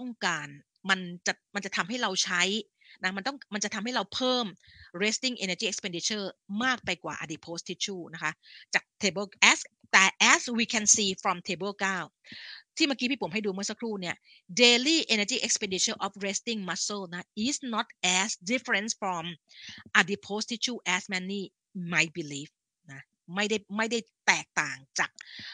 มันจะทำให้เราใช้นะมันจะทำให้เราเพิ่ม resting energy expenditure มากไปกว่า adipose tissue นะคะจาก table as we can see from table 9ที่เมื่อกี้พี่ผมให้ดูเมื่อสักครู่เนี่ย daily energy expenditure of resting muscle นะ is not as different from adipose tissue as many might believe นะไม่ได้แตกต่างจาก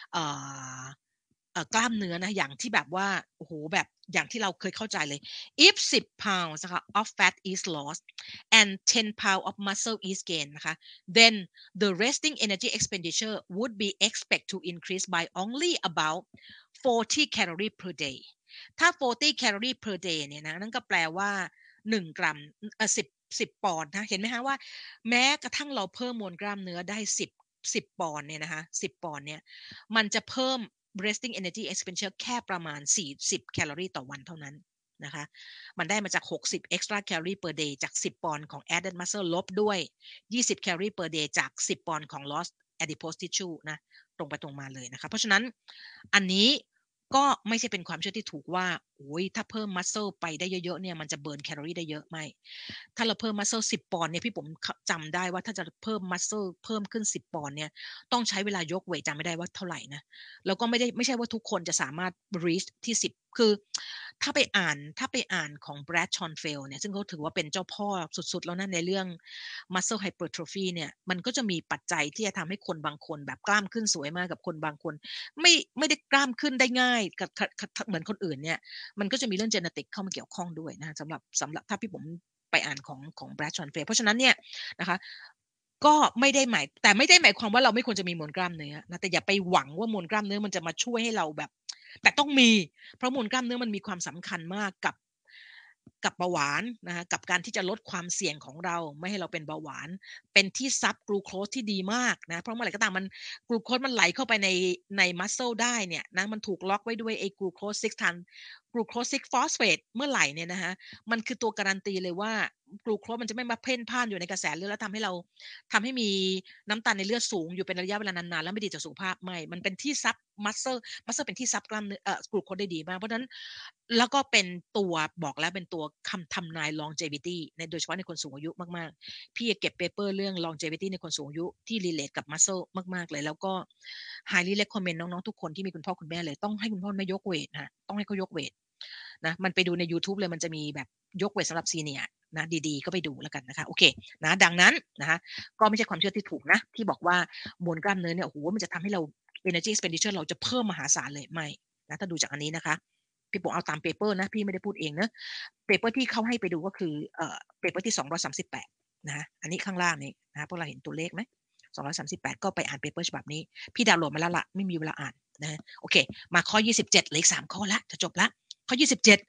กล้ามเนื้อนะอย่างที่แบบว่าโอ้โหแบบอย่างที่เราเคยเข้าใจเลย if 10 pounds นะคะ of fat is lost and 10 pounds of muscle is gained นะคะ then the resting energy expenditure would be expected to increase by only about 40 calorie per day ถ้า40 calorie per day เนี่ยนะนั่นก็แปลว่า1กรัม10ปอนด์นะเห็นไหมคะว่าแม้กระทั่งเราเพิ่มมวลกล้ามเนื้อได้10ปอนด์เนี่ยนะคะ10ปอนด์เนี่ยมันจะเพิ่ม resting energy expenditure แค่ประมาณ40แคลอรี่ต่อวันเท่านั้นนะคะมันได้มาจาก60 extra calorie per day จาก10ปอนด์ของ added muscle ลบด้วย20แคลอรี่ per day จาก10ปอนด์ของ lost adipose tissue นะตรงไปตรงมาเลยนะคะเพราะฉะนั้นอันนี้ก็ไม่ใช่เป็นความเชื่อที่ถูกว่าโอ้ยถ้าเพิ่ม muscle ไปได้เยอะๆเนี่ยมันจะเบิร์นแคลอรี่ได้เยอะไม่ถ้าเราเพิ่ม muscle 10ปอนด์เนี่ยพี่ผมจำได้ว่าถ้าจะเพิ่ม muscle เพิ่มขึ้น10ปอนด์เนี่ยต้องใช้เวลายกเวทจำไม่ได้ว่าเท่าไหร่นะแล้วก็ไม่ใช่ว่าทุกคนจะสามารถ reach ที่10คือถ้าไปอ่านของ Brad Schoenfeld เนี่ยซึ่งเขาถือว่าเป็นเจ้าพ่อสุดๆแล้วนะในเรื่อง muscle hypertrophy เนี่ยมันก็จะมีปัจจัยที่จะทำให้คนบางคนแบบกล้ามขึ้นสวยมากกับคนบางคนไม่ได้กล้ามขึ้นได้ง่ายกับเหมือนคนอื่นเนี่ยมันก็จะมีเรื่อง genetic เข้ามาเกี่ยวข้องด้วยนะสำหรับถ้าพี่ผมไปอ่านของ Brad Schoenfeld เพราะฉะนั้นเนี่ยนะคะก็ไม่ได้หมายความว่าเราไม่ควรจะมีมวลกล้ามเนื้อนะแต่อย่าไปหวังว่ามวลกล้ามเนื้อมันจะมาช่วยให้เราแบบแต่ต้องมีเพราะมวลกล้ามเนื้อมันมีความสำคัญมากกับเบาหวานนะคะกับการที่จะลดความเสี่ยงของเราไม่ให้เราเป็นเบาหวานเป็นที่ซับกลูโคสที่ดีมากนะเพราะเมื่อไหร่ก็ตามมันกลูโคสมันไหลเข้าไปในมัสเซลได้เนี่ยนะมันถูกล็อกไว้ด้วยไอ้กลูโคส6 ฟอสเฟตเมื่อไหร่เนี่ยนะคะมันคือตัวการันตีเลยว่ากลูโคสมันจะไม่มาเพ่นพ่านอยู่ในกระแสเลือดแล้วทำให้มีน้ำตาลในเลือดสูงอยู่เป็นระยะเวลานานๆแล้วไม่ดีต่อสุขภาพไม่มันเป็นที่ซับมัสเซลเป็นที่ซับกล้ามเนื้อกลูโคสได้ดีมากเพราะฉะนั้นแล้วก็เป็นตัวบอกแล้วเป็นตัวคำทำนาย longevity โดยเฉพาะในคนสูงอายุมากๆพี่เก็บเปเปอร์เรื่อง longevity ในคนสูงอายุที่ relate กับ muscle มากๆเลยแล้วก็ highly recommend น้องๆทุกคนที่มีคุณพ่อคุณแม่เลยต้องให้คุณพ่อไม่ยกเวทนะต้องให้เขายกเวทนะมันไปดูใน YouTube เลยมันจะมีแบบยกเวทสำหรับซีเนียร์นะดีๆก็ไปดูแล้วกันนะคะโอเคนะดังนั้นนะคะก็ไม่ใช่ความเชื่อที่ถูกนะที่บอกว่ามวลกล้ามเนื้อเนี่ยโอ้โหมันจะทำให้เรา energy expenditure เราจะเพิ่มมหาศาลเลยไม่นะถ้าดูจากอันนี้นะคะพี่ผมเอาตามเปเปอร์นะพี่ไม่ได้พูดเองนะเปเปอร์ที่เขาให้ไปดูก็คือเปเปอร์ที่238นะอันนี้ข้างล่างนี้นะพวกเราเห็นตัวเลขไหม238ก็ไปอ่านเปเปอร์ฉบับนี้พี่ดาวน์โหลดมาแล้วล่ะไม่มีเวลาอ่านนะโอเคมาข้อ27เหลืออีก3ข้อละจะจบละข้อ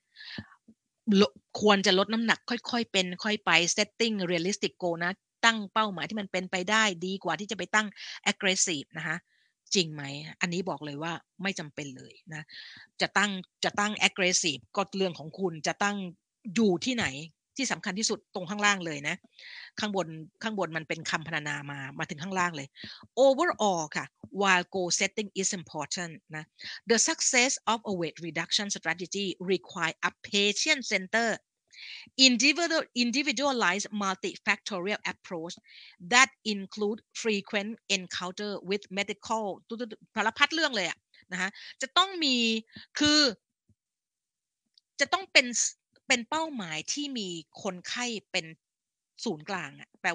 27ควรจะลดน้ำหนักค่อยๆเป็นค่อยไป setting realistic goal นะตั้งเป้าหมายที่มันเป็นไปได้ดีกว่าที่จะไปตั้ง aggressive นะคะจริงไหมอันนี้บอกเลยว่าไม่จำเป็นเลยนะจะตั้ง aggressive ก็เรื่องของคุณจะตั้งอยู่ที่ไหนที่สำคัญที่สุดตรงข้างล่างเลยนะข้างบนมันเป็นคำพรรณนามาถึงข้างล่างเลย overall ค่ะ while goal setting is important นะ the success of a weight reduction strategy require a patient-centered individualized multifactorial approach that include frequent encounter with medical สารพัดเรื่องเลยอะนะคะจะต้องมีคือจะต้องเป็นเป้าหมายที่มีคนไข้เป็นศูนย์กลางอะแปลว่า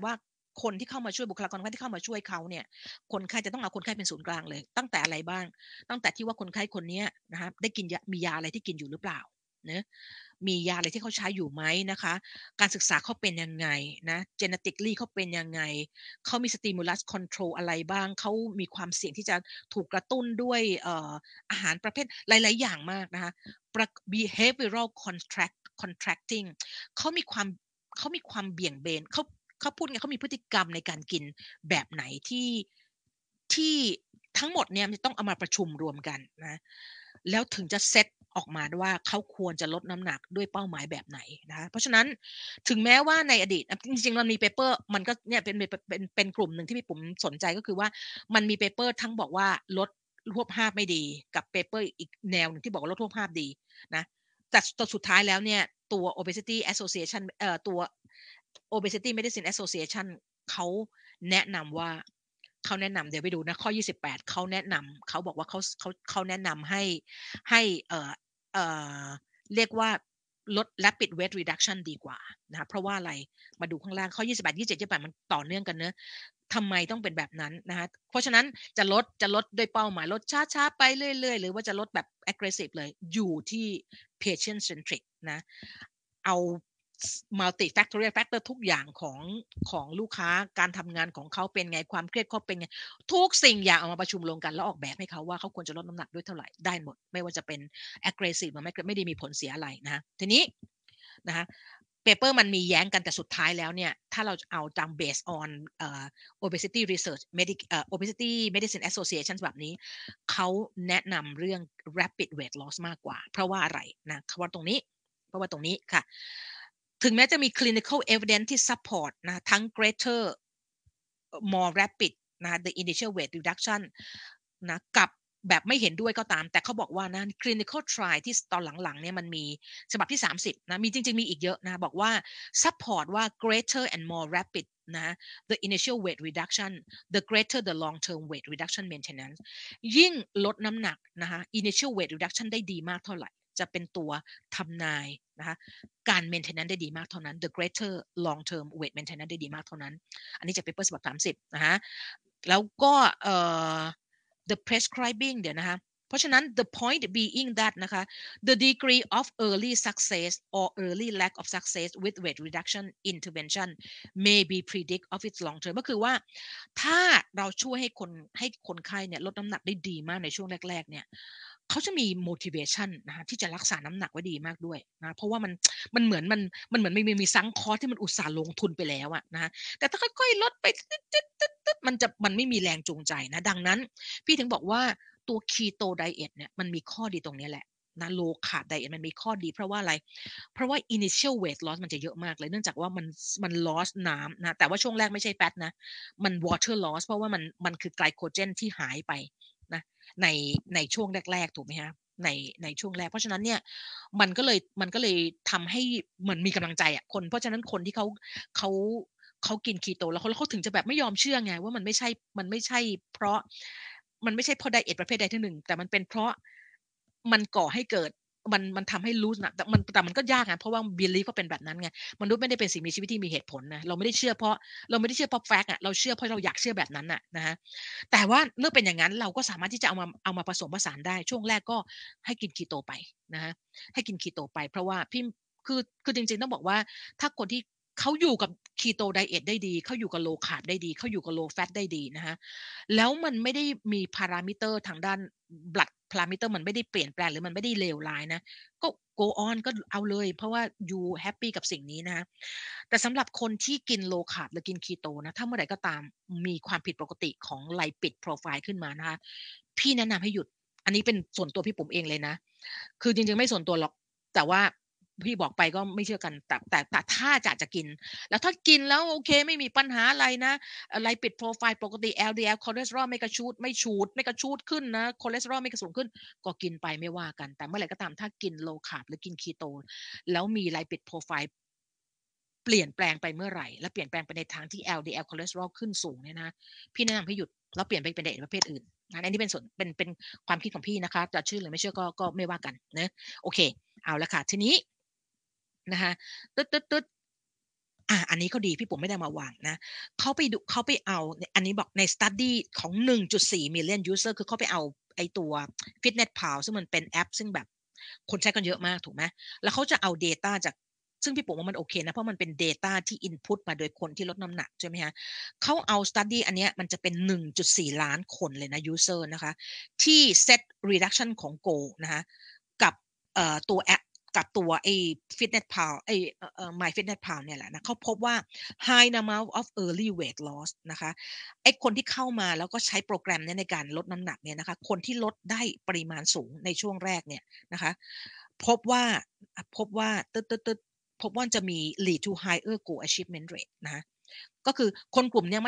คนที่เข้ามาช่วยบุคลากรทางการแพทย์ที่เข้ามาช่วยเขาเนี่ยคนไข้จะต้องเอาคนไข้เป็นศูนย์กลางเลยตั้งแต่อะไรบ้างตั้งแต่ที่ว่าคนไข้คนเนี้ยนะคะได้กินยามียาอะไรที่กินอยู่หรือเปล่าเนาะมียาอะไรที่เขาใช้อยู่ไหมนะคะการศึกษาเขาเป็นยังไงนะ genetically เขาเป็นยังไงเขามี stimulus control อะไรบ้างเขามีความเสี่ยงที่จะถูกกระตุ้นด้วยอาหารประเภทหลายๆอย่างมากนะคะ behavioral contracting เขามีความเขามีความเบี่ยงเบนเขาพูดไงเขามีพฤติกรรมในการกินแบบไหนที่ทั้งหมดเนี่ยมันจะต้องเอามาประชุมรวมกันนะแล้วถึงจะเซตออกมาว่าเขาควรจะลดน้ำหนักด้วยเป้าหมายแบบไหนนะคะเพราะฉะนั้นถึงแม้ว่าในอดีตจริงๆมันมีเปเปอร์มันก็เนี่ยเป็นกลุ่มหนึ่งที่พี่ผมสนใจก็คือว่ามันมีเปเปอร์ทั้งบอกว่าลดรูปภาพไม่ดีกับเปเปอร์อีกแนวหนึ่งที่บอกว่าลดรูปภาพดีนะแต่สุดท้ายแล้วเนี่ยตัว obesity association ตัว obesity medicine association เขาแนะนำว่าเขาแนะนำเดี๋ยวไปดูนะข้อ28เขาแนะนำเขาบอกว่าเขาแนะนำให้เรียกว่าลด rapid weight reduction ดีกว่านะคะเพราะว่าอะไรมาดูข้างล่างข้อ28 27 28มันต่อเนื่องกันเนอะทำไมต้องเป็นแบบนั้นนะคะเพราะฉะนั้นจะลดด้วยเป้าหมายลดช้าๆไปเรื่อยๆหรือว่าจะลดแบบ aggressive เลยอยู่ที่ patient centric นะเอา multifactorial factor ทุกอย่างของลูกค้าการทำงานของเขาเป็นไงความเครียดเขาเป็นไงทุกสิ่งอย่างเอามาประชุมลงกันแล้วออกแบบให้เขาว่าเขาควรจะลดน้ำหนักด้วยเท่าไหร่ได้หมดไม่ว่าจะเป็น aggressive หรือไม่ได้มีผลเสียอะไรนะทีนี้นะคะเปเปอร์มันมีแย้งกันแต่สุดท้ายแล้วเนี่ยถ้าเราเอาตาม based on obesity research obesity medicine association แบบนี้เขาแนะนำเรื่อง rapid weight loss มากกว่าเพราะว่าอะไรนะเพราะว่าตรงนี้ค่ะถึงแม้จะมี clinical evidence ที่ support นะทั้ง greater more rapid นะ the initial weight reduction นะกับแบบไม่เห็นด้วยก็ตามแต่เขาบอกว่านะ clinical trial ที่ตอนหลังๆเนี่ยมันมีฉบับที่30นะมีจริงๆมีอีกเยอะนะบอกว่า support ว่า greater and more rapid นะ the initial weight reduction the greater the long term weight reduction maintenance ยิ่งลดน้ำหนักนะคะ initial weight reduction ได้ดีมากเท่าไหร่จะเป็นตัวทำนายนะคะการ maintenance ได้ดีมากเท่านั้น the greater long term weight maintenance ได้ดีมากเท่านั้นอันนี้จาก paper ฉบับ30นะคะแล้วก็the prescribing เดี๋ยวนะคะเพราะฉะนั้น the point being that นะคะ the degree of early success or early lack of success with weight reduction intervention may be predict of its long term ก็คือว่าถ้าเราช่วยให้คนไข้เนี่ยลดน้ำหนักได้ดีมากในช่วงแรกๆเนี่ยเขาจะมี motivation นะคะที่จะรักษาน้ำหนักไว้ดีมากด้วยนะเพราะว่ามันเหมือนมีซังคอร์สที่มันอุตส่าห์ลงทุนไปแล้วอะนะแต่ถ้าค่อยๆลดไปมันไม่มีแรงจูงใจนะดังนั้นพี่ถึงบอกว่าตัว Keto Diet เนี่ยมันมีข้อดีตรงนี้แหละนะ Low Carb Diet มันมีข้อดีเพราะว่าอะไรเพราะว่า initial weight loss มันจะเยอะมากเลยเนื่องจากว่ามัน loss น้ำนะแต่ว่าช่วงแรกไม่ใช่ fat นะมัน water loss เพราะว่ามันคือไกลโคเจนที่หายไปนะในช่วงแรกๆถูกไหมฮะในช่วงแรกเพราะฉะนั้นเนี่ยมันก็เลยทำให้เหมือนมีกำลังใจอ่ะเพราะฉะนั้นคนที่เขาเขากินคีโตแล้วเขาถึงจะแบบไม่ยอมเชื่อไงว่ามันไม่ใช่เพราะไดเอทประเภทใดที่หนึ่งแต่มันเป็นเพราะมันก่อให้เกิดมันทำให้รู้นะแต่มันก็ยากนะเพราะว่า belief ก็เป็นแบบนั้นไงมนุษย์ไม่ได้เป็นสิ่งมีชีวิตที่มีเหตุผลนะเราไม่ได้เชื่อเพราะแฟกต์อ่ะเราเชื่อเพราะเราอยากเชื่อแบบนั้นน่ะนะฮะแต่ว่าเมื่อเป็นอย่างนั้นเราก็สามารถที่จะเอามาผสมผสานได้ช่วงแรกก็ให้กินคีโตไปนะฮะให้กินคีโตไปเพราะว่าพี่คือจริงๆต้องบอกว่าถ้าคนที่เขาอยู่กับคีโตไดเอทได้ดีเขาอยู่กับโลคาร์บได้ดีเขาอยู่กับโลแฟตได้ดีนะฮะแล้วมันไม่ได้มีพารามิเตอร์ทางด้าน blood พารามิเตอร์มันไม่ได้เปลี่ยนแปลงหรือมันไม่ได้เลวร้ายนะก็ go on ก็เอาเลยเพราะว่า you happy กับสิ่งนี้นะแต่สำหรับคนที่กินโลคาร์บหรือกินคีโตนะถ้าเมื่อไหร่ก็ตามมีความผิดปกติของไลปิดโปรไฟล์ขึ้นมานะคะพี่แนะนำให้หยุดอันนี้เป็นส่วนตัวพี่ปุ๋มเองเลยนะคือจริงๆไม่ส่วนตัวหรอกแต่ว่าพี่บอกไปก็ไม่เชื่อกันแต่ถ้าจะกินแล้วถ้ากินแล้วโอเคไม่มีปัญหาอะไรนะอะไรปิดโปรไฟล์ปกติ LDL คอเลสเตอรอลไม่กระชูดขึ้นนะคอเลสเตอรอลไม่กระสูงขึ้นก็กินไปไม่ว่ากันแต่เมื่อไหร่ก็ตามถ้ากินโลคาร์บหรือกินคีโตแล้วมีไลปิดโปรไฟล์เปลี่ยนแปลงไปเมื่อไหร่และเปลี่ยนแปลงไปในทางที่ LDL คอเลสเตอรอลขึ้นสูงเนี่ยนะพี่แนะนำให้หยุดแล้วเปลี่ยนไปเป็นไดเอทประเภทอื่นอันนี้เป็นส่วนเป็นความคิดของพี่นะคะจะเชื่อหรือไม่เชื่อก็ไม่ว่ากันนะโอเคเอาละค่ะทีนี้นะคะตึ๊ดอันนี้เขาดีพี่ผมไม่ได้มาวางนะเขาไปเอาอันนี้บอกใน study ของ 1.4 million user คือเขาไปเอาไอ้ตัว FitnessPal ซึ่งมันเป็นแอปซึ่งแบบคนใช้กันเยอะมากถูกไหมแล้วเขาจะเอา data จากซึ่งพี่ผมว่ามันโอเคนะเพราะมันเป็น data ที่ input มาโดยคนที่ลดน้ำหนักใช่ไหมฮะเขาเอา study อันเนี้ยมันจะเป็น 1.4 ล้านคนเลยนะ user นะคะที่ set reduction ของ goal นะคะกับตัวแอปกับตัวไอ้ FitnessPal ไอ้MyFitnessPal เนี่ยแหละนะเขาพบว่า high amount of early weight loss นะคะไอ้คนที่เข้ามาแล้วก็ใช้โปรแกรมนี้ในการลดน้ำหนักเนี่ยนะคะคนที่ลดได้ปริมาณสูงในช่วงแรกเนี่ยนะคะพบว่าพบว่าจะมี lead to higher goal achievement rate นะคะก็คือคนกลุ่มนี้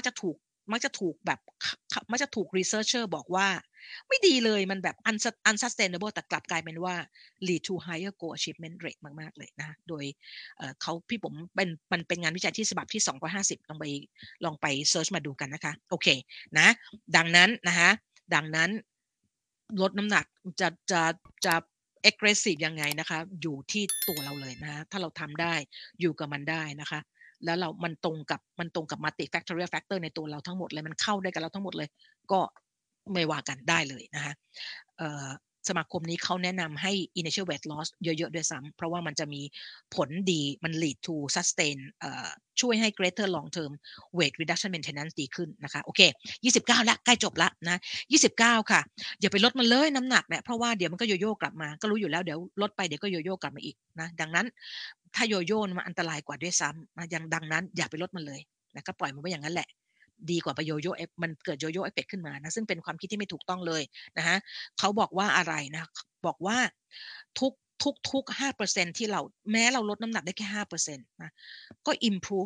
มักจะถูก researcher บอกว่าไม่ดีเลยมันแบบ unsustainable แต่กลับกลายเป็นว่า lead to higher goal achievement rate มากๆเลยนะโดยพี่ผมมันเป็นงานวิจัยที่ฉบับที่250ลองไปเซิร์ชมาดูกันนะคะโอเคนะดังนั้นลดน้ำหนักจะ aggressive ยังไงนะคะอยู่ที่ตัวเราเลยนะถ้าเราทำได้อยู่กับมันได้นะคะแล้วมันตรงกับ multifactorial factor ในตัวเราทั้งหมดเลยมันเข้าได้กับเราทั้งหมดเลยก็ไม่ว่ากันได้เลยนะคะสมาคมนี้เขาแนะนำให้ initial weight loss เยอะๆด้วยซ้ำเพราะว่ามันจะมีผลดีมัน lead to sustain ช่วยให้ greater long term weight reduction maintenance ดีขึ้นนะคะโอเค29แล้วใกล้จบแล้วนะ29ค่ะอย่าไปลดมันเลยน้ำหนักเนี่ยเพราะว่าเดี๋ยวมันก็โยโย่กลับมาก็รู้อยู่แล้วเดี๋ยวลดไปเดี๋ยวก็โยโย่กลับมาอีกนะดังนั้นถ้าโยโย่มันอันตรายกว่าด้วยซ้ำนะดังนั้นอย่าไปลดมันเลยนะก็ปล่อยมันไว้อย่างนั้นแหละดีกว่าไปโยโย่มันเกิดโยโย่เอฟเฟกต์ขึ้นมานะซึ่งเป็นความคิดที่ไม่ถูกต้องเลยนะฮะเขาบอกว่าอะไรนะบอกว่าทุก5%ที่เราแม้เราลดน้ำหนักได้แค่5%นะก็ improve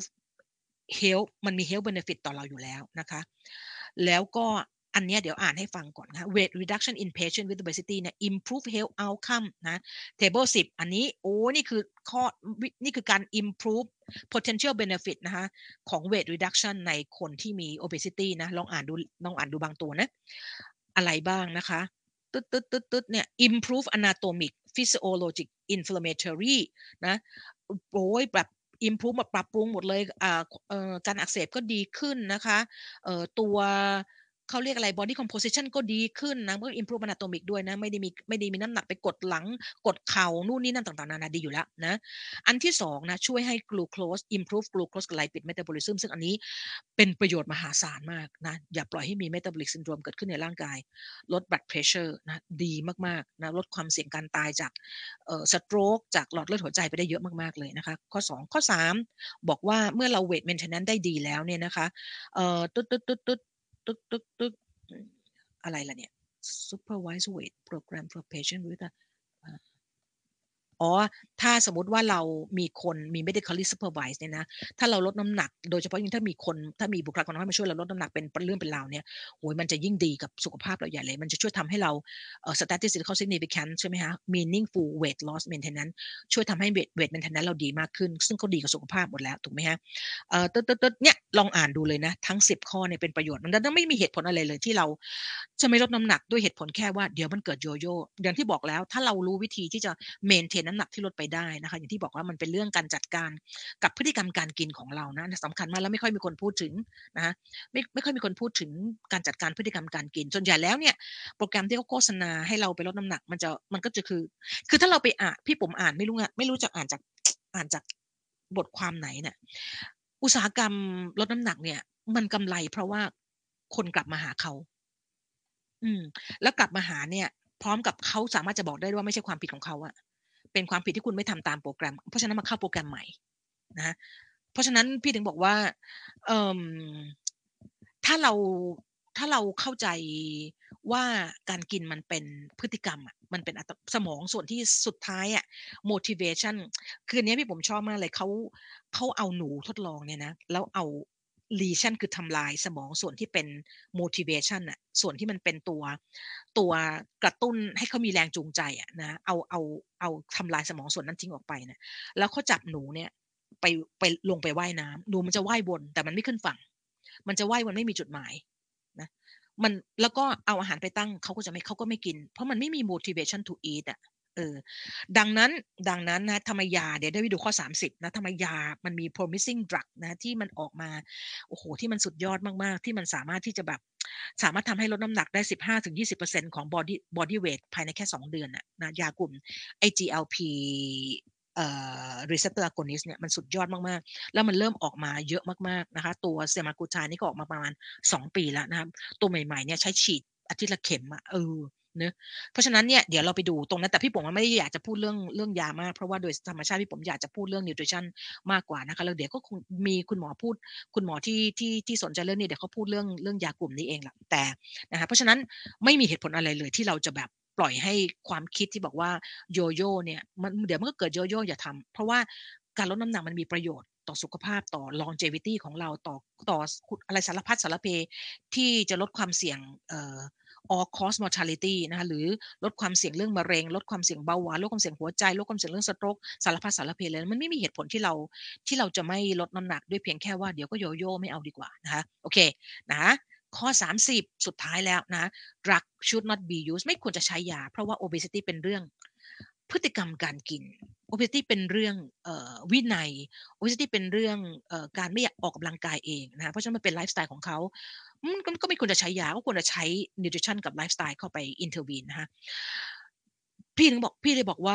health มันมี health benefit ต่อเราอยู่แล้วนะคะแล้วก็อันนี้เดี๋ยวอ่านให้ฟังก่อนนะ weight reduction in patient with obesity เนี่ย improve health outcome นะ table 10อันนี้นี่คือการ improve potential benefit นะคะของ weight reduction ในคนที่มี obesity นะลองอ่านดูบางตัวนะอะไรบ้างนะคะตึ๊ดเนี่ย improve anatomic physiologic inflammatory นะแบบ improve แบบปรับปรุงหมดเลยการอักเสบก็ดีขึ้นนะคะตัวเขาเรียกอะไร body composition ก็ดีขึ้นนะก็ improve anatomic ด้วยนะไม่ได้มีน้ำหนักไปกดหลังกดเข่านู่นนี่นั่นต่างๆนานาดีอยู่แล้วนะอันที่2นะช่วยให้ glucose improve glucose lipid metabolism ซึ่งอันนี้เป็นประโยชน์มหาศาลมากนะอย่าปล่อยให้มี metabolic syndrome เกิดขึ้นในร่างกายลด blood pressure นะดีมากๆนะลดความเสี่ยงการตายจากstroke จากหลอดเลือดหัวใจไปได้เยอะมากๆเลยนะคะข้อ2ข้อ3บอกว่าเมื่อเรา weight maintenance ได้ดีแล้วเนี่ยนะคะอะไรล่ะเนี่ย supervised weight program for patient with ถ้าสมมติว่าเรามี medically supervised เนี่ยนะถ้าเราลดน้ำหนักโดยเฉพาะยิ่งถ้ามีบุคลากรทางการแพทย์มาช่วยเราลดน้ำหนักเป็นเรื่องเป็นราวเนี่ยโอ้โฮมันจะยิ่งดีกับสุขภาพเราใหญ่เลยมันจะช่วยทำให้เราstatistical significance ใช่ไหมคะ meaningful weight loss maintenance ช่วยทำให้ weight maintenance เราดีมากขึ้นซึ่งก็ดีกับสุขภาพหมดแล้วถูกไหมคะเนี่ยลองอ่านดูเลยนะทั้ง10ข้อเนี่ยเป็นประโยชน์มันไม่มีเหตุผลอะไรเลยที่เราจะไม่ลดน้ำหนักด้วยเหตุผลแค่ว่าเดี๋ยวมันเกิดโยโย่อย่างที่บอกแล้วถ้าเรารู้วิธีที่จะ maintain น้ำหนักที่ลดไปได้นะคะอย่างที่บอกว่ามันเป็นเรื่องการจัดการกับพฤติกรรมการกินของเรานะสำคัญมากแล้วไม่ค่อยมีคนพูดถึงนะคะไม่ค่อยมีคนพูดถึงการจัดการพฤติกรรมการกินส่วนใหญ่แล้วเนี่ยโปรแกรมที่เขาโฆษณาให้เราไปลดน้ำหนักมันก็จะคือถ้าเราไปอ่านพี่ผมอ่านไม่รู้จะอ่านจากบทความไหนเนี่ยอุตสาหกรรมลดน้ำหนักเนี่ยมันกำไรเพราะว่าคนกลับมาหาเขาแล้วกลับมาหาเนี่ยพร้อมกับเขาสามารถจะบอกได้ว่าไม่ใช่ความผิดของเขาอะเป็นความผิดที่คุณไม่ทำตามโปรแกรมเพราะฉะนั้นมาเข้าโปรแกรมใหม่นะเพราะฉะนั้นพี่ถึงบอกว่าถ้าเราเข้าใจว่าการกินมันเป็นพฤติกรรมอะมันเป็นสมองส่วนที่สุดท้ายอะ motivation คืออันนี้พี่ผมชอบมากเลยเขาเอาหนูทดลองเนี่ยนะแล้วเอา lesion คือทำลายสมองส่วนที่เป็น motivation น่ะส่วนที่มันเป็นตัวกระตุ้นให้เขามีแรงจูงใจอะนะเอาทำลายสมองส่วนนั้นทิ้งออกไปนะแล้วเขาจับหนูเนี่ยไปลงไปว่ายน้ำหนูมันจะว่ายวนแต่มันไม่ขึ้นฝั่งมันจะว่ายวนไม่มีจุดหมายนะแล้วก็เอาอาหารไปตั้งเขาก็ไม่กินเพราะมันไม่มี motivation to eat อะเออดังนั้นนะทำไมยาเดี๋ยวได้ไปดูข้อ30นะทำไมยามันมี promising drug นะที่มันออกมาโอ้โฮที่มันสุดยอดมากๆที่มันสามารถที่จะแบบสามารถทำให้ลดน้ำหนักได้15-20%ของบอดีเวตภายในแค่2เดือนน่ะนะยากลุ่มไอ้ GLP receptor agonist เนี่ยมันสุดยอดมากๆแล้วมันเริ่มออกมาเยอะมากๆนะคะตัว semaglutide นี่ก็ออกมาประมาณ2 ปีแล้วนะครับตัวใหม่ๆเนี่ยใช้ฉีดอาทิตย์ละเข็มอะเนาะ เพราะฉะนั้นเนี่ยเดี๋ยวเราไปดูตรงนั้นแต่พี่ป๋องไม่ได้อยากจะพูดเรื่องยามากเพราะว่าโดยธรรมชาติพี่ป๋องอยากจะพูดเรื่อง nutrition มากกว่านะคะแล้วเดี๋ยวก็คงมีคุณหมอพูดคุณหมอที่สนใจเรื่องนี้เดี๋ยวเขาพูดเรื่องยากลุ่มนี้เองแหละแต่นะคะเพราะฉะนั้นไม่มีเหตุผลอะไรเลยที่เราจะแบบปล่อยให้ความคิดที่บอกว่าโยโย่เนี่ยมันเดี๋ยวมันก็เกิดโยโย่อย่าทำเพราะว่าการลดน้ำหนักมันมีประโยชน์ต่อสุขภาพต่อ longevity ของเราต่ออะไรสารพัดสารเพที่จะลดความเสี่ยงall cause mortality นะคะหรือลดความเสี่ยงเรื่องมะเร็งลดความเสี่ยงเบาหวานลดความเสี่ยงหัวใจลดความเสี่ยงเรื่อง stroke สารพัดสารเพเลยมันไม่มีเหตุผลที่เราจะไม่ลดน้ำหนักด้วยเพียงแค่ว่าเดี๋ยวก็โยโย่ไม่เอาดีกว่านะคะโอเคนะข้อ30สุดท้ายแล้วนะ drug should not be used ไม่ควรจะใช้ยาเพราะว่า obesity เป็นเรื่องพฤติกรรมการกิน obesity เป็นเรื่องวินัย obesity เป็นเรื่องการไม่อยากออกกำลังกายเองนะคะเพราะฉะนั้นมันเป็นไลฟ์สไตล์ของเขาก็ไม่ควรจะใช้ยาก็ควรจะใช้ nutrition กับไลฟ์สไตล์เข้าไป intervene นะคะพี่เลยบอกว่า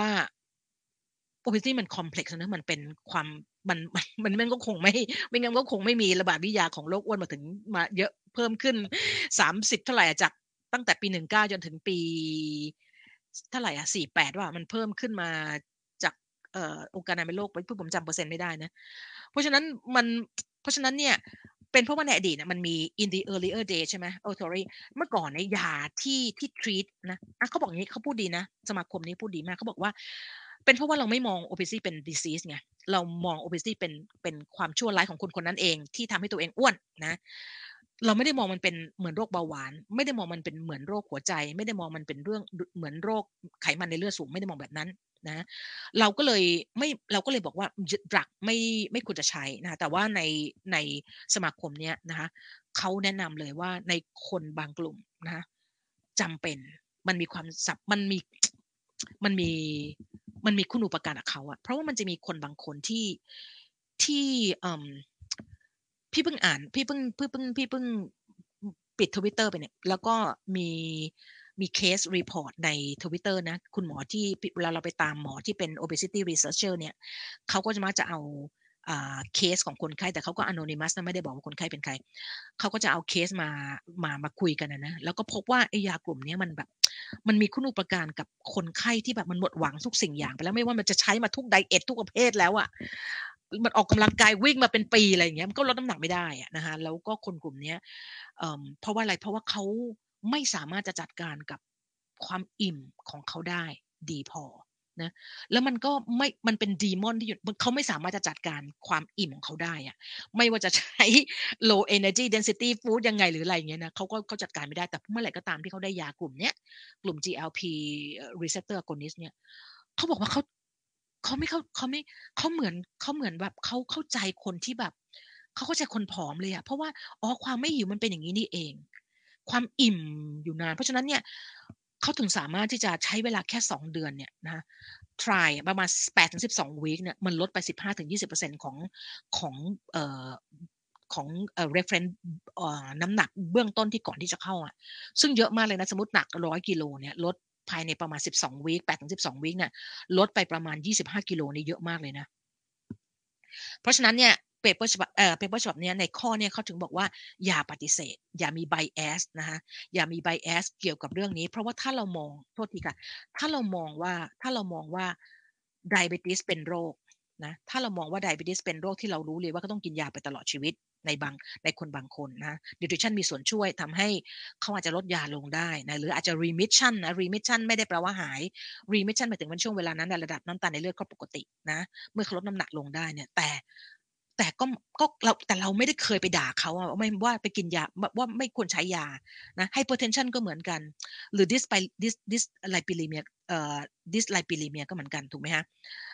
obesity มัน complex นะมันเป็นความมันก็คงไม่งั้นก็คงไม่มีระบาดวิทยาของโรคอ้วนมาเยอะเพิ่มขึ้น30เท่าไหร่จากตั้งแต่ปี19จนถึงปีเท่าไหร่48ว่ามันเพิ่มขึ้นมาจากองค์การอนามัยโลกผมจำเปอร์เซ็นต์ไม่ได้นะเพราะฉะนั้นมันเพราะฉะนั้นเนี่ยเป็นเพราะว่าในอดีตมันมี in the earlier day ใช่ไหมsorry เมื่อก่อนในยาที่ treat นะเขาบอกอย่างนี้เขาพูดดีนะสมาคมนี้พูดดีมากเขาบอกว่าเป็นเพราะว่าเราไม่มอง obesity เป็น disease ไงเรามอง obesity เป็นความชั่วร้ายของคนคนนั้นเองที่ทำให้ตัวเองอ้วนนะเราไม่ได้มองมันเป็นเหมือนโรคเบาหวานไม่ได้มองมันเป็นเหมือนโรคหัวใจไม่ได้มองมันเป็นเรื่องเหมือนโรคไขมันในเลือดสูงไม่ได้มองแบบนั้นนะเราก็เลยบอกว่าดรักไม่ควรจะใช้นะแต่ว่าในสมาคมเนี้ยนะคะเขาแนะนำเลยว่าในคนบางกลุ่มนะคะจำเป็นมันมีความสับมันมีมันมีคุณูปการกับเขาอะเพราะว่ามันจะมีคนบางคนที่พี่เพิ่งอ่านพี่เพิ่งปิด Twitter ไปเนี่ยแล้วก็มีเคสรีพอร์ตใน Twitter นะคุณหมอที่เวลาเราไปตามหมอที่เป็น obesity researcher เนี่ยเขาก็จะมักจะเอาเคสของคนไข้แต่เขาก็ anonymous นะไม่ได้บอกว่าคนไข้เป็นใครเขาก็จะเอาเคสมาคุยกันนะแล้วก็พบว่าไอ้ยากลุ่มนี้มันแบบมันมีคุณูปการกับคนไข้ที่แบบมันหมดหวังทุกสิ่งอย่างไปแล้วไม่ว่ามันจะใช้มาทุกไดเอททุกประเภทแล้วอะมันออกกำลังกายวิ่งมาเป็นปีอะไรอย่างเงี้ยมันก็ลดน้ำหนักไม่ได้อะนะคะแล้วก็คนกลุ่มนี้เพราะว่าอะไรเพราะว่าเขาไม่สามารถจะจัดการกับความอิ่มของเขาได้ดีพอนะแล้วมันก็ไม่มันเป็นดีมอนที่อยู่เขาไม่สามารถจะจัดการความอิ่มของเขาได้อะไม่ว่าจะใช้ low energy density food ยังไงหรืออะไรอย่างเงี้ยนะเขาจัดการไม่ได้แต่เมื่อไหร่ก็ตามที่เขาได้ยากลุ่มเนี้ยกลุ่ม GLP receptor agonist เนี่ยเขาบอกว่าเขาไม่เข้าเขาเหมือนแบบเขาเข้าใจคนที่แบบเขาเข้าใจคนผอมเลยอะเพราะว่าความไม่หิวมันเป็นอย่างงี้นี่เองความอิ่มอยู่นานเพราะฉะนั้นเนี่ยเขาถึงสามารถที่จะใช้เวลาแค่2เดือนเนี่ยนะคะ try ประมาณ8-12วีกเนี่ยมันลดไป15-20%ของเอ่อของreference น้ำหนักเบื้องต้นที่ก่อนที่จะเข้าอะซึ่งเยอะมากเลยนะสมมุติหนัก100กิโลเนี่ยลดภายในประมาณ12วีก8-12วีกเนี่ยลดไปประมาณ25กิโลนี่เยอะมากเลยนะเพราะฉะนั้นเนี่ยเปเปอร์ฉบับเนี้ยในข้อเนี่ยเขาถึงบอกว่าอย่าปฏิเสธอย่ามี bias นะคะอย่ามี bias เกี่ยวกับเรื่องนี้เพราะว่าถ้าเรามองโทษทีค่ะถ้าเรามองว่า diabetes เป็นโรคนะถ้าเรามองว่า diabetes เป็นโรคที่เรารู้เลยว่าก็ต้องกินยาไปตลอดชีวิตในคนบางคนนะ nutrition มีส่วนช่วยทำให้เขาอาจจะลดยาลงได้นะหรืออาจจะ remission นะ remission ไม่ได้แปลว่าหาย remission หมายถึงว่าช่วงเวลานั้นนะระดับน้ำตาลในเลือดก็ปกตินะเมื่อเขาลดน้ำหนักลงได้เนี่ยแต่เราไม่ได้เคยไปด่าเขาอะไม่ว่าไปกินยาว่าไม่ควรใช้ยานะ hypertension ก็เหมือนกันหรือ dyslipidemia dyslipidemia ก็เหมือนกันถูกไหมฮะ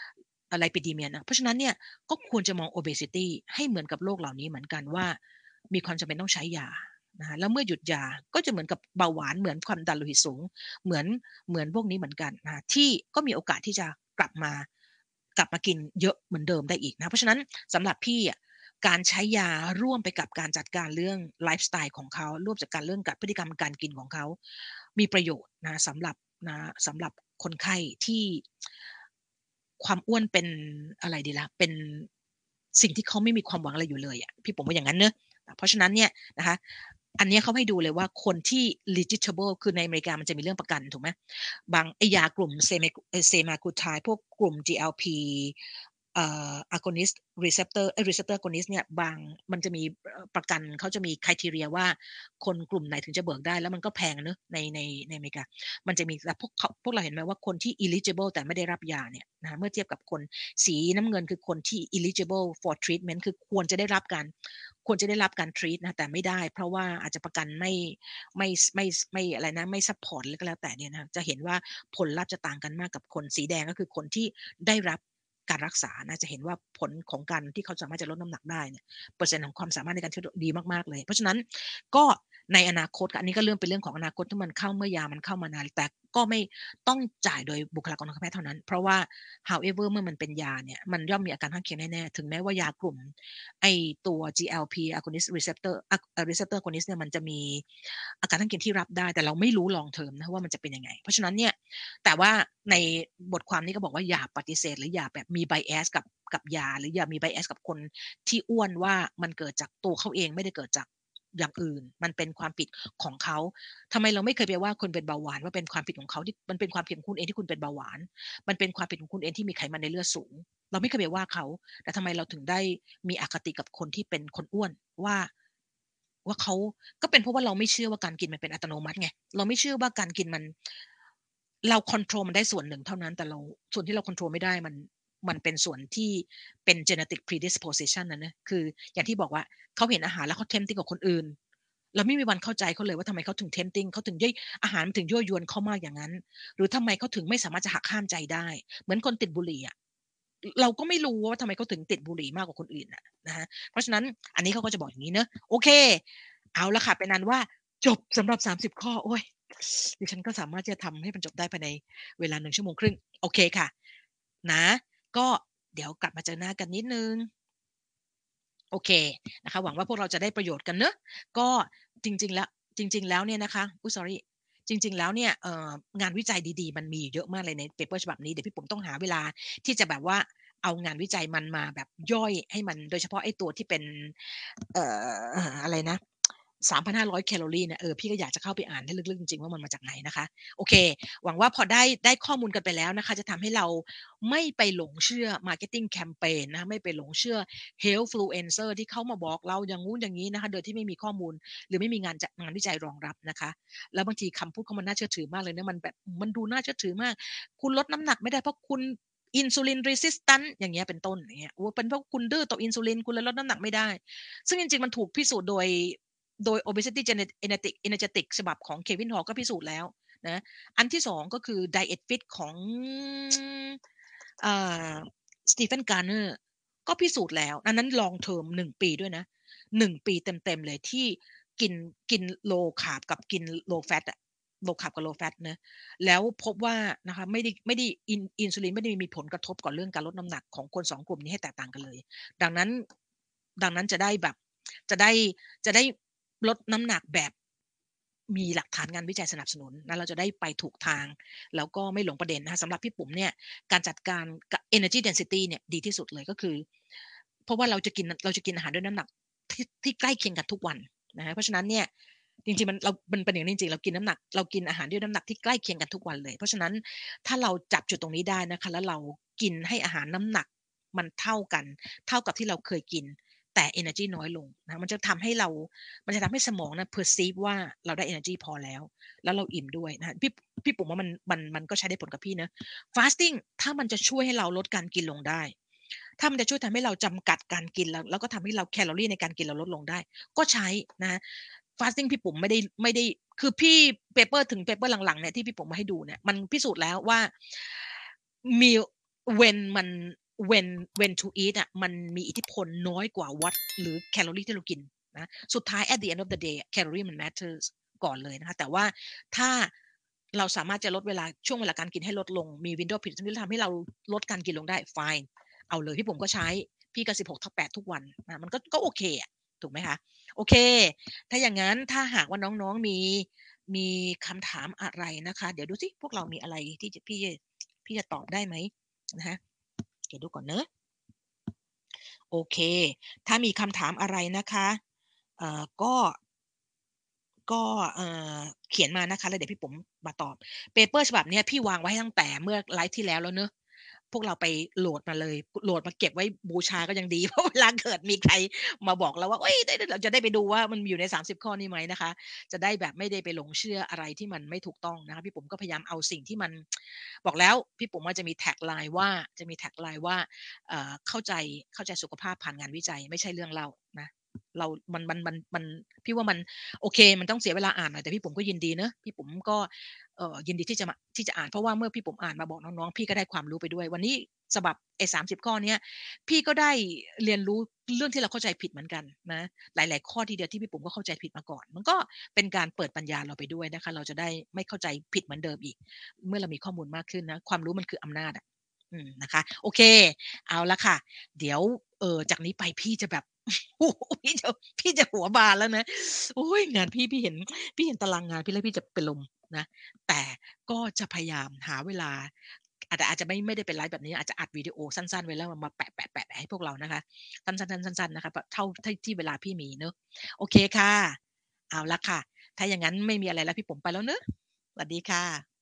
lipidemia นะเพราะฉะนั้นเนี่ยก็ควรจะมอง obesity ให้เหมือนกับโรคเหล่านี้เหมือนกันว่ามีความจำเป็นต้องใช้ยานะคะแล้วเมื่อหยุดยาก็จะเหมือนกับเบาหวานเหมือนความดันโลหิตสูงเหมือนพวกนี้เหมือนกันนะที่ก็มีโอกาสที่จะกลับมากินเยอะเหมือนเดิมได้อีกนะเพราะฉะนั้นสำหรับพี่อะการใช้ยาร่วมไปกับการจัดการเรื่องไลฟ์สไตล์ของเขาร่วมจัดการเรื่องกับพฤติกรรมการกินของเขามีประโยชน์นะสำหรับคนไข้ที่ความอ้วนเป็นอะไรดีล่ะเป็นสิ่งที่เขาไม่มีความหวังอะไรอยู่เลยอะพี่ผมว่าอย่างนั้นเนอะเพราะฉะนั้นเนี่ยนะคะอันเนี้ยเขาให้ดูเลยว่าคนที่ legitimate คือในอเมริกามันจะมีเรื่องประกันถูกไหมบางไอยากลุ่มเซมากูไทพวกกลุ่ม GLP agonist receptor agonist เนี่ยบางมันจะมีประกันเขาจะมี criteria ว่าคนกลุ่มไหนถึงจะเบิกได้แล้วมันก็แพงเนอะในอเมริกามันจะมีแต่พวกเราเห็นไหมว่าคนที่ eligible แต่ไม่ได้รับยาเนี่ยนะเมื่อเทียบกับคนสีน้ำเงินคือคนที่ eligible for treatment คือควรจะได้รับการ treat นะแต่ไม่ได้เพราะว่าอาจจะประกันไม่อะไรนะไม่ซัพพอร์ตก็แล้วแต่เนี่ยนะจะเห็นว่าผลลัพธ์จะต่างกันมากกับคนสีแดงก็คือคนที่ได้รับการรักษานะจะเห็นว่าผลของการที่เขาสามารถจะลดน้ำหนักได้เนี่ยเปอร์เซ็นต์ของความสามารถในการช่วยดีมากๆเลยเพราะฉะนั้นก็ในอนาคตอันนี้ก็เรื่องเป็นเรื่องของอนาคตที่มันเข้าเมื่อยามันเข้ามานานแต่ก็ไม่ต้องจ่ายโดยบุคลากรทางการแพทย์เท่านั้นเพราะว่า however เมื่อมันเป็นยาเนี่ยมันย่อมมีอาการข้างเคียงแน่ๆถึงแม้ว่ายากลุ่มไอตัว GLP agonist receptor agonist เนี่ยมันจะมีอาการข้างเคียงที่รับได้แต่เราไม่รู้ long term นะว่ามันจะเป็นยังไงเพราะฉะนั้นเนี่ยแต่ว่าในบทความนี้ก็บอกว่าอย่าปฏิเสธหรืออย่าแบบมี bias กับยาหรืออย่ามี bias กับคนที่อ้วนว่ามันเกิดจากตัวเขาเองไม่ได้เกิดจากอย่างอื่นมันเป็นความผิดของเขาทำไมเราไม่เคยไปว่าคนเป็นเบาหวานว่าเป็นความผิดของเขาที่มันเป็นความผิดของคุณเองที่คุณเป็นเบาหวานมันเป็นความผิดของคุณเองที่มีไขมันในเลือดสูงเราไม่เคยไปว่าเขาแต่ทำไมเราถึงได้มีอคติกับคนที่เป็นคนอ้วนว่าเขาก็เป็นเพราะว่าเราไม่เชื่อว่าการกินมันเป็นอัตโนมัติไงเราไม่เชื่อว่าการกินมันเราคอนโทรลมันได้ส่วนหนึ่งเท่านั้นแต่เราส่วนที่เราคอนโทรลไม่ได้มันเป็นส่วนที่เป็น genetic predisposition นะคืออย่างที่บอกว่าเขาเห็นอาหารแล้วเขา tempting กับคนอื่นเราไม่มีวันเข้าใจเขาเลยว่าทำไมเขาถึง tempting เขาถึงอาหารมันถึงยั่วยวนเขามากอย่างนั้นหรือทำไมเขาถึงไม่สามารถจะหักห้ามใจได้เหมือนคนติดบุหรี่อะเราก็ไม่รู้ว่าทำไมเขาถึงติดบุหรี่มากกว่าคนอื่นนะฮะเพราะฉะนั้นอันนี้เขาก็จะบอกอย่างนี้เนอะโอเคเอาละค่ะเป็นนั้นว่าจบสำหรับ30ข้อโอ้ยดิฉันก็สามารถที่จะทำให้มันจบได้ภายในเวลา1 ชั่วโมงครึ่งโอเคค่ะนะก็เดี๋ยวกลับมาเจอหน้ากันนิดนึงโอเคนะคะหวังว่าพวกเราจะได้ประโยชน์กันเนอะก็จริงๆแล้วเนี่ยนะคะอุ๊ย sorry จริงๆแล้วเนี่ยงานวิจัยดีๆมันมีเยอะมากเลยในเปเปอร์ฉบับนี้เดี๋ยวพี่ผมต้องหาเวลาที่จะแบบว่าเอางานวิจัยมันมาแบบย่อยให้มันโดยเฉพาะไอ้ตัวที่เป็นอะไรนะ3,500แคลอรีเนี่ยพี่ก็อยากจะเข้าไปอ่านให้ลึกๆจริงๆว่ามันมาจากไหนนะคะโอเคหวังว่าพอได้ข้อมูลกันไปแล้วนะคะจะทำให้เราไม่ไปหลงเชื่อ marketing campaign นะคะไม่ไปหลงเชื่อ healthfluencer ที่เขามาบอกเราอย่างงู้นอย่างงี้นะคะโดยที่ไม่มีข้อมูลหรือไม่มีงานวิจัยรองรับนะคะแล้วบางทีคำพูดเขามันน่าเชื่อถือมากเลยนะมันแบบมันดูน่าเชื่อถือมากคุณลดน้ำหนักไม่ได้เพราะคุณ insulin resistant อย่างเงี้ยเป็นต้นอย่างเงี้ยโอ้เป็นเพราะคุณดื้อต่ออินซูลินคุณเลยลดน้ำหนักไม่ได้ซึ่งจริงๆมันถูกพิสูจน์โดย obesity energetic ฉบับของเควินฮอลก็พิสูจน์แล้วนะอันที่สองก็คือ diet fit ของสตีเฟนการ์เนอร์ก็พิสูจน์แล้วอันนั้น long term 1 ปีด้วยนะ1 ปีเต็มๆเลยที่กินlow carb กับกิน low fat อะ low carb กับ low fat นะแล้วพบว่านะคะไม่ได้อินซูลินไม่ได้มีผลกระทบกับเรื่องการลดน้ำหนักของคน2 กลุ่มนี้ให้แตกต่างกันเลยดังนั้นจะได้แบบจะได้ลดน้ำหนักแบบมีหลักฐานงานวิจัยสนับสนุนนะเราจะได้ไปถูกทางแล้วก็ไม่หลงประเด็นนะคะสำหรับพี่ปุ๋มเนี่ยการจัดการกับ energy density เนี่ยดีที่สุดเลยก็คือเพราะว่าเราจะกินอาหารด้วยน้ำหนักที่ใกล้เคียงกันทุกวันนะคะเพราะฉะนั้นเนี่ยจริงๆมันเป็นอย่างนี้จริงๆเรากินอาหารด้วยน้ำหนักที่ใกล้เคียงกันทุกวันเลยเพราะฉะนั้นถ้าเราจับจุดตรงนี้ได้นะคะแล้วเรากินให้อาหารน้ำหนักมันเท่ากันเท่ากับที่เราเคยกินแต่ energy น้อยลงนะมันจะทำให้สมองนะ perceive ว่าเราได้ energy พอแล้วเราอิ่มด้วยนะพี่ปุ๋มว่ามันก็ใช้ได้ผลกับพี่นะ fasting ถ้ามันจะช่วยให้เราลดการกินลงได้ถ้ามันจะช่วยทำให้เราจำกัดการกินแล้วก็ทำให้เราแคลอรี่ในการกินเราลดลงได้ก็ใช้นะ fasting พี่ปุ๋มไม่ได้คือพี่เปเปอร์หลังๆเนี่ยที่พี่ปุ๋มมาให้ดูเนี่ยมันพิสูจน์แล้วว่า meal when มัน when to eat อ่ะมันมีอิทธิพลน้อยกว่าวัดหรือแคลอรี่ที่เรากินนะสุดท้าย at the end of the day แคลอรีมัน matters ก่อนเลยนะคะแต่ว่าถ้าเราสามารถจะลดเวลาช่วงเวลาการกินให้ลดลงมี window period ที่ทำให้เราลดการกินลงได้ fine เอาเลยพี่ผมก็ใช้พี่ก็16/8ทุกวันนะมันก็โอเคอะถูกไหมคะโอเคถ้าอย่างนั้นถ้าหากว่าน้องๆมีคำถามอะไรนะคะเดี๋ยวดูสิพวกเรามีอะไรที่จะพี่จะตอบได้ไหมนะคะเดี๋ยวดูก่อนเนอะโอเคถ้ามีคำถามอะไรนะคะเอ่อก็ก็เอ่เขียนมานะคะแล้วเดี๋ยวพี่ป๋มมาตอบเปเปอร์ฉบับเนี้ยพี่วางไว้ตั้งแต่เมื่อไลฟ์ที่แล้วเนอะพวกเราไปโหลดมาเลยโหลดมาเก็บไว้บูชาก็ยังดีเพราะเวลาเกิดมีใครมาบอกเราว่าเฮ้ยได้เราจะได้ไปดูว่ามันมีอยู่ใน30ข้อนี้ไหมนะคะจะได้แบบไม่ได้ไปหลงเชื่ออะไรที่มันไม่ถูกต้องนะคะพี่ป๋มก็พยายามเอาสิ่งที่มันบอกแล้วพี่ป๋มว่าจะมีแท็กไลน์ว่าเข้าใจสุขภาพผ่านงานวิจัยไม่ใช่เรื่องเล่านะเรามันพี่ว่ามันโอเคมันต้องเสียเวลาอ่านหน่อยแต่พี่ผมก็ยินดีเนาะพี่ผมก็ยินดีที่จะอ่านเพราะว่าเมื่อพี่ผมอ่านมาบอกน้องๆพี่ก็ได้ความรู้ไปด้วยวันนี้ฉบับไอ้30ข้อเนี้ยพี่ก็ได้เรียนรู้เรื่องที่เราเข้าใจผิดเหมือนกันนะหลายๆข้อทีเดียวที่พี่ผมก็เข้าใจผิดมาก่อนมันก็เป็นการเปิดปัญญาเราไปด้วยนะคะเราจะได้ไม่เข้าใจผิดเหมือนเดิมอีกเมื่อเรามีข้อมูลมากขึ้นนะความรู้มันคืออำนาจอะนะคะโอเคเอาละค่ะเดี๋ยวจากนี้ไปพี่จะแบบ โอ้โฮพี่จะหัวบานแล้วนะโอ๊ยงานพี่เห็นตารางงานพี่แล้วพี่จะเป็นลมนะแต่ก็จะพยายามหาเวลาอาจจะไม่ได้เป็นไลฟ์แบบนี้อาจจะอัดวิดีโอสั้นๆไว้แล้วมาแปะๆๆให้พวกเรานะคะสั้นๆๆๆๆนะคะแบบเท่าที่เวลาพี่มีเนาะโอเคค่ะเอาละค่ะถ้าอย่างงั้นไม่มีอะไรแล้วพี่ป๋มไปแล้วเนาะสวัสดีค่ะ